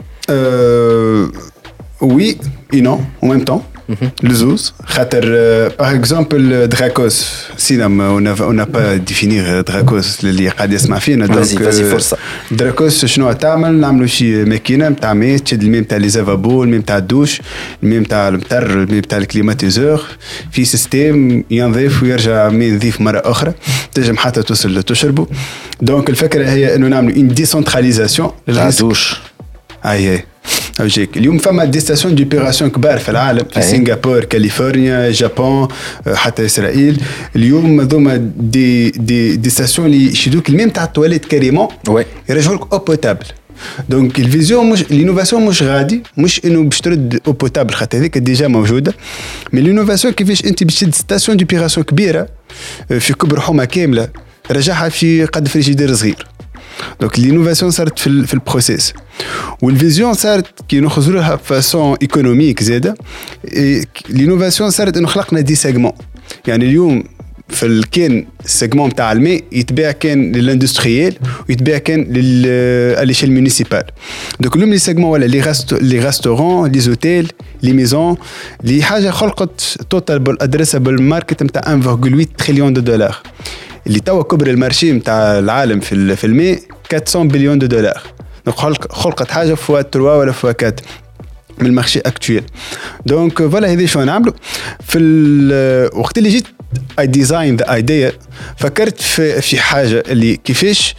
Oui et non en même temps. Le zouz, par exemple Dracos, on n'a pas défini Dracos اللي قاعد يسمع فينا. vas-y فرصة. Dracos شنو تعمل؟ نعملوا شي ماكينة متاع ماء تشد الماء متاع لي زافابو، الماء متاع الدوش، الماء متاع المطر، الماء متاع الكليماتيزور في سيستم ينظيف ويرجع ماء نظيف مرة أخرى تنجم حتى توصل تشربه. دونك الفكرة هي إنه نعملوا une décentralisation للدوش. أي أوجيك اليوم فما دي ستاسيون ديبيراسيون كبار في العالم في سنغافورة كاليفورنيا جابان حتى إسرائيل. اليوم هذوما دي ستاسيون اللي يشدوك الماء تاع التواليت كاريمون يرجعولك أو بوتابل. دونك الفيزيون مش لينوفاسيون مش غادي مش انه باش ترد او بوتابل خاطر هذيك ديجا موجوده مي لينوفاسيون كيفاش انت باش تشد ستاسيون ديبيراسيون كبيره في كبر حومه كامله رجعها في قد فريجيدير صغير. دونك لينوفاسيون صارت في البروسيس والفيزيون صارت كي نخرجوا لها فاسون ايكونوميك زاده. لينوفاسيون صارت انه خلقنا دي سيجمون يعني اليوم في الكين السيجمون تاع الماء يتباع كان للاندستريال ويتباع كان للشيل مونيسيبال. دونك اليوم لي سيجمون ولا لي ريستورون لي زوتيل لي ميزون لي حاجه خلقت توتال ادريسابل ماركت نتاع 1.8 تريليون دولار اللي توا كبر المارشي نتاع العالم في الماء 400 بليون دولار. دونك خلقت حاجه فوا 3 ولا فوا 4 من المارشي اكتويل. دونك فوالا هذه شو نعملوا في الوقت اللي جيت I designed the idea فكرت في حاجة اللي كيفاش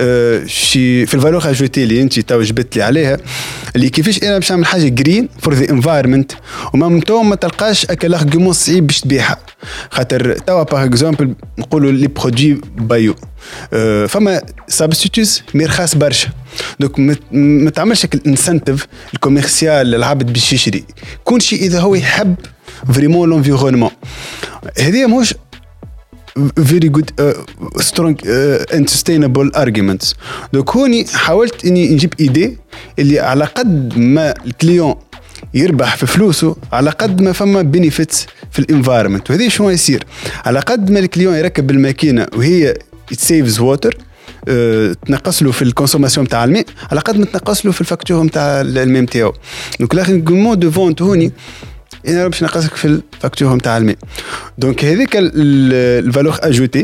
في الفالور اجوتي اللي انت تو جبت لي عليها اللي كيفاش انا باش نعمل حاجة جرين فور ذا انفايرمنت وما ما تلقاش اكل ارغيومون صعيب باش تبيعها. خاطر توا باغ اكزومبل نقولوا لي برودوي بايو فما سابستيتوز مي رخاص برشا. دونك ما تعملش الانسنتيف الكوميرسيال للعبد باش يشري كل شيء اذا هو يحب فريمون لونفيرونمون. هذه مش very good strong and sustainable arguments. دونك هوني حاولت اني نجيب ايدي اللي على قد ما الكليون يربح في فلوسه على قد ما فما بينيفيتس في الانفايرمنت. وهذه شو يصير على قد ما الكليون يركب الماكينه وهي it saves water تنقص له في الكونسوماسيون تاع الماء على قد ما تنقص له في الفاكتور تاع الماء نتاعو. دونك لاخرمون دو فونت هوني انا باش نقصك في الفاكتور نتاع الماء. دونك هذيك الفالور اجوتي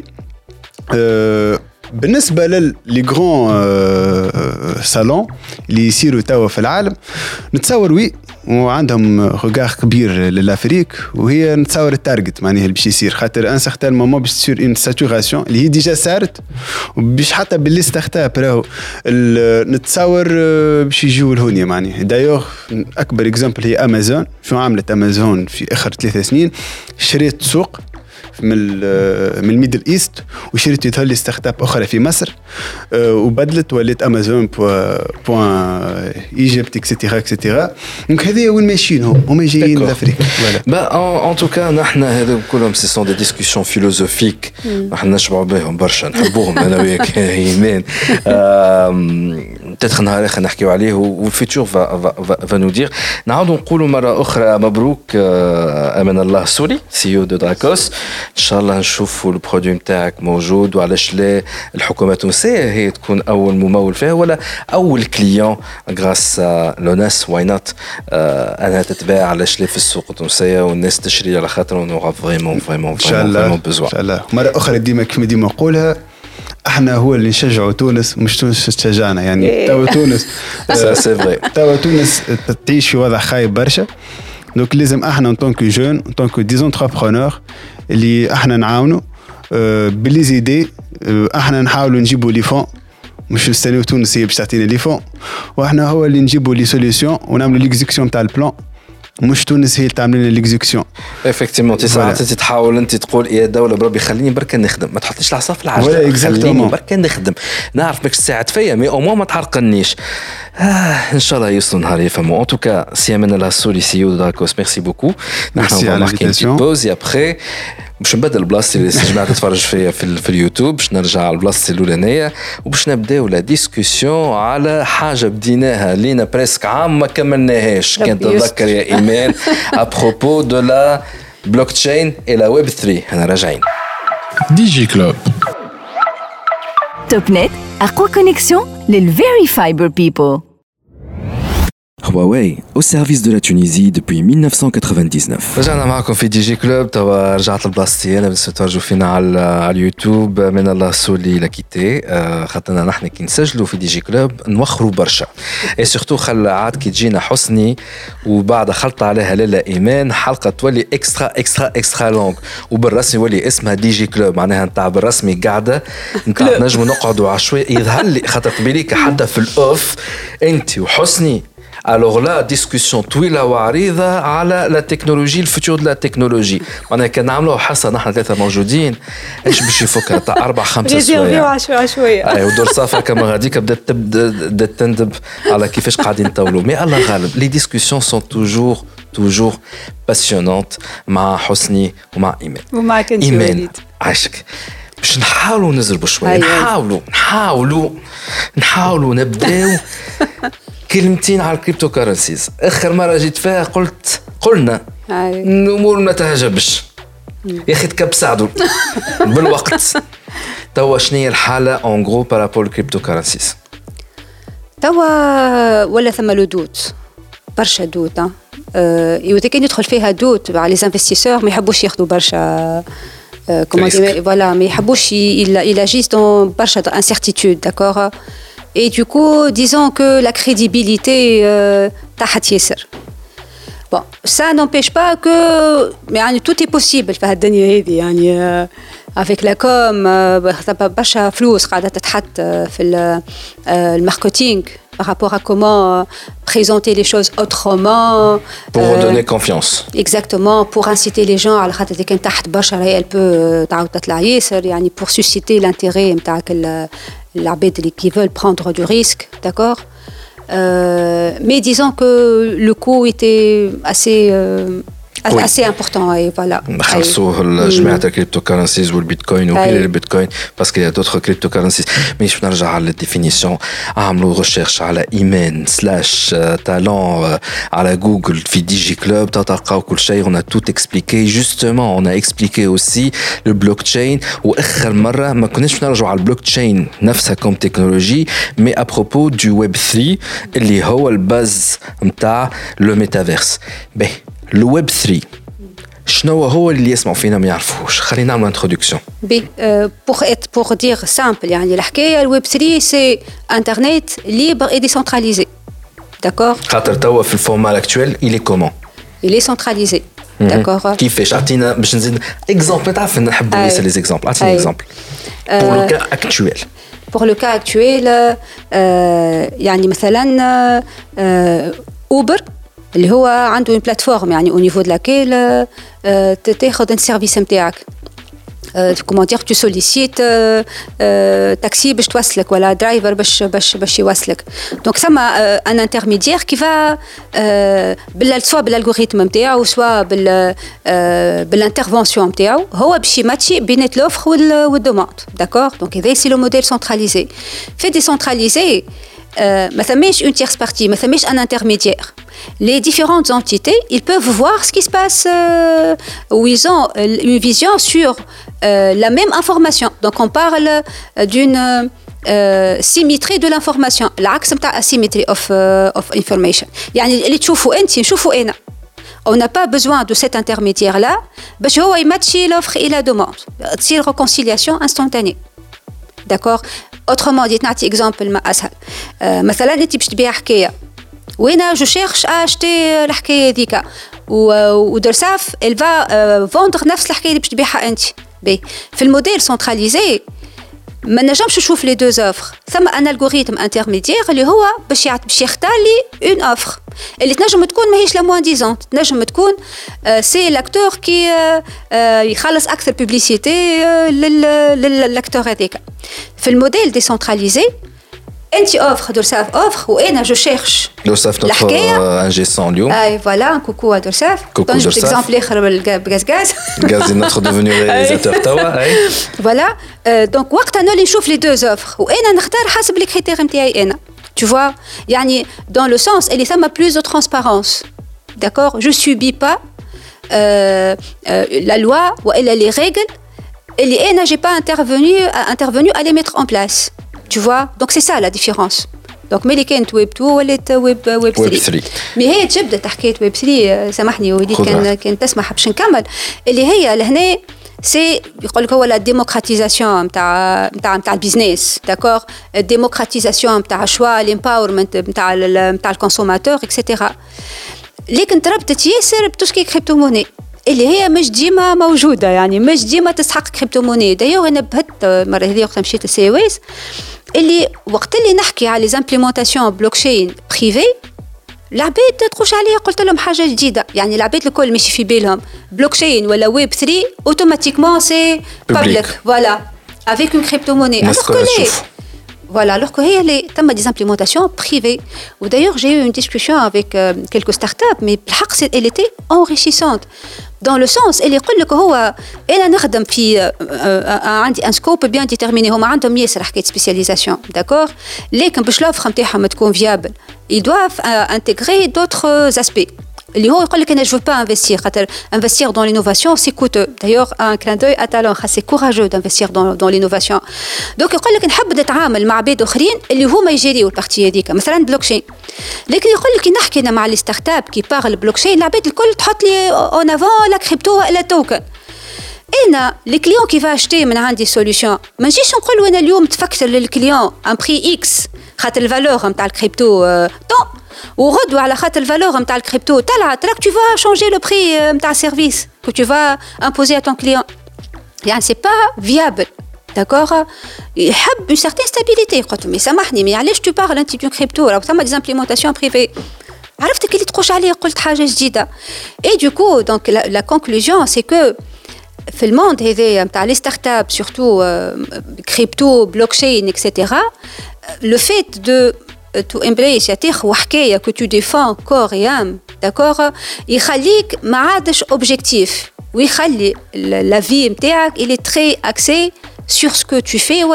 بالنسبه للي غران صالون اللي يصيروا توا في العالم نتصور وي وعندهم روغار كبير للافريك وهي نتصور التارجت معناها اللي باش يصير خاطر ان سيغتان مومون باش تصير اون ساتوراسيون اللي هي ديجا صارت وباش حتى باللي ستارت راهو نتصور باش يجيو لهونيا معناها. دايوغ اكبر اكزامبل هي امازون. شو عملت امازون في اخر 3 سنين؟ شريت سوق من الميدل ايست وشريت يظهر لي ستارت اب اخرى في مصر وبدلت وليت امازون بوان ايجيبت اكسيتيرا اكسيتيرا. دونك هذه وين ماشيين هما جايين لافريقيا. با ان توكا نحن هذا كلهم سي سون دي ديسكوسيون فيلوزوفيك نحن نشبعوا بهم برشا نحبوهم انا وياك ايمان. peut-être نهار اخر نحكيو عليه والفيتور فا نو دير. نعاودوا نقولوا مره اخرى مبروك امان الله سوري سي او دو دراكوس. ان شاء الله نشوفوا البرودوي نتاعك موجود وعلاش لا الحكومه التونسيه هي تكون اول ممول فيها ولا اول كليون غراس لوناس واي نوت انها تتباع علاش لا في السوق التونسيه والناس تشري على خاطر نورا فريمون ان شاء الله. مره اخرى ديما كما ديما نقولها احنا هو اللي نشجعوا تونس مش تونس تشجعنا يعني. توا تونس سي فري توا تونس تعيش في وضع خايب برشا. دونك لازم احنا ان طونك جون ان طونك ديزونتربرونور اللي احنا نعاونوا باللي زيدي احنا نحاولوا نجيبوا لي فون مش نستنيو تونس هي باش تعطينا لي فون واحنا هو اللي نجيبوا لي سوليوشن ونعملوا ليكزيكسيون تاع البلان مش تونس هي اللي تعمل لنا ليكزيكسيون. افكتيمون ساعات تحاول انت تقول يا دوله بربي خليني بركه نخدم، ما تحطليش العصا في العجله، خليني بركه نخدم، نعرف ماكش تساعد فيا مي او ما تحرقنيش. ان شاء الله يوصلوا نهار يفهموا. ان توكا سي من لا سوليسيو داكوس ميرسي بوكو. ميرسي على الانفيتاسيون. بوزي ابخي باش نبدل بلاصتي اللي جماعه تتفرج فيا في اليوتيوب، باش نرجع على بلاصتي الاولانيه وباش نبداو لا ديسكوسيون على حاجه بديناها لينا بريسك عام ما كملناهاش. كنت تتذكر يا ايمان ابروبو دو لا بلوك تشين et la web 3. انا راجعين ديجي كلوب. توب نت أقوى كونيكسيون للفيري فايبر بيبل. Huawei, au service de la Tunisie depuis 1999. رجعنا معكم في دي جي كلوب. توا رجعت لبلاصتي انا، بس تفرجوا فينا على اليوتيوب. من الله سولي لاكيتي خاطرنا نحن كي نسجلوا في دي جي كلوب نوخروا برشا، اي سورتو خلى عاد كي تجينا حسني وبعد خلط عليها لاله ايمان حلقه تولي اكسترا لونغ، وبالرسمي ولي اسمها دي جي كلوب، معناها نتاع بالرسمي قاعده نتاع نجموا نقعدوا عشوائي. يظهر لي خاطر قبيليك حتى في الاوف انت وحسني alors là discussion طويله وعريضه على لا تكنولوجي الفوتور لا تكنولوجي. وانا كان نعملوا حصه نحن ثلاثه موجودين ايش باش يفكر تاع 4-5 سوايع شويه اي ودور صافا كما غاديك بدات تندب على كيفاش قاعدين نطولوا. مي الله غالب لي ديسكوسيون سون توجور باسيونونت مع حسني ومع ايمان. ومعك انت ايمان عايشك باش نحاولوا نزربوا شويه. نحاولوا نبداو كلمتين على الكريبتو كارنسيز. اخر مره جيت فيها قلنا الامور ما تهجبش يا اخي تكبسعدوا بالوقت. توا شنو هي الحاله اون غرو بارابول الكريبتو كارنسيز؟ توا ولا ثم له دوت برشا دوت. اذا كان يدخل فيها دوت على لي انفستيسور ما يحبوش ياخذوا برشا comment dire, voilà, mais il agit dans برشا incertitude, d'accord. Et du coup, disons que la crédibilité تحت ياسر. Bon, ça n'empêche pas que يعني tout est possible في هالدنيا هذه يعني avec la com برشا فلوس قاعدة تتحط في الماركتينغ par rapport à comment présenter les choses autrement. Pour donner confiance. Exactement, pour inciter les gens على خاطر كان تحت برشا elle peut تعاود تطلع ياسر يعني pour susciter l'intérêt نتاعك العباد qui veulent prendre du risque, d'accord. Mais disons que le coût était assez important et voilà. خلصوا جماعة الكريبتو كارنسيز والبيتكوين وغير البيتكوين باسكو يا دوتر كريبتو كارنسيز. مي باش نرجع على الديفينيسيون. عملوا ريشيرش على ايمان / تالون على جوجل في دي جي كلوب تلقاو كل شيء. on a tout expliqué justement. on a expliqué aussi le blockchain. واخر مرة ما كناش نرجعوا على البلوكتشين نفسها كوم تكنولوجي مي ابروبو دو ويب 3 اللي هو الباز نتاع لو ميتافيرس. باهي الويب 3 شنو هو اللي يسمعوا فينا ما يعرفوش؟ خلينا نعمل انتروداكسيون. pour dire simple يعني الحكايه الويب 3 سي انترنت libre et décentralisé, d'accord. خاطر توا في الفورمال اكطويل il est comment? il est centralisé, d'accord. كيفاش؟ اعطينا باش نزيد اكزامبل. تعرف نحب نسال لي اكزامبل. اعطيني اكزامبل pour le cas actuel. pour le cas actuel يعني مثلا اوبر اللي هو عنده une plateforme يعني au niveau de laquelle تاخذ السيرفيس نتاعك. comment dire, tu sollicites taxi باش توصلك ولا درايفر باش يوصلك. donc ثم un intermédiaire qui va سواء بالالغوريثم نتاعو سواء بالانترفونسيون نتاعو هو باش يماتشي بين لوفر والدوموند, d'accord. donc هذا سي لو موديل سنتراليزي. في ديسنتراليزي ما ثماش une tierce partie, ما ثماش un intermédiaire. Les différentes entités, ils peuvent voir ce qui se passe où ils ont une vision sur la même information. Donc on parle d'une symétrie de l'information. العكس نتاع asymmetry of information. يعني اللي تشوفوا انت نشوفوا انا. On n'a pas besoin de cet intermédiaire là باش هو يماتشي l'offre et la demande. تصير réconciliation instantanée. D'accord. Autrement dit, نعطي exemple ما أسهل. مثلا أنت باش تبيع حكاية وأنا جو شيرش أشتي الحكاية ذيك ودرساف elle va vendre نفس الحكاية اللي باش تبيعها أنت. في الموديل سنتراليزي ما نجمش نشوف لي دو اوفر ثم ان الغوريثم انترميديير اللي هو باش يختار لي اون اوفر اللي تنجم تكون ماهيش لا موان ديزون تنجم تكون سي لاكتور كي يخلص اكثر بوبليسيتي للاكتور هذاك في الموديل ديسنتراليزي انت اوفر دورساف اوفر وانا جو شيرش دورساف نوتر انجي سون اليوم اي فوالا كوكو à دورساف كوكو دورساف اكزامبل اخر بالغاز غاز نوتر ديفوني رياليزاتور توا اي فوالا دونك وقت انا اللي نشوف لي دو اوفر وانا نختار حسب لي كريتير نتاعي انا tu vois يعني dans le sens اللي ثم plus de transparence d'accord je subis pas la loi والا les règles اللي انا j'ai pas intervenu à les mettre en place tu vois donc c'est ça la différence donc ملي كانت ويب 2 ولات ويب 3 مي هي تبدا حكايه ويب 3 سامحني وليد كان تسمح باش نكمل اللي هي لهنا سي يقول لك هو لا ديموكراتيزاسيون نتاع البيزنس داكور الديموكراتيزاسيون نتاع الشوا الامباورمنت نتاع الكونسوماتور اكسيتيرا لكن تربطت ياسر بتوسكي كريبتو موني اللي هي مش ديما موجوده يعني مش ديما تستحق كريبتو موني دايوغ انا بهت المره هذه وقت مشيت السي ويس اللي وقت اللي نحكي على لي زامبليمونطاسيون بلوكشين بريفي العباد تخش عليا قلت لهم حاجه جديده يعني العباد الكل ماشي في بالهم بلوكشين ولا ويب 3 اوتوماتيكمون سي بابليك فوالا افيك اون كريبتو موني voilà alors que هي تم des implémentations privées ou d'ailleurs j'ai eu une discussion avec quelques startups mais بالحق elle était enrichissante dans le sens اللي يقول لك هو انا نخدم في عندي ان سكوب بيان ديتيرميني هما عندهم ياسر حكايه سبيسياليزاسيون داكور لكن باش لوفر نتاعهم تكون فيابل ils doivent intégrer d'autres aspects اللي هو يقول لك انا جو با انفستير خاطر انفستير دون لينوفاسيون سي كوتو دايوغ ان كلان دوي اتالون سي كوراجو دانفستير دون لينوفاسيون دونك يقول لك نحب نتعامل مع عباد اخرين اللي هما يجيريو البارتي هذيك مثلا بلوكشين لكن يقول لك نحكي انا مع لي ستارت اب كي بارل بلوكشين العباد الكل تحط لي اون افون لا كريبتو ولا توكن انا لي كليون كي فا اشتي من عندي سوليوشن ما نجيش نقول انا اليوم تفكر للكليون ان بري اكس خاطر الفالور نتاع الكريبتو طون وغدوه على خاطر الفالور نتاع الكريبتو طلعت راك tu vas changer le prix نتاع السيرفيس que tu vas imposer à ton client يعني c'est pas viable d'accord يحب une certaine stabilité قلت له سامحني مي علاش tu parles انت دون كريبتو راه ثم des implémentations privées عرفتك اللي تخش عليه قلت حاجه جديده et du coup donc la conclusion c'est que في الموند هذايا نتاع لي ستارت اب سورتو كريبتو بلوكشين اكسيتيرا le fait de تو امبريس يعطيك وحكايه كو تو ديفون كور يام داكور يخليك ما عادش اوبجيكتيف ويخلي لا في نتاعك اللي تري اكسي sur ce que tu fais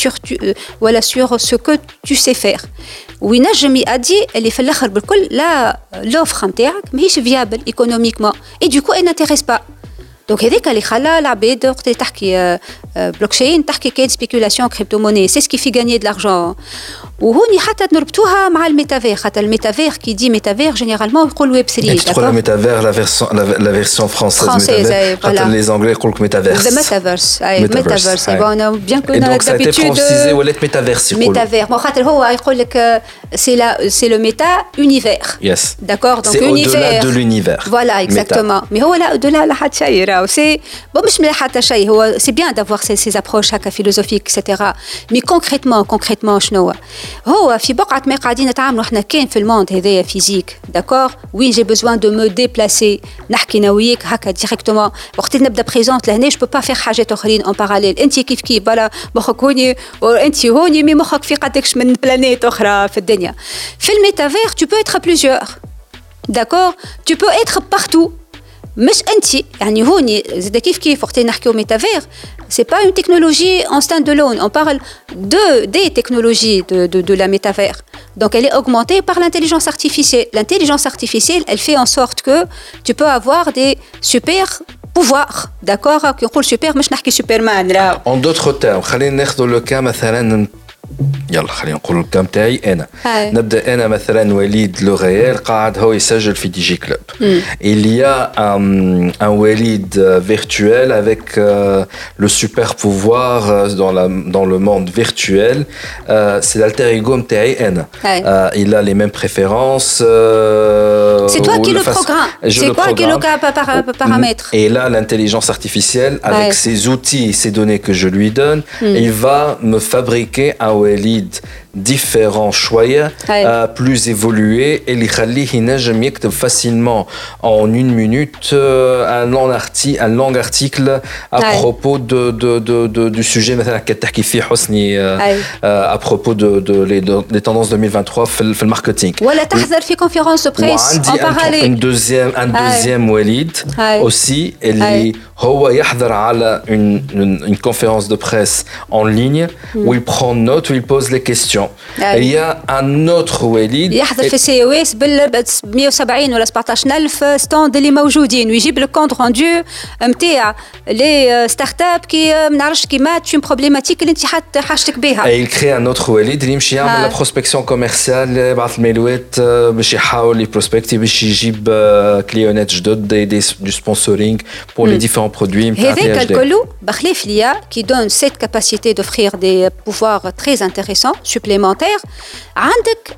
ولا sur ce que tu sais faire وينجم يأدي اللي في الاخر بالكل لا لوفر نتاعك ماهيش فيابل ايكونوميكمون اي دوكو اي نانتيريس با دونك هذاك اللي خلى العباد وقت اللي تحكي بلوكشين تحكي كاين سبيكولاسيون كريبتو موني سي سكي في غاني دلارجون وهوني حتى نربطوها مع الميتافير خاطر الميتافير كي دي ميتافير جينيرالمون يقول ويب 3 تقول الميتافير لا فيرسيون فرونسيز خاطر لي زانغلي يقول لك ميتافيرس ميتافيرس اي ميتافيرس بون بيان كنا دونك سايتي فرونسيزي ولات ميتافيرس يقولوا ميتافير مو خاطر هو يقول لك سي لو ميتا يونيفير يس داكور دونك يونيفير دو لونيفير فوالا اكزاكتومون مي هو لا دولا لا حتى شيء راهو سي بون مش مليح حتى شيء هو سي بيان دافوار سي ابروش هكا فيلوزوفيك اكسيتيرا مي كونكريتمون شنو هو في بقعة ما قاعدين نتعاملوا احنا كان في الموند هذايا فيزيك داكور وين جي بوزوان دو مو ديبلاسي نحكي انا وياك هكا ديريكتومون وقت اللي نبدا بريزونت لهنا جو بو با فير حاجات اخرين اون باراليل انت كيف بلا مخك هوني وانت هوني مي مخك في قدكش من بلانيت اخرى في الدنيا في الميتافير tu peux être plusieurs d'accord tu peux être partout مش انت يعني هوني زاد كيف وقت نحكيو ميتافير c'est pas une technologie en stand-alone on parle des technologies de la métavers donc elle est augmentée par l'intelligence artificielle elle fait en sorte que tu peux avoir des super pouvoirs d'accord كي نقول super مش نحكي سوبرمان en d'autres termes خلينا ناخذ لو كا مثلا يلا خلينا نقول الكام تاعي انا نبدا انا مثلا وليد لوغيال قاعد هو يسجل في دي جي كلوب il y a un Walid virtuel avec le super pouvoir dans le monde virtuel c'est l'alter ego تاعي انا il a les mêmes préférences c'est toi qui le programme c'est toi qui le paramètre et là l'intelligence artificielle avec ses outils ces données que je lui donne il va me fabriquer un Walid différent شوية plus évolué et اللي يخليه ينجم يكتب facilement en une minute un long article à propos du sujet مثلا كتحكي فيه حسني à propos des tendances 2023 في الماركتينغ ولا تحضر في conférence de presse en parallèle un deuxième Walid aussi اللي هو يحضر على une conférence de presse en ligne où il prend note où il pose les questions il y a un autre Walid يحضر في سي او اس بال 170 ولا 17000 ستاند اللي موجودين ويجيب لك كونت روندو نتاع لي ستارت اب كي ما نعرفش كيما تشون بروبليماتيك اللي انت حاجتك بها il crée un autre Walid اللي يمشي يعمل لا بروسبكسيون كوميرسيال يبعث الميلوات باش يحاول يبروسبكتي باش يجيب كليونات جدد دي سبونسورينغ pour les différents produits هذاك الكل بخلاف ليا qui donne cette capacité d'offrir des pouvoirs très intéressants supplémentaires عندك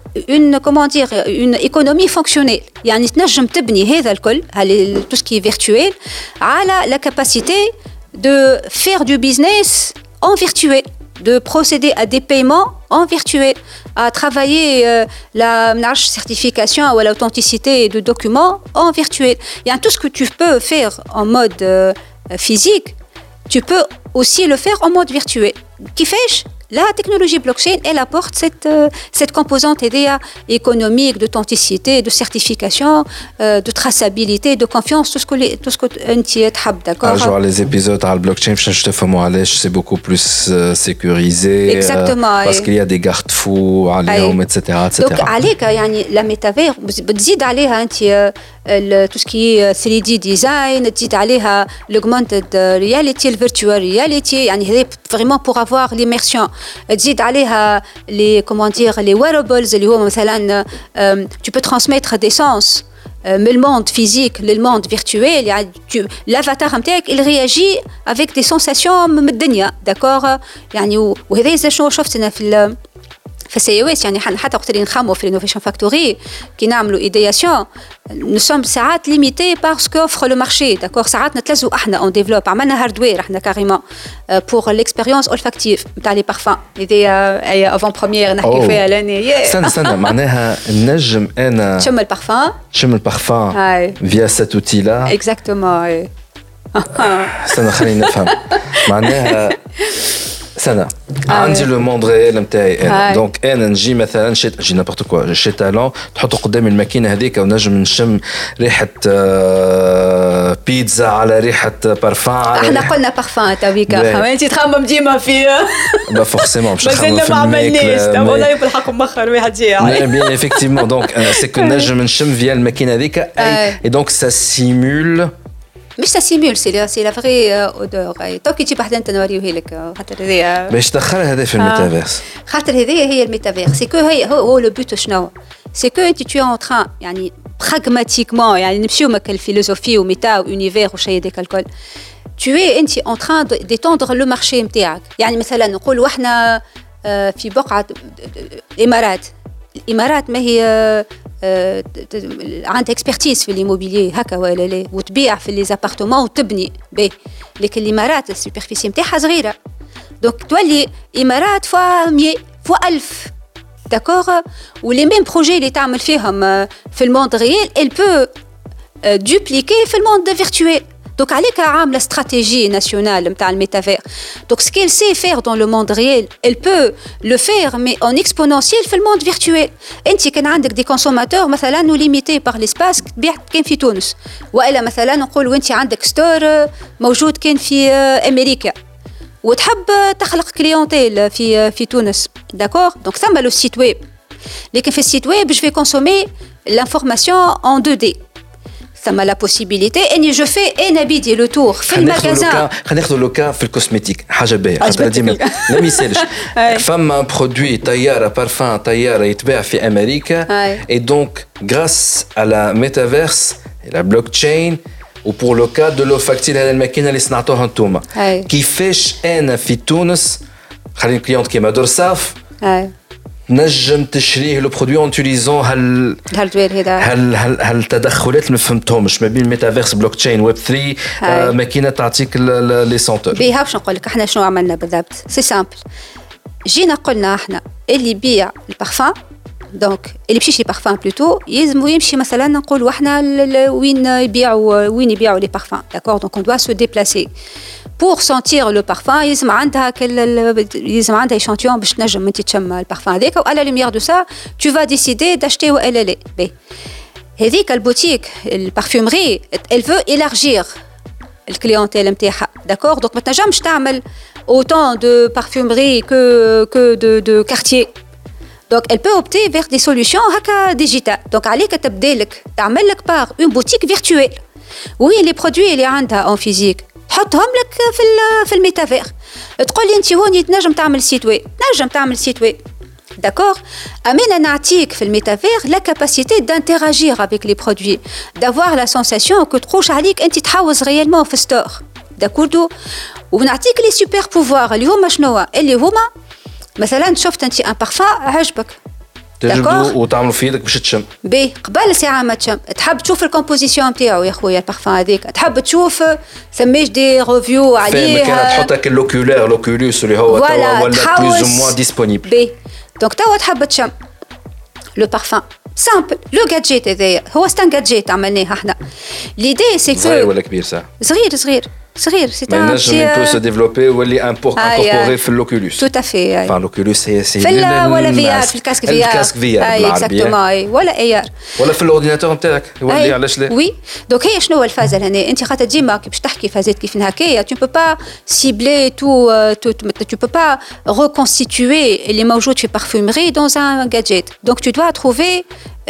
une économie fonctionnelle يعني تنجم تبني هذا الكل tout ce qui est virtuel على la capacité de faire du business en virtuel de procéder à des paiements en virtuel à travailler la certification ou l'authenticité de documents en virtuel. Il y a tout ce que tu peux faire en mode physique, tu peux aussi le faire en mode virtuel. Qui fait la technologie blockchain, elle apporte cette composante économique, d'authenticité, de certification, de traçabilité, de confiance, tout ce que tu es d'accord. Genre les épisodes à la blockchain, je te fais moi c'est beaucoup plus sécurisé. Exactement. Parce qu'il y a des garde-fous, etc., etc. Donc, la métavers, بتزيد عليها أنت tout ce qui est 3D design, تزيد عليها l'augmented reality, le virtual reality, يعني هذا vraiment pour avoir l'immersion. تزيد عليها les wearables اللي هو مثلا tu peux transmettre des sens من الموند فيزيك للموند فيرتوال يعني l'avatar نتاعك il réagit avec des sensations من الدنيا داكور يعني وهذا شنو شفت انا في السي او اس يعني حتى وقت اللي نخمو في الانوفيشن فاكتوري كي نعملوا ايدياسيون نو سوم ساعات ليميتي باسكو اوفر لو مارشي داكور ساعات نتلزوا احنا اون ديفلوب عملنا هاردوير احنا كاريمون بور ليكسبيريونس اولفاكتيف نتاع لي بارفان هذه افون بروميير نحكي فيها لاني استنى معناها نجم انا شم البارفان فيا سات اوتي لا اكزاكتومون استنى خلينا نفهم معناها سنة عندي لو موند ريال نتاعي انا دونك انا نجي مثلا جي نابورت كوا شي تالون تحطه قدام الماكينه هذيك ونجم نشم ريحه بيتزا على ريحه بارفان احنا قلنا بارفان تاويكا انت تخمم ديما في با فورسيمون باش نخمم في ما عملناش والله بالحق مخر واحد جاي بيان ايفيكتيفمون دونك سي كو نجم نشم فيا الماكينه هذيك اي دونك سا سيمول مش سيمول سي لا فري اودور تو كي تجي بحدا انت نوريه لك خاطر هذه باش تدخل هذا في الميتافيرس خاطر هذه هي الميتافيرس سي كو هو لو بوت شنو سي كو انت تو ان تران يعني براغماتيكمون يعني نمشيو مك الفيلوزوفي وميتا وانيفير وشي هذاك الكل tu es انت en train d'étendre le marché نتاعك يعني مثلا نقولوا احنا في بقعه الامارات ما هي عندها اكسبرتيز في الإيموبيليي هكا ولا لا وتبيع في لي زابارتمون وتبني به لكن الإمارات السوبرفيسي نتاعها صغيرة دونك تولي إمارات فوا 100 فوا 1000 داكور ولي ميم بروجي اللي تعمل فيهم في الموند ريال elle peut dupliquer في الموند فيرتوال Donc, avec la stratégie nationale de métavers. Donc, ce qu'elle sait faire dans le monde réel, elle peut le faire, mais en exponentiel dans le monde virtuel. Et si vous avez des consommateurs, par exemple, nous limités par l'espace, qui est en Tunis. Ou alors, par exemple, on dit que vous avez un store qui est en Amérique. Ou tu veux تخلق clientèle في تونس. D'accord? Donc, ça, c'est le site web. Mais sur le site web, je vais consommer l'information en 2D. ثم لا possibilité اني جو في انا بيدي لو تور في المغازان. خلينا ناخذ لو كا في الكوسميتيك حاجه باهيه خاطر ديما لا ميسالش فما برودوي طياره بارفان طياره يتباع في امريكا اي دونك غراس على ميتافيرس لا بلوك تشين وبور لو كا دو لو فاكتير هذه الماكينه اللي صنعتوها انتوما كيفاش انا في تونس خلينا كليونت كيما دورساف نجم تشريه لو برودوي اون تيليزون هل التدخلات اللي ما فهمتهمش ما بين ميتافيرس بلوك تشين ويب 3 ماكينه تعطيك لي سونتور بيها باش نقول لك احنا شنو عملنا بالضبط سي سامبل جينا قلنا احنا اللي يبيع البارفان دونك اللي بيمشي لي بارفان بلوتو يلزم يمشي مثلا نقولوا احنا وين يبيعوا لي بارفان داكور دونك اون دوا سو ديبلاسي pour sentir le parfum يلزم عندها échantillon باش تنجم انت تشم البارفان هذاك و à la lumière de ça tu vas décider d'acheter ou elle est بي هذيك البوتيك البارفومري elle veut élargir الكليونتيل نتاعها داكور دونك ما تنجمش تعمل autant de parfumerie que de quartier donc elle peut opter vers des solutions هكا ديجيتال دونك عليك تبدا لك تعمل لك بار une boutique virtuelle وين لي برودوي اللي عندها en physique تحطهم لك في الميتافير تقول لي انت هوني تنجم تعمل سيت ويب d'accord امين نعطيك في الميتافير لا كاباسيتي d'interagir avec les produits d'avoir la sensation que تخوش عليك انت تحوز ريالمون في ستور داكوردو ونعطيك لي سوبر بوفوار اللي هما شنو اللي هما مثلا شفت انت ان بارفان عجبك تجبدوا وتعملوا في يدك باش تشم بي قبل ساعه ما تشم تحب تشوف الكومبوزيسيون نتاعو يا خويا البارفان هذيك تحب تشوف ثماش دي ريفيو عليه كانت تحطك لوكولوس اللي هو توا ولا بلوز او موان ديسپونيبل بي دونك توا تحب تشم لو بارفان سامبل لو جادجيت هذايا هو ستان جادجيت عملناه احنا ليدي سي صغير ولا كبير ساعه صغير سي un petit peut se développer واللي incorporé في l'Oculus tout à fait enfin l'Oculus c'est ولا VR في الكاسك VR بالعربية ولا AR ولا في الاورديناتور نتاعك يولي علاش لا وي دونك هي شنو الفازه هنا انت خاطر ديما باش تحكي فازات كيف هكايا tu peux pas cibler tout tu peux pas reconstituer اللي موجود في parfumerie dans un gadget donc tu dois trouver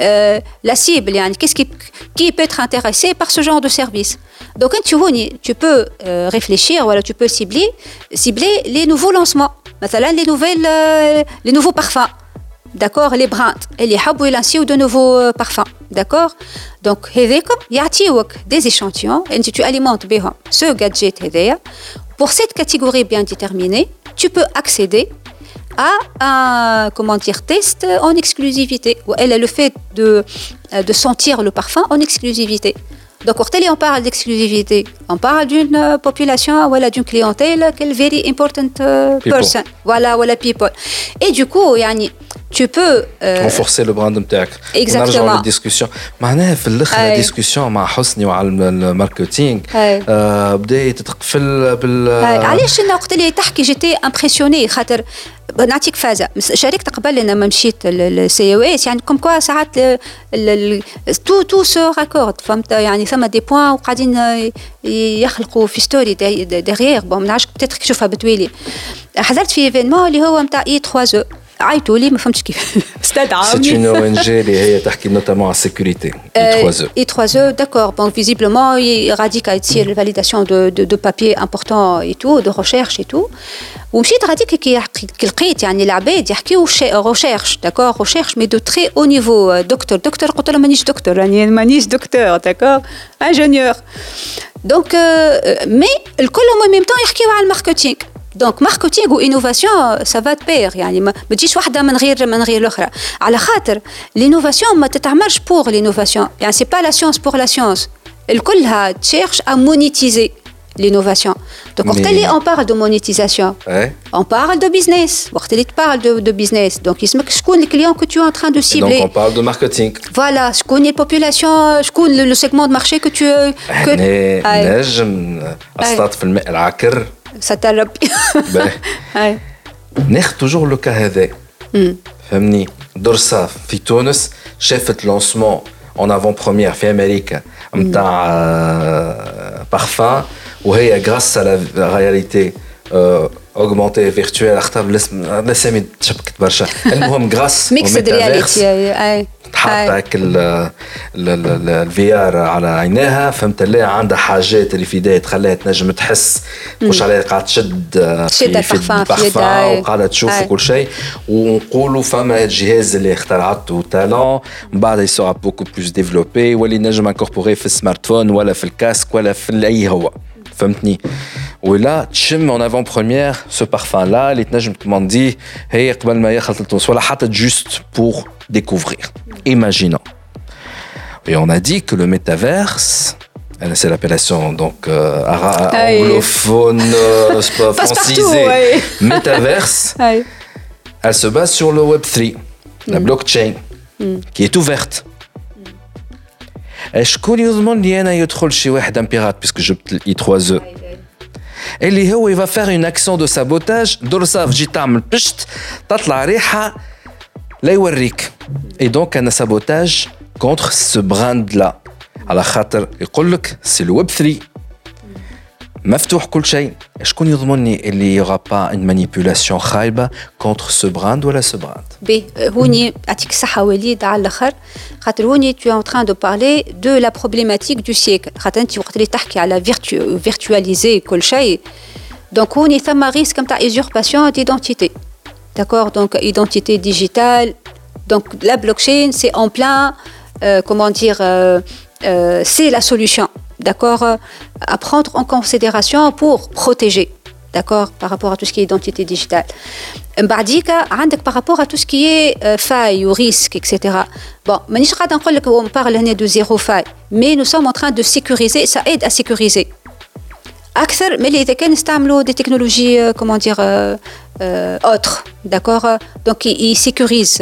la cible يعني qu'est-ce qui peut être intéressé par ce genre de service donc tu peux réfléchir voilà tu peux cibler les nouveaux lancements مثلا les nouveaux parfums d'accord les brands اللي يحبوا يلانسيو de nouveaux parfums d'accord donc هذاكم يعطيوك des échantillons et tu alimentes بهم ce gadget هذايا pour cette catégorie bien déterminée tu peux accéder à un test en exclusivité où elle a le fait de sentir le parfum en exclusivité. Donc quand on parle d'exclusivité, on parle d'une population voilà d'une clientèle quelle very important person. Voilà people. Et du coup يعني tu peux renforcer le brand نتاعك. Exactement. نرجعوا للديسكوسيون. معناها في الاخر ديسكوسيون مع حسني وعلى الماركتينغ بدات تقفل علاش انا وقت اللي تحكي جيتي امبرسيوني خاطر نعطيك فازه شاركت قبل لما مشيت السي او اس يعني كوم كوا ساعات تو سو راكورد فهمت يعني ثم دي بوين وقاعدين يخلقوا في ستوري ديغيير بون ما نعرفش بتاتر تشوفها بتويلي حضرت في ايفينمون اللي هو نتاع اي 3 عيطوا لي ما فهمتش كيف استدعوني سي اون او ان جي اللي هي تحكي نوتامون على السيكوريتي اي 3 داكور بون فيزيبلمون غاديك تصير الفاليداسيون دو بابي امبورطون اي تو دو ريشيرش اي تو ومشيت غاديك كي لقيت يعني العباد يحكيو ريشيرش داكور ريشيرش مي دو تري او نيفو دكتور قلت له مانيش دكتور يعني مانيش دكتور داكور انجينيور دونك مي الكلهم ميم طون يحكيو على الماركتينغ دونك ماركتينغ وانوفاسيون سا فا بير يعني ما تجيش واحده من غير الاخرى على خاطر لينوفاسيون ما تتعملش بور لينوفاسيون يعني سي با لا سيونس بور لا سيونس الكلها تشيرش ا مونيتيزي l'innovation. Donc, quand on parle de monétisation, on parle de business. Quand on parle de business, donc, il y a les clients que tu es en train de cibler. Et donc, on parle de marketing. Voilà, je connais la population, je connais le segment de marché que tu... نجم أصطاد في الماء العكر. ستربي. ناخذ توجور لو كا هذا. فهمني دورساف في تونس شافت لونسمون اون افون بروميير في امريكا نتاع بارفان وهي غراس على لا رياليتي augmenté virtuel اختار الاسامي تشبكت برشا المهم غراس ميكسد رياليتي اي تحط الفي ار على عينيها فهمت اللي عندها حاجات اللي في يدها تخليها تنجم تحس مش عليها قاعده تشد في البارفان وقاعده تشوف كل شيء ونقولوا فما الجهاز اللي اخترعته تالون من بعد يسوع بوكو بلوس ديفلوبي واللي نجم انكوربوري في السمارت فون ولا في الكاسك ولا في اي هو فهمتني ولا تشم en avant première ce parfum là اللي تنجم تمانديه هي قبل ما يخلط لتونس ولا حتى juste pour découvrir imaginons et on a dit que le métaverse c'est l'appellation donc anglophone francisé métaverse elle se base sur le Web3 la blockchain qui est ouverte شكون يضمن لي انا يدخل شي واحد ان بيرات باسكو جبت الاي 3 او اللي هو يفا فير اون اكسيون دو سابوتاج درصا تجي تعمل بشت تطلع ريحه لا يوريك اي دونك انا سابوتاج كونتر سو براند لا على خاطر يقول لك سي الويب 3 مفتوح كل شيء شكون يضمنني اللي يغا با ان مانيبيولاسيون خايبه كونتر سو براند ولا سو براند بي هوني يعطيك الصحه وليد على الاخر خاطر هوني tu es en train de parler de la problématique du siècle خاطر انت وقت اللي تحكي على فيرتواليزي كل شيء دونك هوني ثم ريسك نتاع ايزورباسيون ديدونتيتي داكور دونك ايدونتيتي ديجيتال دونك لا بلوكشين سي en plein comment dire c'est la solution d'accord à prendre en considération pour protéger d'accord par rapport à tout ce qui est identité digitale بعديك عندك par rapport à tout ce qui est faille ou risque etc bon مانيش قاعده نقول لك on parle هنا de zéro faille mais nous sommes en train de sécuriser ça aide à sécuriser أكثر من اللي إذا كان نستعملوا des technologies comment dire autres d'accord donc ils sécurisent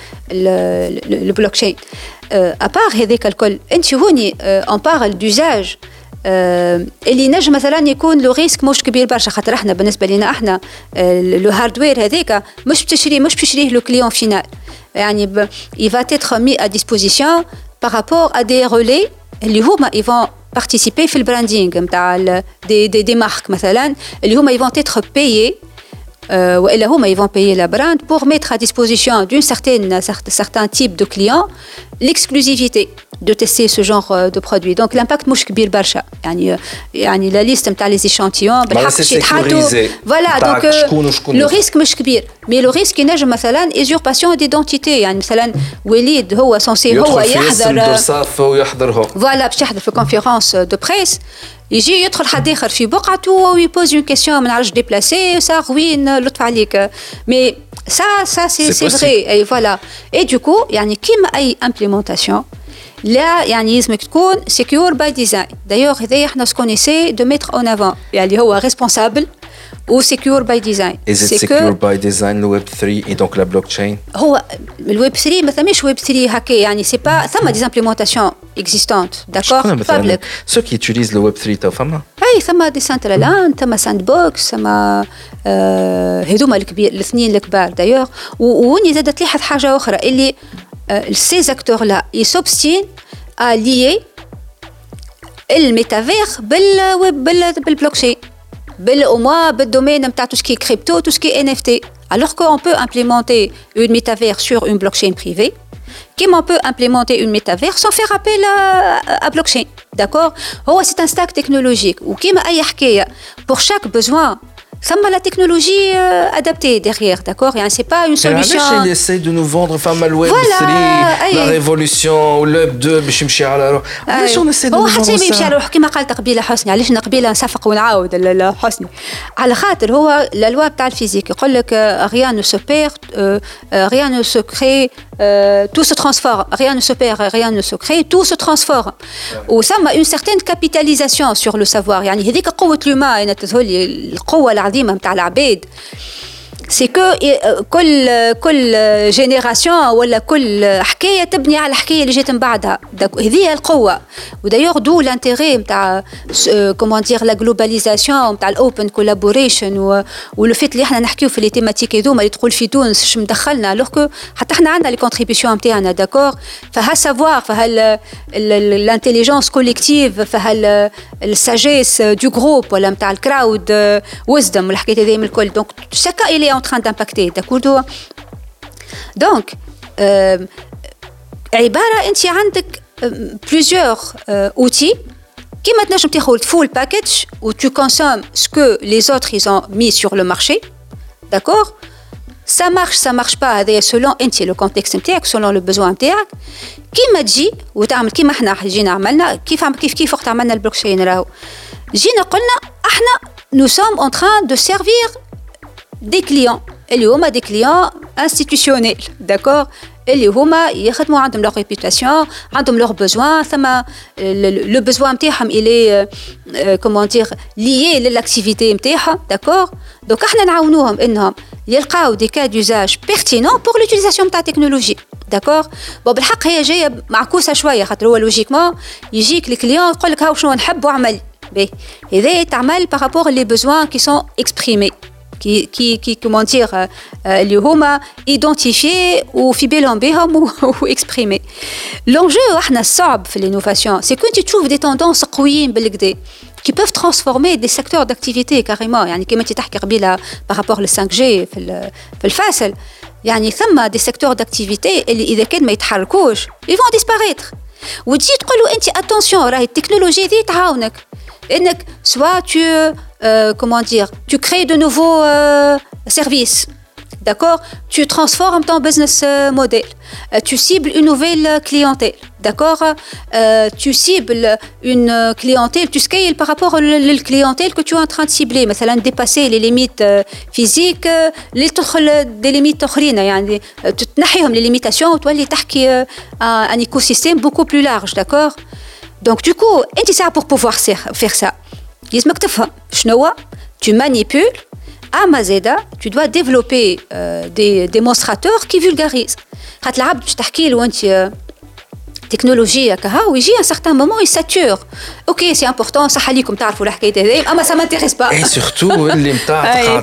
le blockchain à part هذاك الكل أنت هوني on parle d'usage اللي نجم مثلا يكون لو ريسك مش كبير برشا خاطر احنا بالنسبه لنا احنا لو هاردوير هذاك مش بتشريه لو كليون فينال يعني il va être mis à disposition par rapport à des relais اللي هما ils vont participer في البراندينغ نتاع دي مارك مثلا اللي هما ils vont être payés والا هما ils vont payer la brand pour mettre à disposition d'une certain type de clients l'exclusivité de tester ce genre de produit donc l'impact مش كبير برشا يعني la liste نتاع les échantillons بالحق شي تحطوا voilà donc le risque مش كبير mais le risque ينجم مثلا usurpation d'identité يعني مثلا وليد هو censé هو يحضر voilà باش يحضر في conférence de presse يجي يدخل حد اخر في بقعته ويبوز اون كيسيون ما نعرفش ديبلاسي سا روين لطف عليك مي ça c'est vrai et voilà et du coup يعني كيما اي implémentation لا يعني لازمك تكون secure by design d'ailleurs هذا احنا سكون essaie de mettre en avant يعني هو responsable ou secure by design. Is it secure by design le Web 3 et donc la blockchain? هو الويب 3 ما ثماش ويب 3 هكا يعني سي با ثما دي امبليمونطاسيون اكزيستانت داكور بابليك ceux qui utilisent le Web 3 تو فما اي ثما دي سنترالان ثما ساند بوكس ثما هذوما الكبير الاثنين الكبار دايوغ ووني زادت لاحظ حاجه اخرى اللي ces acteurs là ils s'obstinent à lier الميتافير بالبلوكشين au moins بالdomaine نتاع tout ce qui est crypto tout ce qui est NFT alors qu'on peut implémenter une métavers sur une blockchain privée comme on peut implémenter une métavers sans faire appel à blockchain d'accord c'est un stack technologique ou comme أي حكاية pour chaque besoin ثم la technologie adaptée derrière d'accord يعني c'est pas une solution ils essayent de nous vendre فما الويب 3 la révolution والويب 2 باش يمشي على روح علاش on essaie de nous vendre ça حتى يمشي على روح كما قالت قبيله حسني علاش قبيله نصفق ونعاود حسني على خاطر هو la loi تاع الفيزيك يقول لك rien ne se perd rien ne se crée tout se transforme rien ne se perd rien ne se crée tout se transforme وثم une certaine capitalisation sur le savoir يعني هذيك قوه اليوم انا تظهر لي القوه العظيمه نتاع العباد سي كو كل جينيراسيون ولا كل حكايه تبني على الحكايه اللي جات من بعدها. هذه القوه. ودايوغ دو لانتيري نتاع كومون دير لا جلوباليزاسيون نتاع الاوبن كولابوريشن ولو فيت اللي احنا نحكيو في لي تيماتيك هذوما اللي تقول في تونس اش مدخلنا لوغ حتى احنا عندنا لي كونتريبيسيون نتاعنا داكور. فها سافوار فها الانتيليجنس كوليكتيف فها الساجيس دو جروب ولا نتاع الكراود ويزدم والحكايات هذه من الكل. دونك شاكا إلي en train d'impacter d'accord. Donc عبارة أنت عندك plusieurs outils كيما تنجم تاخذ full package où tu consommes ce que les autres ils ont mis sur le marché d'accord. ça marche pas هذا selon أنت le contexte نتاعك selon le besoin نتاعك. كيما تجي وتعمل كيما احنا جينا عملنا كيف وقت عملنا البلوكشين راهو جينا قلنا احنا nous sommes en train de servir des clients اللي هما des clients institutionnels d'accord اللي هما يخدموا عندهم leur réputation عندهم leurs besoins ثم le besoin نتاعهم il est comment dire lié للاكتيفيتي نتاعهم d'accord. donc احنا نعاونوهم انهم يلقاو des cas d'usage pertinents pour l'utilisation نتاع التكنولوجيا d'accord. bon بالحق هي جايه معكوسه شويه خاطر هو لوجيكمون يجيك الكليون يقول لك هاو شنو نحب واعمل بي هذا تعمل par rapport les besoins qui sont exprimés qui comment dire اللي هما identifiés وفي بالهم بهم وexprimés. l'enjeu احنا الصعب في l'innovation c'est que tu trouves des tendances قويين بالكدا qui peuvent transformer des secteurs d'activité carrément. يعني كما انت تحكي قبيله par rapport لل 5G في الفاصل يعني ثم des secteurs d'activité اللي اذا كان ما يتحركوش ils vont disparaître. وتجي تقولوا انت attention راهي التكنولوجيا دي تعاونك انك soit comment dire tu crées de nouveaux services d'accord. tu transformes ton business model tu cibles une nouvelle clientèle d'accord. tu cibles une clientèle tu scales par rapport à la clientèle que tu es en train de cibler مثلا dépasser les limites physiques اللي تدخل des limites أخرين يعني تنحيهم les limitations وتولي تحكي un écosystème beaucoup plus large d'accord. donc du coup انت ساعة pour pouvoir faire ça لازمك تفهم شنو tu manipules أما زادا tu dois développer des démonstrateurs qui vulgarisent. خاطر العبد باش تحكي له أنت تكنولوجيا كها ويجي un certain moment il sature. ok c'est important صح عليكم تعرفوا الحكاية هذه أما ça m'intéresse pas. et surtout اللي متاع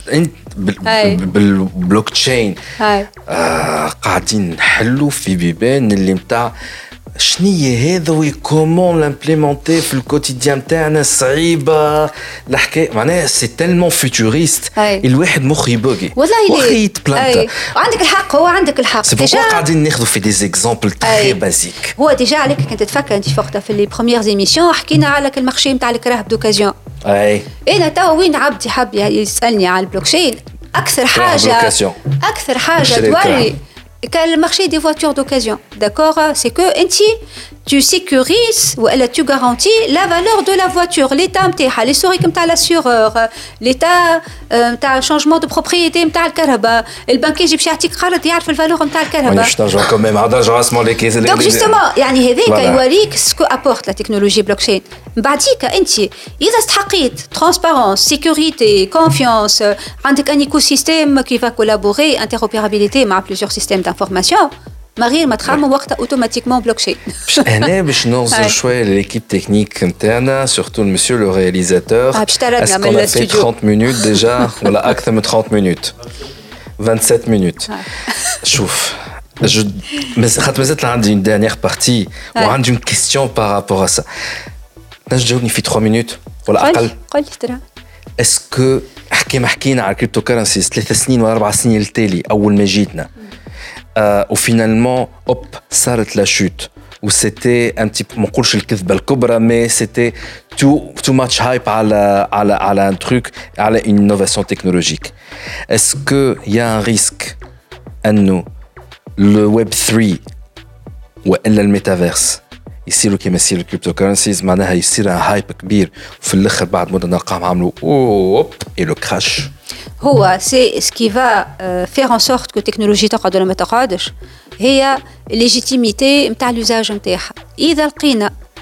بالبلوك تشين قاعدين نحلوا في بيبان اللي متاع شنية هذا وكومون لامبليمونتي في الكوتيديان نتاعنا صعيبة الحكاية معناها سي تالمون فيتوريست الواحد مخ يبوغي والله يتبلانتا. وعندك الحق هو عندك الحق سي بوركوا قاعدين ناخذوا في دي زيكزامبل تري بازيك. هو ديجا عليك كنت تفكر انت وقتها في لي بروميير ايميسيون حكينا على المارشي نتاع الكراهب دوكازيون. انا توا وين عبدي حاب يسالني على البلوكشين اكثر حاجه توري le marché des voitures d'occasion, d'accord, c'est que tu sécurises ou tu garantis la valeur de la voiture, l'état نتاعها, l'historique نتاع l'assureur, l'état نتاع changement de propriété نتاع الكهرباء, البنك يجي باش يعطيك قرض يعرف الفالور نتاع الكهرباء. مانيش نرجع كمان عاد نرجع اسمع لي كيس. donc justement يعني هذاك يوريك سكو apporte la technologie blockchain. بعديك انت اذا استحقيت transparence, sécurité, confiance, عندك un écosystème qui va collaborer, interopérabilité مع plusieurs systèmes d'information, ما غير ما تخمم وقتها اوتوماتيكمون بلوكشين. انا باش نوصل شويه لليكيب تكنيك نتاعنا سورتو المسيو لو رياليزاتور. اسكو انا في 30 مينوت ديجا ولا اكثر من 30 مينوت 27 مينوت. شوف خاطر مازالت عندي اون دانيير بارتي وعندي اون كيستيون بارابور ا سا. نجم تجاوبني في 3 مينوت ولا اقل؟ قل ترى اسكو حكينا على الكريبتو كرنسيز 3 سنين ولا 4 سنين التالي اول ما جيتنا وفينالمون اوب صارت لا شوت وسيتي ان تي ما نقولش الكذبه الكبرى مي سيتي تو ماتش هايب على ان تروك على اون انوفاسيون تكنولوجيك. اسكو يا ان ريسك انه لو ويب 3 والا الميتافيرس يصيروا كما يصير الكريبتو كرنسيز معناها يصير هايب كبير وفي الاخر بعد مده نلقاهم عملوا اوب اي لو كراش. هو سي سكي فا فير ان سورت كو التكنولوجيا تقعد ولا ما تقعدش هي ليجيتيميتي نتاع لوزاج نتاعها. اذا لقينا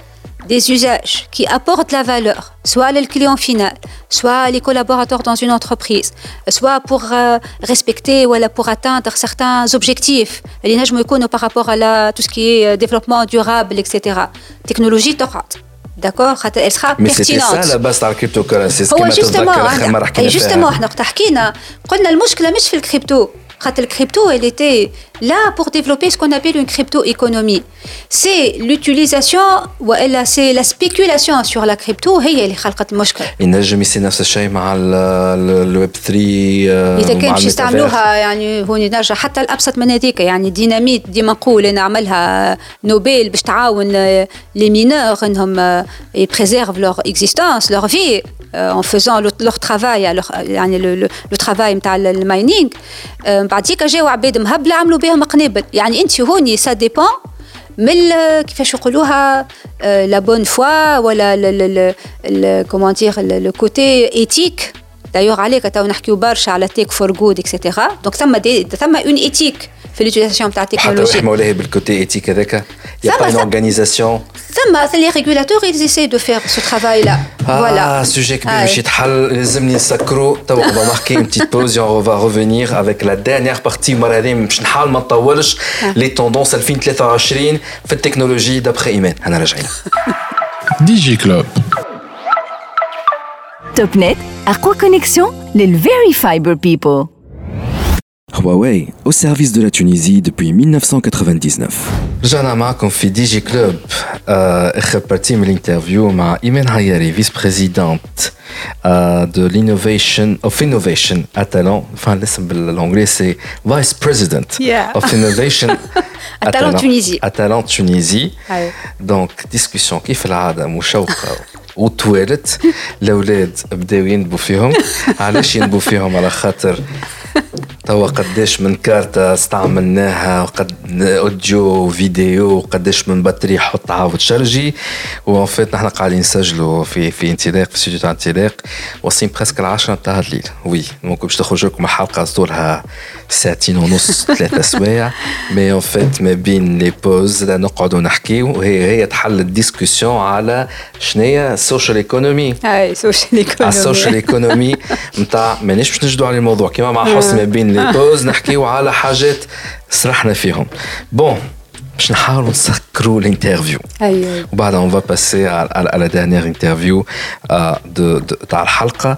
des usages qui apportent la valeur, soit le client final, soit les collaborateurs dans une entreprise, soit pour respecter ou pour atteindre certains objectifs, par rapport à tout ce qui est développement durable, etc. Technologie تقعد. D'accord, elle sera mais pertinente. c'était ça la base de la cryptocurrency. Justement, احنا وقت حكينا قلنا المشكلة مش في الكريبتو. Le crypto, elle était là pour développer ce qu'on appelle une crypto-économie. C'est l'utilisation, ou c'est la spéculation sur la crypto, هي اللي خلقت المشكل. ينجم يصير نفس الشيء مع الويب 3 إذا كان باش يستعملوها يعني هوني نرجع حتى الأبسط من هذيك يعني ديناميت ديما نقول نعملها نوبل باش تعاون لي مينور إنهم يبريزيرف leur existence, leur vie en faisant leur travail, يعني le travail نتاع الماينينغ. بعديك جاوا عباد مهبله عملوا بهم قنابل يعني انت هوني سا ديبون من كيفاش يقولوها لا بون فوا ولا كومون دير لو كوتي ايتيك دايوغ عليك تو نحكيو برشا على تيك فور جود اكسيتيرا دونك ثم اون ايتيك في لوتيليزاسيون تاع التكنولوجيا حتى مولاي بالكوتي ايتيك هذاك يا با اون اورغانيزاسيون ثم لي ريغولاتور ils essaient de faire ce travail là voilà sujet كبير باش يتحل لازمني نسكروا تو on va marquer une petite pause et on va revenir avec la dernière partie المره هذه باش نحاول ما نطولش لي توندونس 2023 في التكنولوجي دابخي ايمان انا راجعين دي جي كلوب توب نت أقوى كونيكسيون للفيري فايبر بيبل. Huawei, au service de la Tunisie depuis 1999. رجعنا معكم في دي جي كلوب. اخر بارتي من الانترفيو مع ايمان هياري فيس بريزيدنت de l'innovation of innovation à Talent. Enfin l'ism بالانجلي سي فايس بريزيدنت of innovation à Talent Tunisie. à Talent Tunisie. Donc discussion كيف العاده مشوقه وتوالت. الاولاد بداو ينبوا فيهم. علاش ينبوا فيهم؟ على خاطر توا قداش من كارتة استعملناها وقد اوديو فيديو وقداش من بطارية حط عاود شرجي وان فيت نحن قاعدين نسجلوا في انطلاق في استوديو تاع انطلاق واصلين بريسك 10 تاع الليل. وي ممكن باش تخرج لكم حلقة طولها ساعتين ونص 3 سوايع مي ان فيت ما بين لي بوز نقعدوا نحكيو وهي تحل الديسكسيون على شنيا السوشيال ايكونومي. السوشيال ايكونومي نتاع مانيش باش نجدوا على الموضوع كيما مع حسن ما بين لي بوز نحكيو على حاجات سرحنا فيهم. بون باش نحاولوا نسكروا الانترفيو وبعد on va passer à la dernière interview تاع الحلقة.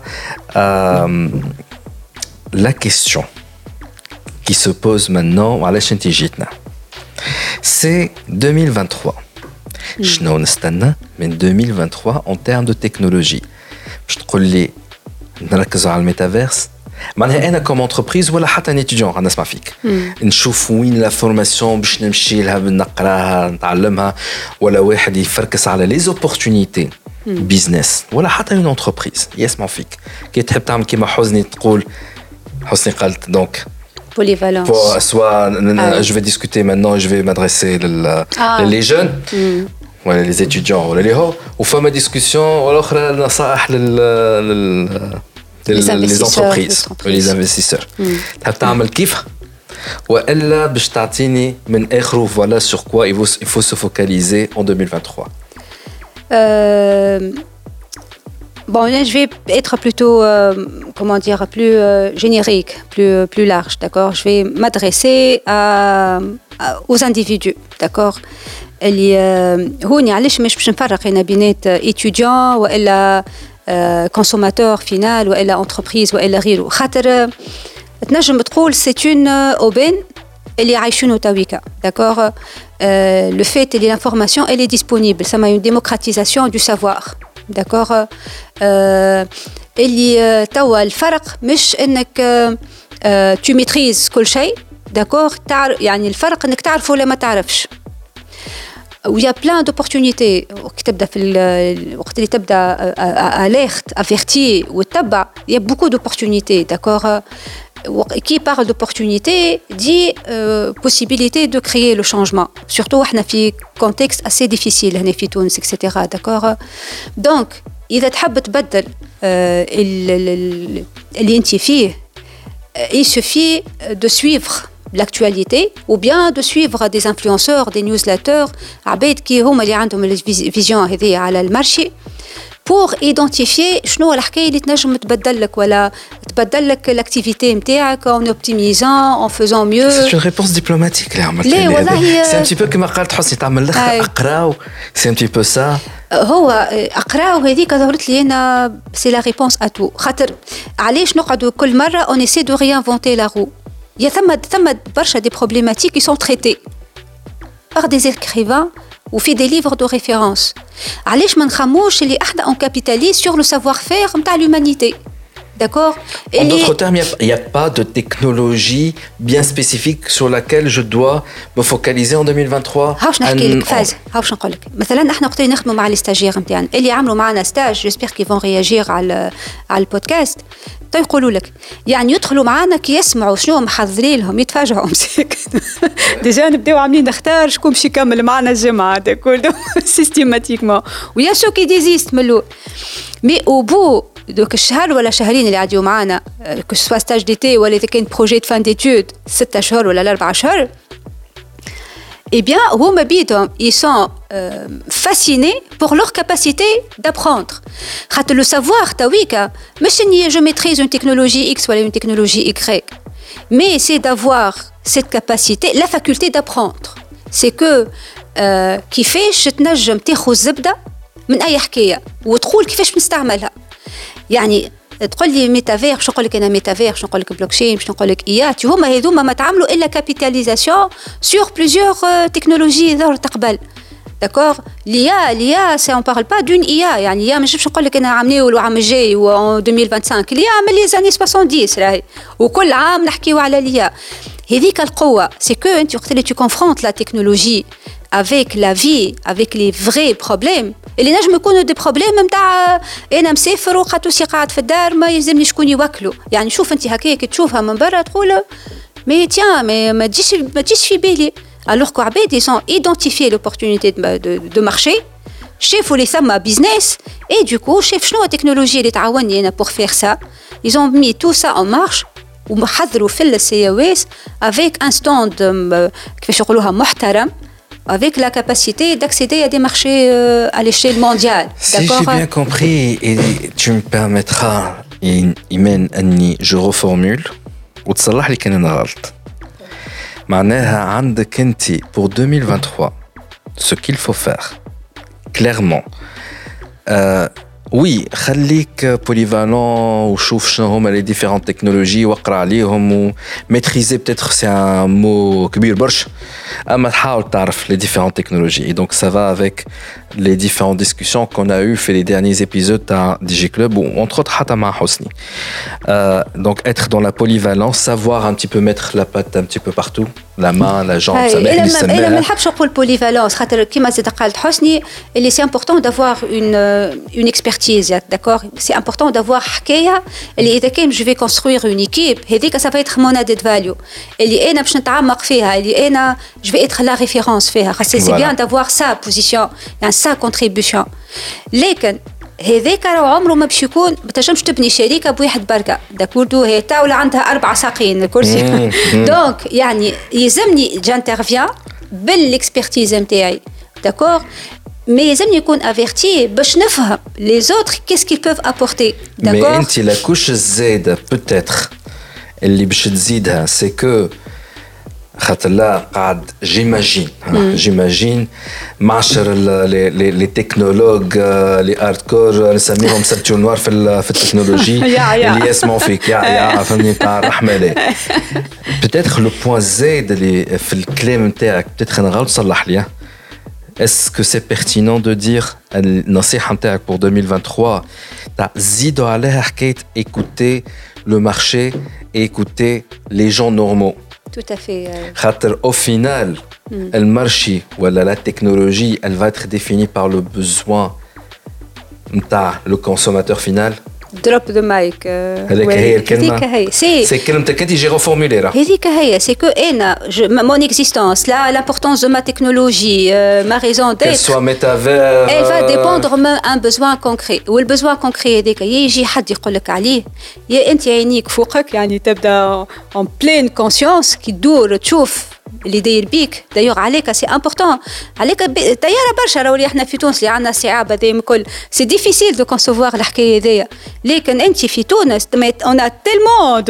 La question qui se pose maintenant وعلاش انت جيتنا c'est 2023. شنو نستنى من 2023 en termes de technologie؟ باش تقول لي نركزوا على الميتافيرس معناها انا كوم انتربريز ولا حتى ان اتيديون غنسمع فيك نشوف وين لا فورماسيون باش نمشي لها نقراها نتعلمها ولا واحد يفركس على لي زوبورتونيتي بيزنس ولا حتى اون انتربريز يسمع فيك كي تحب تعمل كيما حسني تقول حسني قالت دونك polyvalence. Soit je vais discuter maintenant, je vais m'adresser les jeunes, voilà, les étudiants, voilà, les hauts, ou faire ma discussion, ou alors les entreprises, les investisseurs. تحب تعمل كيف وإلا باش تعطيني من آخره voilà sur quoi il faut se focaliser en 2023. Bon, je vais être plutôt, comment dire, plus générique, plus large, d'accord. Je vais m'adresser aux individus, d'accord. اللي هوني علاش مش باش نفرق هنا بينات étudiant وإلا consommateur final وإلا entreprise وإلا غيره. خاطر تنجم تقول c'est une aubaine اللي عايشينه تويكا، d'accord. Le fait اللي l'information elle est disponible, ça m'a une démocratisation du savoir. d'accord اللي توا الفرق مش انك tu maîtrises كل شيء d'accord يعني الفرق انك تعرف ولا ما تعرفش. ويا بلان دوبورتونيتي وقت تبدا في الوقت اللي تبدا اليرت افيرتي وتتبع يا بوكو دوبورتونيتي d'accord. Qui parle d'opportunité dit possibilité de créer le changement. Surtout, on a un contexte assez difficile, on est في تونس, etc. D'accord. Donc, إذا تحب تبدل اللي أنت فيه, il suffit de suivre l'actualité ou bien de suivre des influenceurs, des newsletters, عباد كي هما اللي عندهم الفيزيون هذه على المارشي pour identifier شنو الحكايه اللي تنجم تبدل لك ولا تبدل لك l'activité نتاعك en optimisant, en faisant mieux. C'est une réponse diplomatique là. لا والله c'est un petit peu كما قالت حسني تعمل لك اقراو c'est un petit peu ça. هو اقراو هذيك ظهرت لي انا c'est la réponse à tout خاطر علاش نقعدوا كل مره on essaie de réinventer la roue. Il y a ثم برشا des problématiques qui sont traitées par des écrivains ou fait des livres de référence. علاش ما نخموش اللي احنا on capitalise sur le savoir-faire نتاع l'humanité. D'accord. En d'autres termes, il n'y a pas de technologie bien spécifique sur laquelle je dois me focaliser en 2023. هاوش نحكي لك فاز هاوش نقول لك مثلا احنا وقت نخدموا مع لي ستاجير نتاعنا اللي عملوا معنا ستاج جيسبر كي فون رياجير على البودكاست يقولوا لك يعني يدخلوا معنا كي يسمعوا شنو محضرين لهم يتفاجئوا مساكن ديجا نبداو عاملين نختار شكون باش يكمل معنا الجامعه هذا كله سيستيماتيكمون ويا شو كي ديزيست من الاول مي او بو دوك الشهر ولا شهرين اللي عادوا معنا كو سوا ستاج ديتي ولا اذا كان بروجي دو فان ديتود 6 اشهر ولا 4 اشهر eh bien, ils sont fascinés pour leur capacité d'apprendre. Le savoir, je maîtrise une technologie X ou une technologie Y, mais c'est d'avoir cette capacité, la faculté d'apprendre. C'est que كيفاش تنجم تاخذ الزبده من اي حكايه وتقول كيفاش نستعملها. يعني تقول لي ميتافير شنو نقول لك انا ميتافير شنو نقول لك بلوكشين شنو نقول لك ايات هما هذوما ما تعملوا الا كابيتاليزاسيون سور بليزيور تكنولوجي ظهر تقبل داكور ليا سي اون بارل با دون ايا يعني يا مش نقول لك انا عامليو العام الجاي و 2025 ليا عمل لي زاني 70 راهي وكل عام نحكيو على ليا هذيك القوه سي كو انت وقت اللي تو كونفرونت لا تكنولوجي avec la vie avec les vrais problèmes اللي نجم يكونوا دي بروبليم نتاع انا مسافر وقاتوسي قاعد في الدار ما يلزمني شكون يوكله يعني شوف انت هكاك تشوفها من برا تقول مي تيان ما تجيش في بالي alors que عباد ils ont identifié l'opportunité de marché شافوا لي ثم بيزنس et du coup شاف شنو التكنولوجيا اللي تعاوني انا pour faire ça ils ont mis tout ça en marche وحضروا في السياويس avec un stand كيفاش يقولوها محترم avec la capacité d'accéder à des marchés à l'échelle mondiale. Si j'ai bien compris, et tu me permettras, Imen, Annie, je reformule, وتصلح لي كان أنا غلط. معناها عندك أنت pour 2023, ce qu'il faut faire, clairement. Oui, خليك polyvalent وشوف شنو هما les différentes technologies واقرا عليهم و maîtriser peut-être c'est un mot كبير برشا اما تحاول تعرف les différentes technologies et donc ça va avec les différentes discussions qu'on a eu fait les derniers épisodes à DigiClub ou entre autres حتى مع حسني donc être dans la polyvalence savoir un petit peu mettre la patte un petit peu partout la main la jambe ça met إلا ما نحبش نقول polyvalence خاطر كيما زاد قالت حسني اللي c'est important d'avoir une expertise d'accord c'est important d'avoir حكايه اللي اذا كان je vais construire une équipe هذيك ça va être mon added value اللي انا باش نتعمق فيها اللي انا je vais être la référence فيها خاطر c'est bien d'avoir sa position يعني sa contribution لكن هذاك راه عمره ما باش يكون ما تنجمش تبني شركه بواحد بركه داكوردو هي تاوله عندها 4 ساقين الكرسي دونك يعني يلزمني جانترفيان بالاكسبرتيز نتاعي داكور mais يلزمني يكون averti باش نفهم les autres qu'est-ce qu'ils peuvent apporter d'accord mais انت la couche الزايده peut-être اللي باش تزيدها c'est que خاطر لا قاعد جيماجين معشر لي تكنولوج لي هاردكور نسميهم سبتو نوار في التكنولوجي اللي يسمعوا فيك يا فهمني تاع الرحمه لي بتاتخ لو بوين زايد اللي في الكلام نتاعك بتاتخ انا غلط صلح لي est-ce que c'est pertinent de dire النصيحه نتاعك pour 2023 تاع زيدوا عليها حكايه écouter le marché et écouter les gens normaux tout à fait خاطر au final le marché ou la technologie elle va être définie par le besoin نتاع le consommateur final دروب ذا مايك. هذيك هي الكلمه. سي كلمتك انت جي ريفورموليرا. هذيك هي سي كو انا مون اكزيستونس لا لامبورطونس دو ما تكنولوجي ما ريزون ديت سوا ميتافير elle va dépendre من un besoin concret والبزوان كونكري هذاك يجي حد يقول لك عليه يا انت عينيك فوقك يعني تبدا en pleine conscience كي تدور تشوف اللي داير بيك دايوغ عليك سي امبورطون عليك طياره برشا راهو احنا في تونس اللي عندنا الصعاب هذايا الكل سي ديفيسيل دو كونسوفوار الحكايه هذيا لكن انت في تونس اون ا تيلمون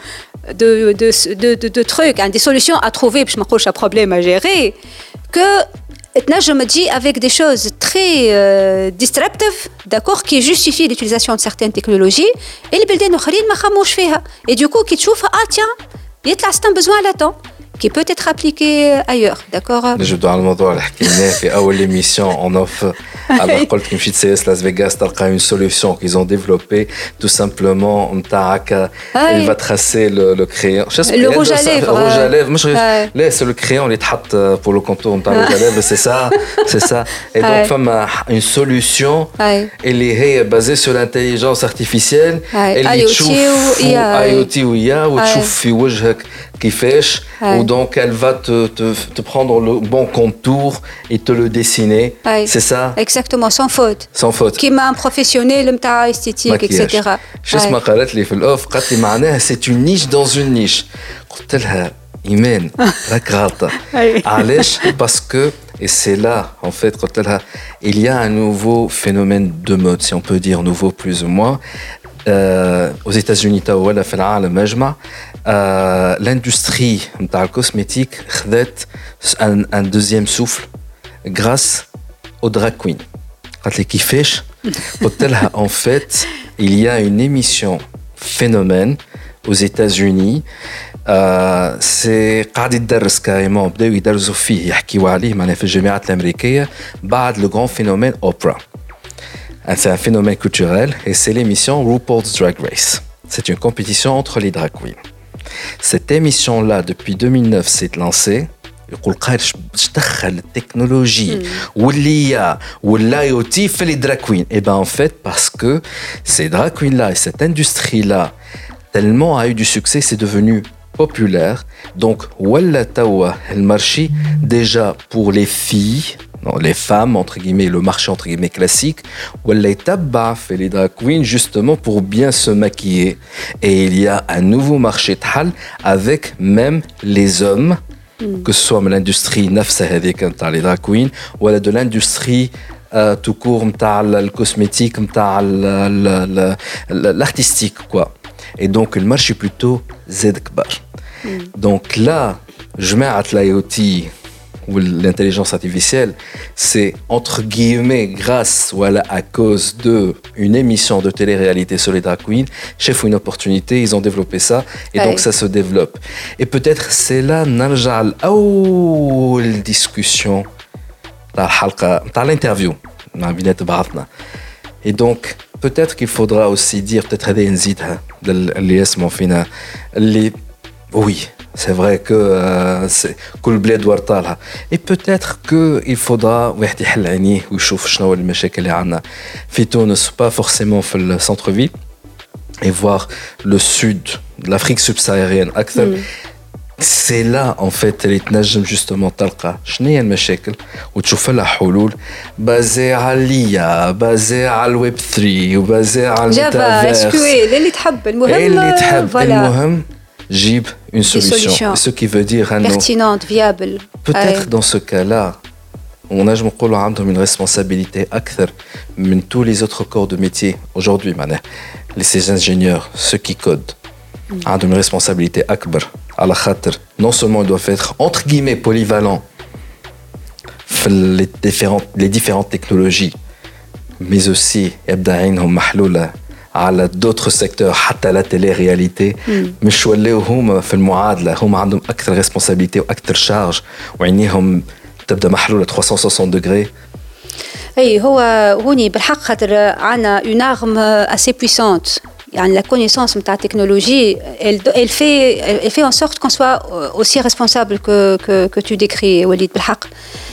de trucs hein, des solutions à trouver باش ما نقولش problème à gérer que تنجم تجي avec des choses très disruptives d'accord qui justifient l'utilisation de certaines technologies et les بلدان اخرين ما خموش فيها et du coup كي تشوفها tiens يطلع c'est un besoin latent qui peut être appliqué ailleurs, d'accord? نجبدوا على الموضوع اللي حكيناه في أول émission en off. Alors قلت كي مشيت CS Las Vegas تلقى une solution qu'ils ont développée tout simplement نتاعك il va tracer le crayon. Le rouge à lèvres. Le rouge à lèvres. مش لا c'est le crayon اللي تحط pour le contour نتاع rouge à lèvres c'est ça c'est ça. Et donc فما une solution اللي هي basée sur l'intelligence artificielle اللي تشوف IoT ويا وتشوف في وجهك كيفاش donc elle va te prendre le bon contour et te le dessiner. C'est ça? Exactement, sans faute. Sans faute. Qui m'a un professionnel نتاع esthétique etc. شو اسمها قالت لي في الأوف قالت لي معناها c'est une niche dans une niche. قلت لها إيمان راك غلطة. علاش؟ parce que et c'est là en fait قلت لها il y a un nouveau phénomène de mode si on peut dire nouveau plus ou moins. aux États-Unis ولا في العالم أجمع l'industrie نتاع الكوسميتيك خذت un deuxième souffle grâce aux drag queens. قالت لي كيفاش؟ قلت لها en fait il y a une émission phénomène aux États-Unis سي قاعد يدرس كاريمون بداو يدرسوا فيه يحكيوا عليه معناها في الجامعات الأمريكية بعد le grand phénomène Oprah. C'est un phénomène culturel et c'est l'émission RuPaul's Drag Race. C'est une compétition entre les drag queens. Cette émission-là, depuis 2009, s'est lancée. يقول قايرش دخل التكنولوجي واللي والIoT في les drag queens. Et ben en fait parce que ces drag queens-là et cette industrie-là tellement a eu du succès, c'est devenu populaire. Donc ولا توا المارشي déjà pour les filles. Non, les femmes, entre guillemets, le marché, entre guillemets, classique, ou les tabac fait les drag queens, justement, pour bien se maquiller. Et il y a un nouveau marché de hal avec même les hommes, que ce soit l'industrie nafsa avec les drag queens, ou de l'industrie tout court, le cosmétique, l'artistique, quoi. Et donc, le marché est plutôt zedkbar. Donc là, je mets à l'IoT, ou l'intelligence artificielle, c'est entre guillemets grâce voilà à cause de une émission de télé-réalité sur les drag queens, chef une opportunité, ils ont développé ça et donc ça se développe. Et peut-être c'est là نرجع لأول discussion تاع الحلقة تاع l'interview مع بينات بعضنا. Et donc peut-être qu'il faudra aussi dire peut-être هذه نزيدها اللي يسمعوا فينا اللي oui. C'est vrai que كل بلاد ورطالها. Et peut-être qu'il faudra واحد يحل عينيه ويشوف شنو المشاكل اللي عندنا في تونس pas forcément في السنتر-ville et voir le sud de l'Afrique subsaharienne أكثر. C'est là en fait اللي تنجم justement تلقى شنو هي المشاكل وتشوف لها حلول بازي على ليا بازي على الويب 3 وبازي على الميتافيرس اللي تحب المهم جيب une solution. Ce qui veut dire pertinente, viable. Peut-être dans ce cas-là, on a une responsabilité أكثر من tous les autres corps de métier aujourd'hui. Les ingénieurs, ceux qui codent, ont une responsabilité أكبر. على خاطر non seulement ils doivent être entre guillemets polyvalents les différentes technologies, mais aussi يبدا عينهم محلولة على d'autres secteurs حتى لا télé-réalité مش ولاو هما في المعادلة هم عندهم أكثر responsabilité وأكثر شارج وعينيهم تبدأ محلولة 360 degrés. أي هو هوني بالحق خاطر عنا une arme assez puissante يعني la connaissance de la technologie elle fait en sorte qu'on soit aussi responsable que tu décris Walid بالحق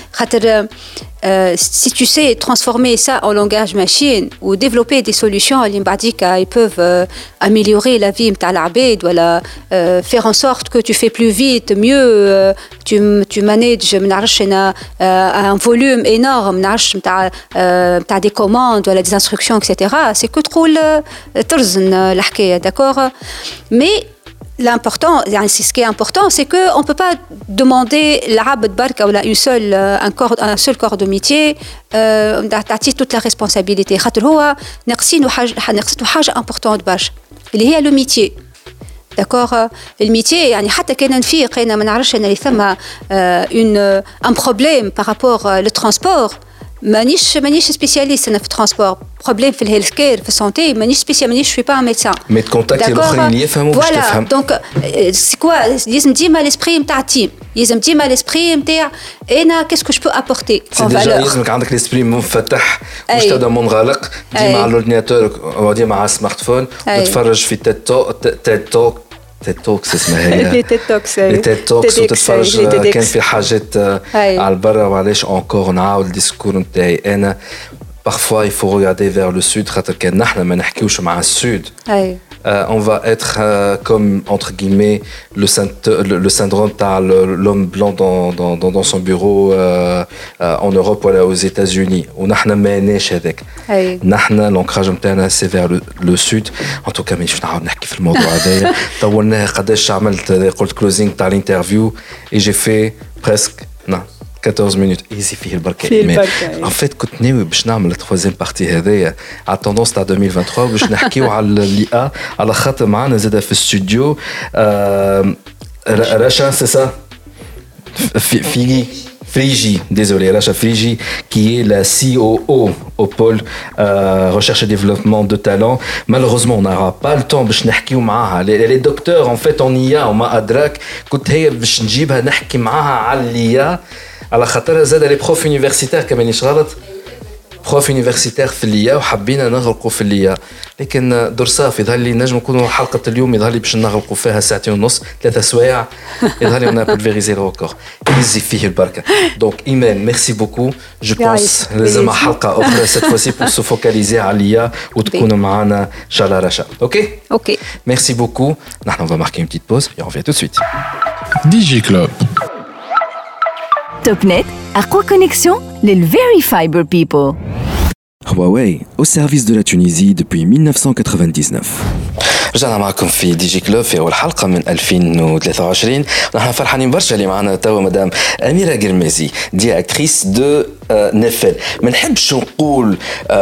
Si tu sais transformer ça en langage machine ou développer des solutions ils peuvent améliorer la vie de l'abed ou faire en sorte que tu fais plus vite, mieux, tu manages un volume énorme t'as des commandes ou des instructions, etc. C'est que trop d'accord, mais l'important, c'est ce qui est important, c'est qu'on ne peut pas demander l'abd barka ou un seul corps de métier d'attirer toute la responsabilité. نقصينه حاجة importante برشا اللي هي le métier. D'accord, le métier يعني حتى كان نفيق أنا ما نعرفش أن ثم un problème par rapport au transport. مانيش سبيسياليست انا في الترانسبور بروبليم في الهيلث كير في السونتي مانيش سبيسيال مانيش شوي با ميدسان مي تكونتاكتي الاخرين اللي يفهموا باش تفهم دونك سي كوا لازم ديما ليسبري نتاع التيم لازم ديما ليسبري نتاع انا كاسكو جو بو ابورتي سي ديجا لازمك عندك ليسبري منفتح مش تبدا منغلق ديما على الاورديناتور او ديما على السمارت فون وتتفرج في تيد توك تيد توكس اسمها هي لي تيد توكس لي تيد توكس وتتفرج كان في حاجات على البرا وعلاش انكور نعاود الديسكور نتاعي انا parfois il faut regarder vers le sud خاطر كان نحنا ما نحكيوش مع السود on va être comme entre guillemets le syndrome de l'homme blanc dans son bureau en Europe ou aux États-Unis ونحنا ما لناش هذاك نحنا l'ancrage نتاعنا c'est vers le sud en tout cas مانيش نعاود نحكي في الموضوع هذايا طولناها قداش عملت قلت كلوزينغ تاع الانترفيو et j'ai fait presque 14 minutes ايزي فيه البركه ان فيت كنت ناوي باش نعمل التروازيام بارتي هذايا على التوندونس تاع 2023 باش نحكيو على اللي على خاطر معنا زاده في الاستوديو رشا سي سا Frigi, désolé, Racha Frigi, qui est la COO au pôle recherche et développement de talent. Malheureusement, on n'aura pas le temps باش نحكيو معاها. Les docteurs en fait en IA وما أدراك كنت هي باش نجيبها نحكي معاها على الIA على خاطر زاد لي بروف يونيفرسيتير كمان مانيش غلط بروف يونيفرسيتير في الIA وحبينا نغرقوا في الIA لكن درصاف يظهر لي نجم نكونوا حلقه اليوم يظهر لي باش نغرقوا فيها ساعتين ونص 3 سوايع يظهر لي انا بولفيريزي الريكورد يزي فيه البركه دونك ايمان ميرسي بوكو جو بونس لازم حلقه اخرى سيت فوسي بور سو فوكاليزي على الIA وتكونوا معنا ان شاء الله رشا اوكي ميرسي بوكو نحن on va marquer une petite pause et on revient tout de suite DJ Club توبنت أقوى كونيكسيون للفيري فايبر بيبل. Huawei, au service de la Tunisie depuis 1999. رجعنا معكم في دي جي كلوب في أول حلقة من 2023 نحن فرحانين برشا اللي معنا توا مدام أميرة قرمازي ديريكتريس دو نفل ما نحبش نقول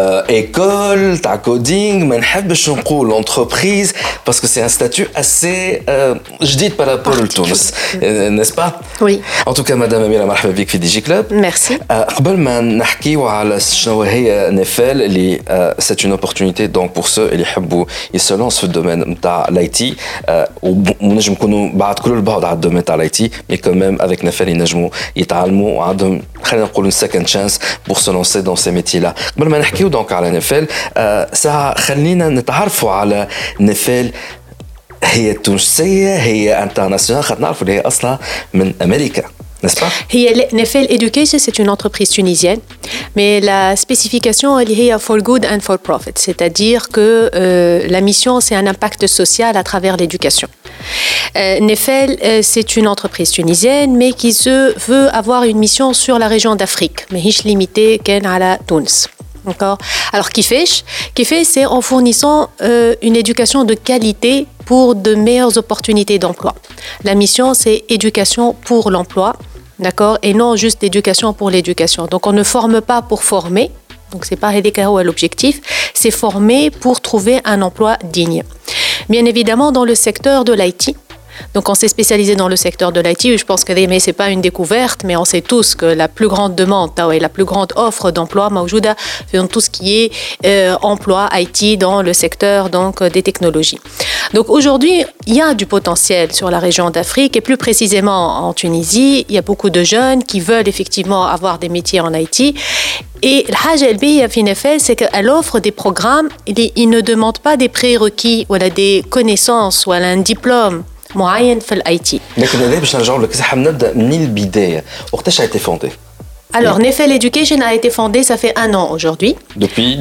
école تاع كودينغ ما نحبش نقول entreprise parce que c'est un statut assez جديد par rapport لتونس n'est-ce pas Oui. En tout cas مدام أميرة مرحبا بك في دي جي كلوب Merci. قبل ما نحكيو على شنو هي نفل اللي c'est une opportunité donc pour ceux اللي يحبوا يسلونس في الدومين نتاع الايتي ونجم نكونوا بعد كل البعد على الدومين تاع الايتي مي كوميم افيك نفل ينجموا يتعلموا وعندهم خلينا نقولوا سكند شانس بور سو لونسي دون سي ميتي لا قبل ما نحكيو دونك على نفل ساعه خلينا نتعرفوا على نفل هي تونسيه هي انترناسيونال خاطر نعرفوا اللي هي اصلا من امريكا n'est-ce pas? Nefel Education, c'est une entreprise tunisienne, mais la spécification, elle est for good and for profit, c'est-à-dire que la mission, c'est un impact social à travers l'éducation. Nefel, c'est une entreprise tunisienne, mais qui se veut avoir une mission sur la région d'Afrique, mais hiche limitée qu'elle a la Tunis. D'accord. Alors, Kifesh, c'est en fournissant une éducation de qualité pour de meilleures opportunités d'emploi. La mission, c'est éducation pour l'emploi, d'accord, et non juste éducation pour l'éducation. Donc, on ne forme pas pour former. Donc, c'est pas l'objectif, c'est former pour trouver un emploi digne. Bien évidemment, dans le secteur de l'IT. Donc, on s'est spécialisé dans le secteur de l'IT. Je pense que c'est pas une découverte, mais on sait tous que la plus grande demande et la plus grande offre d'emploi, Maoujouda, dans tout ce qui est emploi IT dans le secteur donc des technologies. Donc aujourd'hui, il y a du potentiel sur la région d'Afrique et plus précisément en Tunisie. Il y a beaucoup de jeunes qui veulent effectivement avoir des métiers en IT. Et l'Hajj LBI à Finefel, c'est qu'elle offre des programmes. Il ne demande pas des prérequis ou des connaissances ou un diplôme معين في الاي تي. لكن هذا باش نرجعوا لك صح نبدا من البدايه وقتاش عيتي فوندي Alors, Nefel Education a été fondée, ça fait 1 an aujourd'hui. Depuis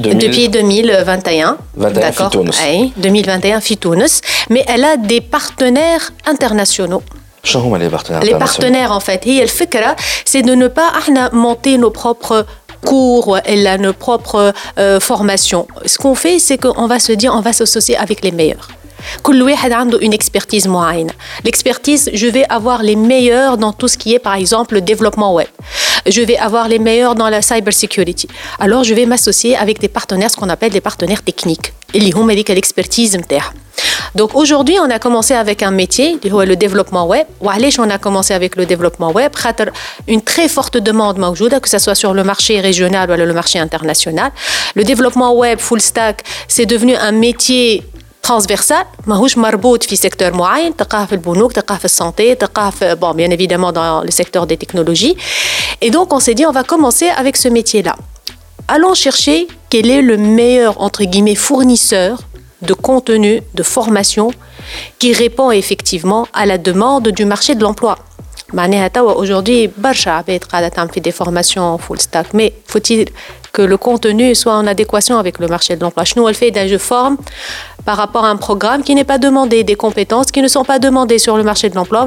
2021. 21 Tunis. Oui, 2021 Tunis. Mais elle a des partenaires internationaux. شنو هما les partenaires Les partenaires, en fait, هي الفكرة, c'est de ne pas monter nos propres cours et nos propres formations. Ce qu'on fait, c'est qu'on va se dire, on va s'associer avec les meilleurs. كل واحد عنده une expertise معينة. L'expertise, je vais avoir les meilleurs dans tout ce qui est, par exemple, le développement web. Je vais avoir les meilleurs dans la cybersecurity. Alors, je vais m'associer avec des partenaires, ce qu'on appelle des partenaires techniques. اللي هما ديك l'expertise نتاعها. Donc aujourd'hui, on a commencé avec un métier, le développement web. وعلاش on a commencé avec le développement web? خاطر une très forte demande موجودة, que ce soit sur le marché régional ou le marché international. Le développement web full stack, c'est devenu un métier transversal, ماهوش مربوط في secteur معين, تلقاه في البنوك, تلقاه في السانté, تلقاه في, bon, bien évidemment dans le secteur des technologies. Et donc on s'est dit, on va commencer avec ce métier-là. Allons chercher quel est le meilleur, entre guillemets, fournisseur de contenu, de formation, qui répond effectivement à la demande du marché de l'emploi. Aujourd'hui, برشا عباد قاعدة تعمل في des formations full stack, mais faut-il que le contenu soit en adéquation avec le marché de l'emploi? Nous, elle fait d'un je forme par rapport à un programme qui n'est pas demandé, des compétences qui ne sont pas demandées sur le marché de l'emploi.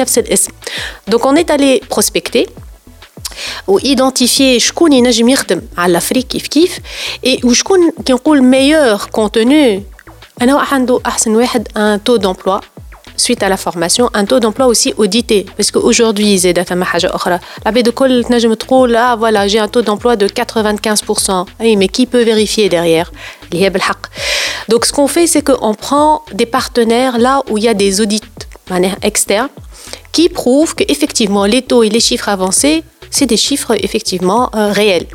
Donc, on est allé prospecter ou identifier شكون ينجم يخدم على l'Afrique كيف et وشكون كي نقول meilleur contenu أنا عنده أحسن واحد un taux d'emploi suite à la formation, un taux d'emploi aussi audité. Parce qu'aujourd'hui, زاد ثم حاجة أخرى. العباد الكل تنجم تقول ah voilà, j'ai un taux d'emploi de 95%. Oui, mais qui peut vérifier derrière? اللي هي بالحق. Donc ce qu'on fait, c'est qu'on prend des partenaires là où il y a des audits externes qui prouvent qu'effectivement les taux et les chiffres avancés, c'est des chiffres effectivement réels.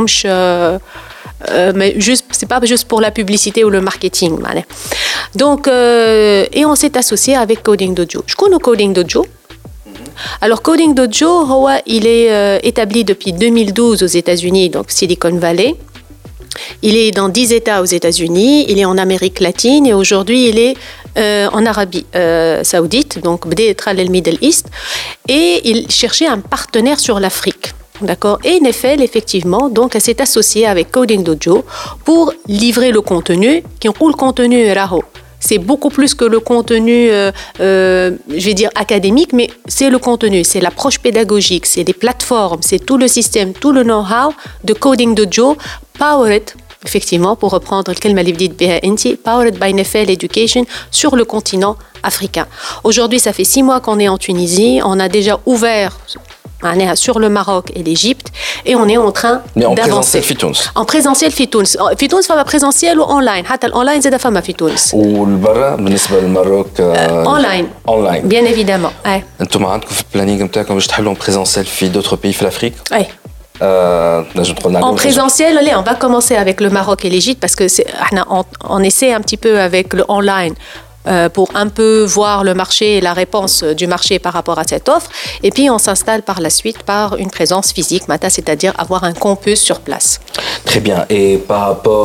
Mais juste, c'est pas juste pour la publicité ou le marketing. Donc, et on s'est associé avec Coding Dojo. Je connais Coding Dojo. Alors, Coding Dojo, il est établi depuis 2012 aux États-Unis, donc Silicon Valley. Il est dans 10 États aux États-Unis, il est en Amérique latine et aujourd'hui il est en Arabie Saoudite, donc le Middle East, et il cherchait un partenaire sur l'Afrique. D'accord. Et Nefel, effectivement, donc, elle s'est associée avec Coding Dojo pour livrer le contenu. Qui ont le contenu Raho. C'est beaucoup plus que le contenu, je vais dire académique, mais c'est le contenu, c'est l'approche pédagogique, c'est les plateformes, c'est tout le système, tout le know-how de Coding Dojo, powered, effectivement, pour reprendre le kelma li bdit biha inti, powered by Nefel Education sur le continent africain. Aujourd'hui, ça fait 6 mois qu'on est en Tunisie, on a déjà ouvert sur le Maroc et l'Égypte et on est en train d'avancer. En présentiel في تونس. في تونس فما présentiel ou online. حتى الأونلاين زاد فما في تونس. والبرا بالنسبة للماروك online. Bien évidemment. أنتم عندكم في البلانينغ نتاعكم باش تحلوا présentiel في d'autres pays في l'Afrique? Oui. En présentiel, allez, on va commencer avec le Maroc et l'Égypte parce que on essaie un petit peu avec le online. Pour un peu voir le marché et la réponse du marché par rapport à cette offre. Et puis, on s'installe par la suite par une présence physique, c'est-à-dire avoir un campus sur place. Très bien. Et par rapport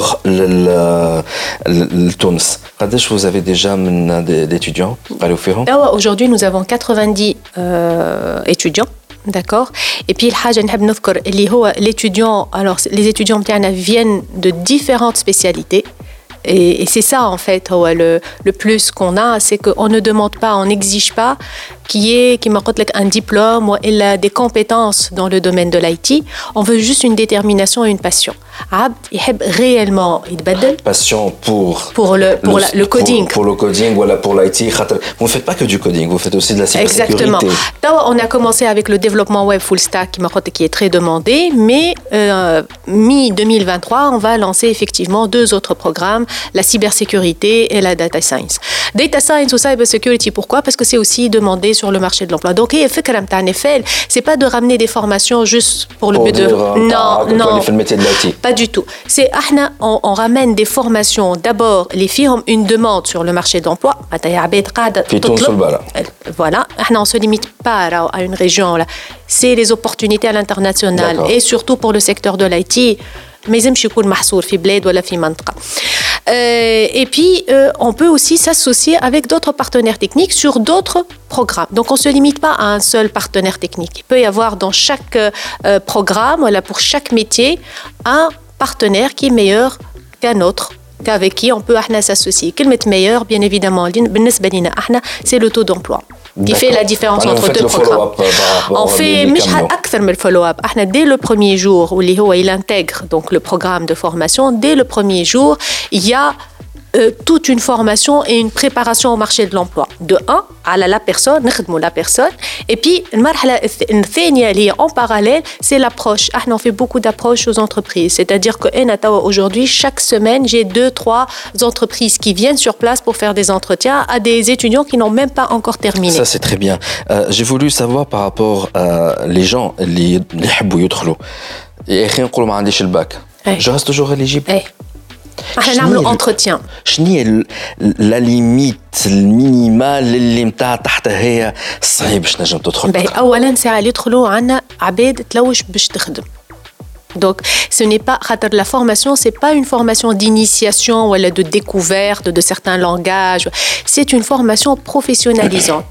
à Tunis, vous avez déjà d'étudiants? Aujourd'hui, nous avons 90 étudiants. D'accord. Et puis, l'étudiant, alors les étudiants viennent de différentes spécialités. Et c'est ça, en fait, le plus qu'on a, c'est qu'on ne demande pas, on n'exige pas qui m'apporte un diplôme ou des compétences dans le domaine de l'IT. On veut juste une détermination et une passion. Abd, il aime réellement passion pour le coding. Pour le coding ou pour l'IT. Vous ne faites pas que du coding, vous faites aussi de la cybersécurité. Exactement. On a commencé avec le développement web full stack qui est très demandé, mais mi-2023, on va lancer effectivement 2 autres programmes, la cybersécurité et la data science. Data science ou cybersecurity, pourquoi? Parce que c'est aussi demandé sur le marché de l'emploi. Donc, c'est pas de ramener des formations juste pour le but de... Non. Pas du tout. C'est on ramène des formations. D'abord, les filles ont une demande sur le marché de l'emploi. Voilà. On ne se limite pas à une région. Là. C'est les opportunités à l'international et surtout pour le secteur de l'IT. ما يلزمش يكون محصور في بلاد ولا في منطقة. Et puis, on peut aussi s'associer avec d'autres partenaires techniques sur d'autres programmes. Donc, on ne se limite pas à un seul partenaire technique. Il peut y avoir dans chaque programme, voilà, pour chaque métier, un partenaire qui est meilleur qu'un autre, qu'avec qui on peut s'associer. Quel est meilleur, bien évidemment, c'est le taux d'emploi. Qui fait la différence entre deux programmes. On fait le follow-up. Dès le premier jour où il intègre donc, le programme de formation, dès le premier jour, il y a toute une formation et une préparation au marché de l'emploi. De un, à la personne, la personne. Et puis, en parallèle, c'est l'approche. On fait beaucoup d'approches aux entreprises. C'est-à-dire qu'aujourd'hui, chaque semaine, j'ai 2-3 entreprises qui viennent sur place pour faire des entretiens à des étudiants qui n'ont même pas encore terminé. Ça, c'est très bien. J'ai voulu savoir par rapport à les gens qui veulent y bac. Je reste toujours éligible. نعملوا entretien. شنو هي لا ليميت المينيمال اللي نتاع تحتها هي صعيب باش نجم تدخل؟ اولا ساعه اللي يدخلوا عندنا عباد تلوش باش تخدم. Donc, ce n'est pas la formation, c'est pas une formation d'initiation ou de découverte de certains langages. C'est une formation professionnalisante.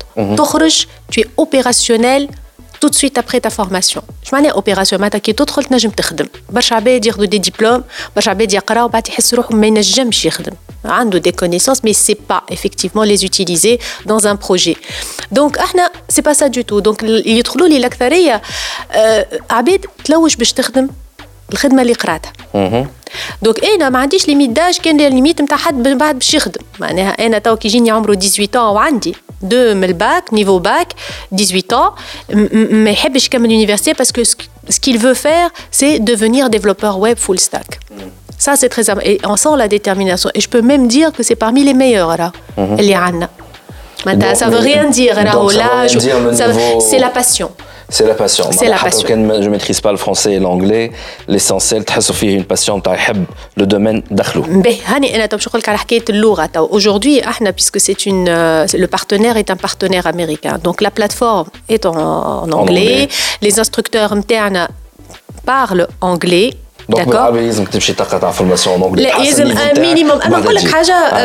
Tu es opérationnel tout de suite après ta formation. Je m'en ai opération معناتها كي تدخل تنجم تخدم. برشا عباد ياخذوا دي ديبلوم، برشا عباد يقراو وبعد يحس روحهم ما ينجمش يخدم. عنده des connaissances mais c'est pas effectivement les utiliser dans un projet. Donc احنا c'est pas ça du tout. Donc يدخلوا لي الأكثرية عباد تلوش باش تخدم الخدمة اللي قراتها. دونك انا ما عنديش ليميت داج كان الليميت نتاع حد بعد باش يخدم. معناها انا تو كي يجيني عمره 18 وعندي 2 من الباك نيفو باك 18 ما يحبش يكمل l'université parce que ce qu'il veut faire c'est devenir développeur web full stack. Ça c'est très important et on sent la détermination et je peux même dire que c'est parmi les meilleurs là اللي عندنا. معناتها ça veut rien dire là c'est la passion. C'est la passion. C'est la passion. Je ne maîtrise pas le français et l'anglais. L'essentiel, تحسوا فيه une passion تاع يحب le domaine دخلوا. باهي هاني أنا باش نقول لك على حكاية اللغة. Aujourd'hui, احنا puisque c'est une le partenaire est un partenaire américain. Donc la plateforme est en anglais. Les instructeurs نتاعنا parlent anglais. Donc بالعربي لازم تمشي تقطع فورماسيون en anglais. لا لازم مينيموم. أنا نقول لك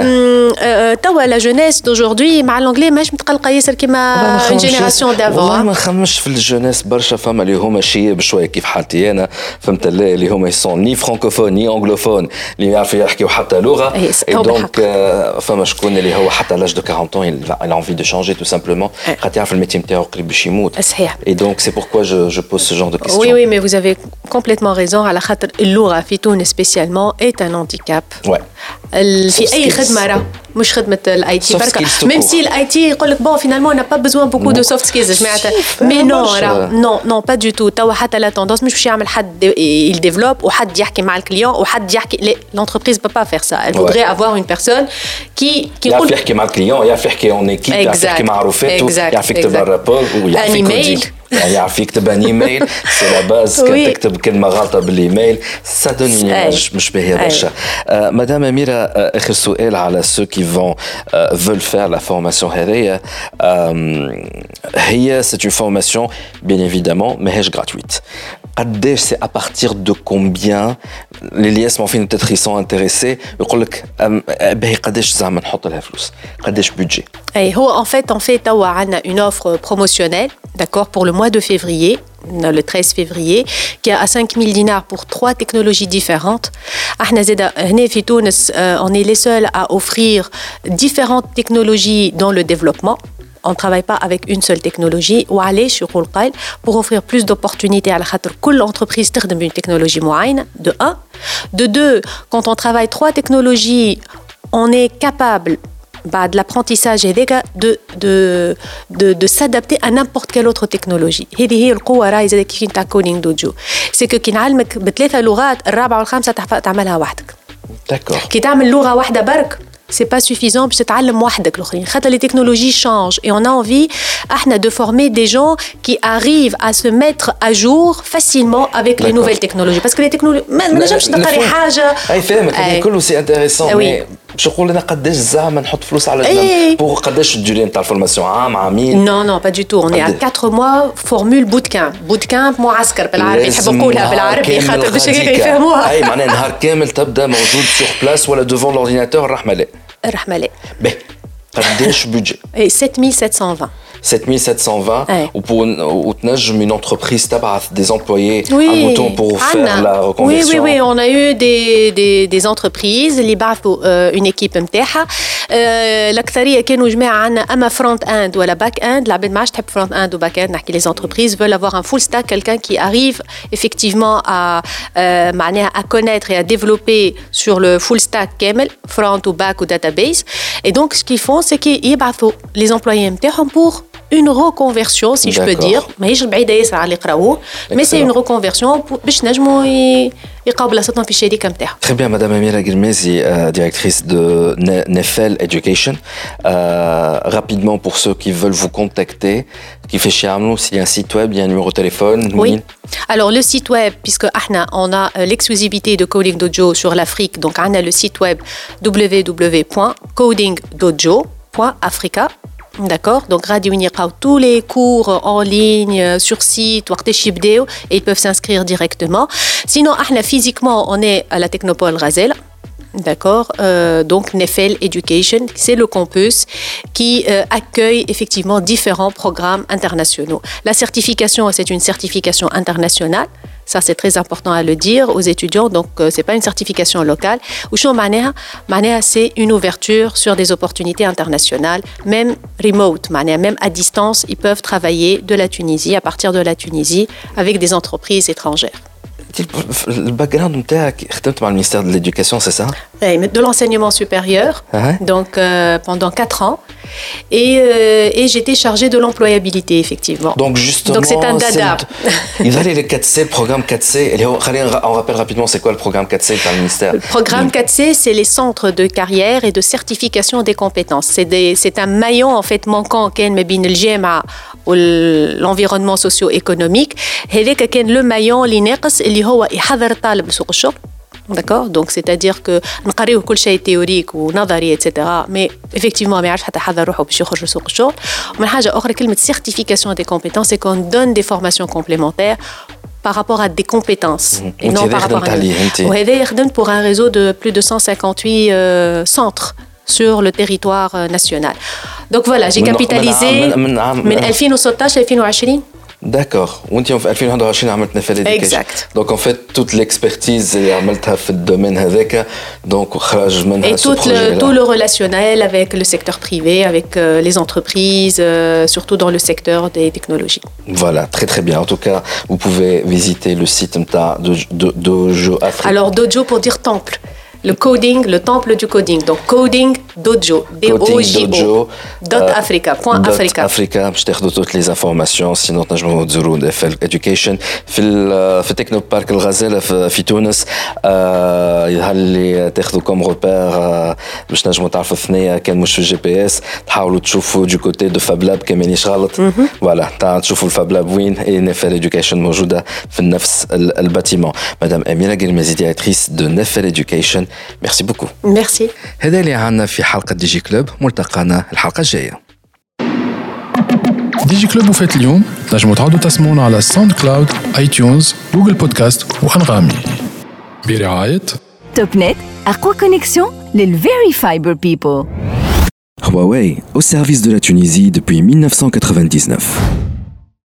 حاجة توا لا جونيس دaujourd'hui مع الانجلي ماهيش متقلقة ياسر كيما جينيراسيون دافون. والله ما نخممش في الجونيس برشا فما اللي هما شيء بشوية كيف حالتي أنا فهمت اللي هما يسون ني فرانكوفون ني أنغلوفون اللي يعرفوا يحكيوا حتى لغة. Donc فما شكون اللي هو حتى l'âge de 40 ans il a envie de changer tout simplement. خاطر يعرف الميتي نتاعو قريب باش يموت. صحيح. Et donc c'est pourquoi je pose ce genre de questions. Oui mais vous avez complètement raison على خاطر اللغة في تونس spécialement est un handicap. Ouais. في أي خدمة راه مش خدمة الاي تي بركة. Même si الاي تي يقول لك bon finalement on n'a pas besoin beaucoup de soft skills معناتها. Mais non راه non pas du tout. توا حتى لا tendance مش باش يعمل حد il développe وحد يحكي مع الكليون وحد يحكي l'entreprise peut pas faire ça. Elle voudrait avoir une personne qui يعرف يحكي مع الكليون يعرف يحكي en équipe يعرف يحكي مع رفاقته يعرف يكتب الرابور ويعرف يكودي. يعني يعرف يكتب ان ايميل سي لا باز كان تكتب كلمه غلطه بالايميل سا دون ايماج مش باهيه برشا. مدام أميرة اخر سؤال على ceux qui veulent faire la formation هذيا. هي c'est une formation bien évidemment ماهيش gratuite. قداش سي à partir de combien les liens معرفين peut-être ils sont intéressés يقول لك باهي قداش زعما نحط لها فلوس قداش بودجي؟ اي هو en fait توا عندنا une offre promotionnelle d'accord pour le mois de février le 13 février qui est à 5000 dinars pour 3 technologies différentes. احنا زاده هنا في تونس on est les seuls à offrir différentes technologies dans le développement. On ne travaille pas avec une seule technologie وعلاش يقول قال pour offrir plus d'opportunités على خاطر كل entreprise تخدم une technologie معينة de 1. De 2, quand on travaille 3 technologies on est capable بعد l'apprentissage هذاك de s'adapter à n'importe quelle autre technologie. هذه هي القوة راهي زاد كيف نتاع كودينغ دوجو. سي كو كي نعلمك ب3 لغات الرابعة والخامسة تعملها وحدك. D'accord. كي تعمل لغة واحدة برك c'est pas suffisant باش تتعلم وحدك الاخرين خاطر les technologies changent et on a envie احنا de former des gens qui arrivent à se mettre à jour facilement avec les nouvelles technologies parce que les technologies ما نجمش نقري حاجة. اي فاهمك كله سي انتريسون مي باش يقول لنا قداش زعما نحط فلوس على جنب بور قداش الدوري نتاع الفورماسيون عامين. Non, pas du tout. On est à 4 mois, formule bootcamp. Bootcamp معسكر بالعربي نحب نقولها بالعربي خاطر باش يفهموها. اي معناها نهار كامل تبدا موجود سور بلاس ولا devant l'ordinateur الرحمة لا. باهي قداش بودجي؟ 7720. 7720 ou تنجم une entreprise تبعث des employés à mouton pour faire la reconversion. Oui, on a eu des entreprises اللي بعثوا une équipe نتاعها. الأكثرية كانوا جماعة عنا أما front end ولا back end. العباد ما عادش تحب front end ou back end. نحكي les entreprises veulent avoir un full stack, quelqu'un qui arrive effectivement à connaître et à développer sur le full stack كامل front ou back ou database. Et donc ce qu'ils font c'est qu'ils يبعثوا les employés نتاعهم pour une reconversion, si je peux dire. ماهيش بعيدة ياسر على اللي يقراوه. Mais c'est une reconversion باش نجموا يلقاو بلاصتهم في الشركة نتاعهم. Très bien, Madame Amira Guilmezi, directrice de Nefel Education. Rapidement, pour ceux qui veulent vous contacter, qui fait chez Amlou, s'il y a un site web, il y a un numéro de téléphone. Oui. Alors, le site web, puisque on a l'exclusivité de Coding Dojo sur l'Afrique, donc on a le site web www.codingdojo.africa. D'accord, donc Radio Unirao, tous les cours en ligne, sur site, et ils peuvent s'inscrire directement. Sinon, physiquement, on est à la Technopole Razel. D'accord, donc Nefel Education, c'est le campus qui accueille effectivement différents programmes internationaux. La certification, c'est une certification internationale. Ça, c'est très important à le dire aux étudiants. Donc, c'est pas une certification locale. Ou c'est une ouverture sur des opportunités internationales, même remote, même à distance, ils peuvent travailler de la Tunisie, à partir de la Tunisie, avec des entreprises étrangères. Le background نتاعك خدمت مع المينستير de l'éducation, c'est ça? Oui, de l'enseignement supérieur, donc pendant 4 ans. Et j'étais chargée de l'employabilité, effectivement. Donc justement, donc c'est un dada. Il y a les 4C, le programme 4C. On rappelle rapidement, c'est quoi le programme 4C par le ministère? Le programme 4C, c'est les centres de carrière et de certification des compétences. C'est un maillon en fait manquant كان ما بين الجامعة والenvironnement socio-économique. هذاك كان le maillon اللي ناقص اللي هو يحضر الطالب لسوق الشغل. D'accord, donc c'est-à-dire que نقريو كل شيء تhéorique ونظري etc. mais effectivement ما يعرفش حتى يحضر روحه باش يخرج لسوق الشغل. ومن حاجة أخرى كلمة certification des compétences c'est qu'on donne des formations complémentaires par rapport à des compétences et non par rapport à وهذا يخدم pour un réseau de plus de 158 centres sur le territoire national. Donc voilà, j'ai capitalisé من 2016 ل 2020. D'accord. وانت في 2021 عملت نفل education. Exact. Donc en fait toute l'expertise اللي عملتها في الدومين هذاك donc خرج منها ce projet. Et tout le relationnel avec le secteur privé, avec les entreprises, surtout dans le secteur des technologies. Voilà, très très bien. En tout cas, vous pouvez visiter le site de Dojo Africa. Alors Dojo pour dire temple. Le coding, le temple du coding. Donc, coding dojo. D-O-J-O. .africa. .africa. باش تاخذوا toutes les informations. sinon تنجموا تزوروا نفل education في تكنو بارك الغزالة في تونس. يظهر لي تاخذوا كم روبير باش تنجموا تعرفوا الثنية كان مش في الجي بي اس تحاولوا تشوفوا du côté de Fab Lab كان مانيش غلط. فوالا تشوفوا الفاب لاب وين et نفل education موجودة في نفس الباتيمون. مدام أميرة قلمازي directrice de نفل education. ميرسي بوكو. ميرسي. هذا اللي عنا في حلقة دي جي كلوب. ملتقانا الحلقة الجاية. دي جي كلوب وفات اليوم نجموا تعودوا تسمعونا على ساوند كلاود، اي تيونز، جوجل بودكاست وأنغامي برعاية توب نت. أقوى كونيكسيون للفيري فايبر بيبل. Huawei, au service de la Tunisie depuis 1999.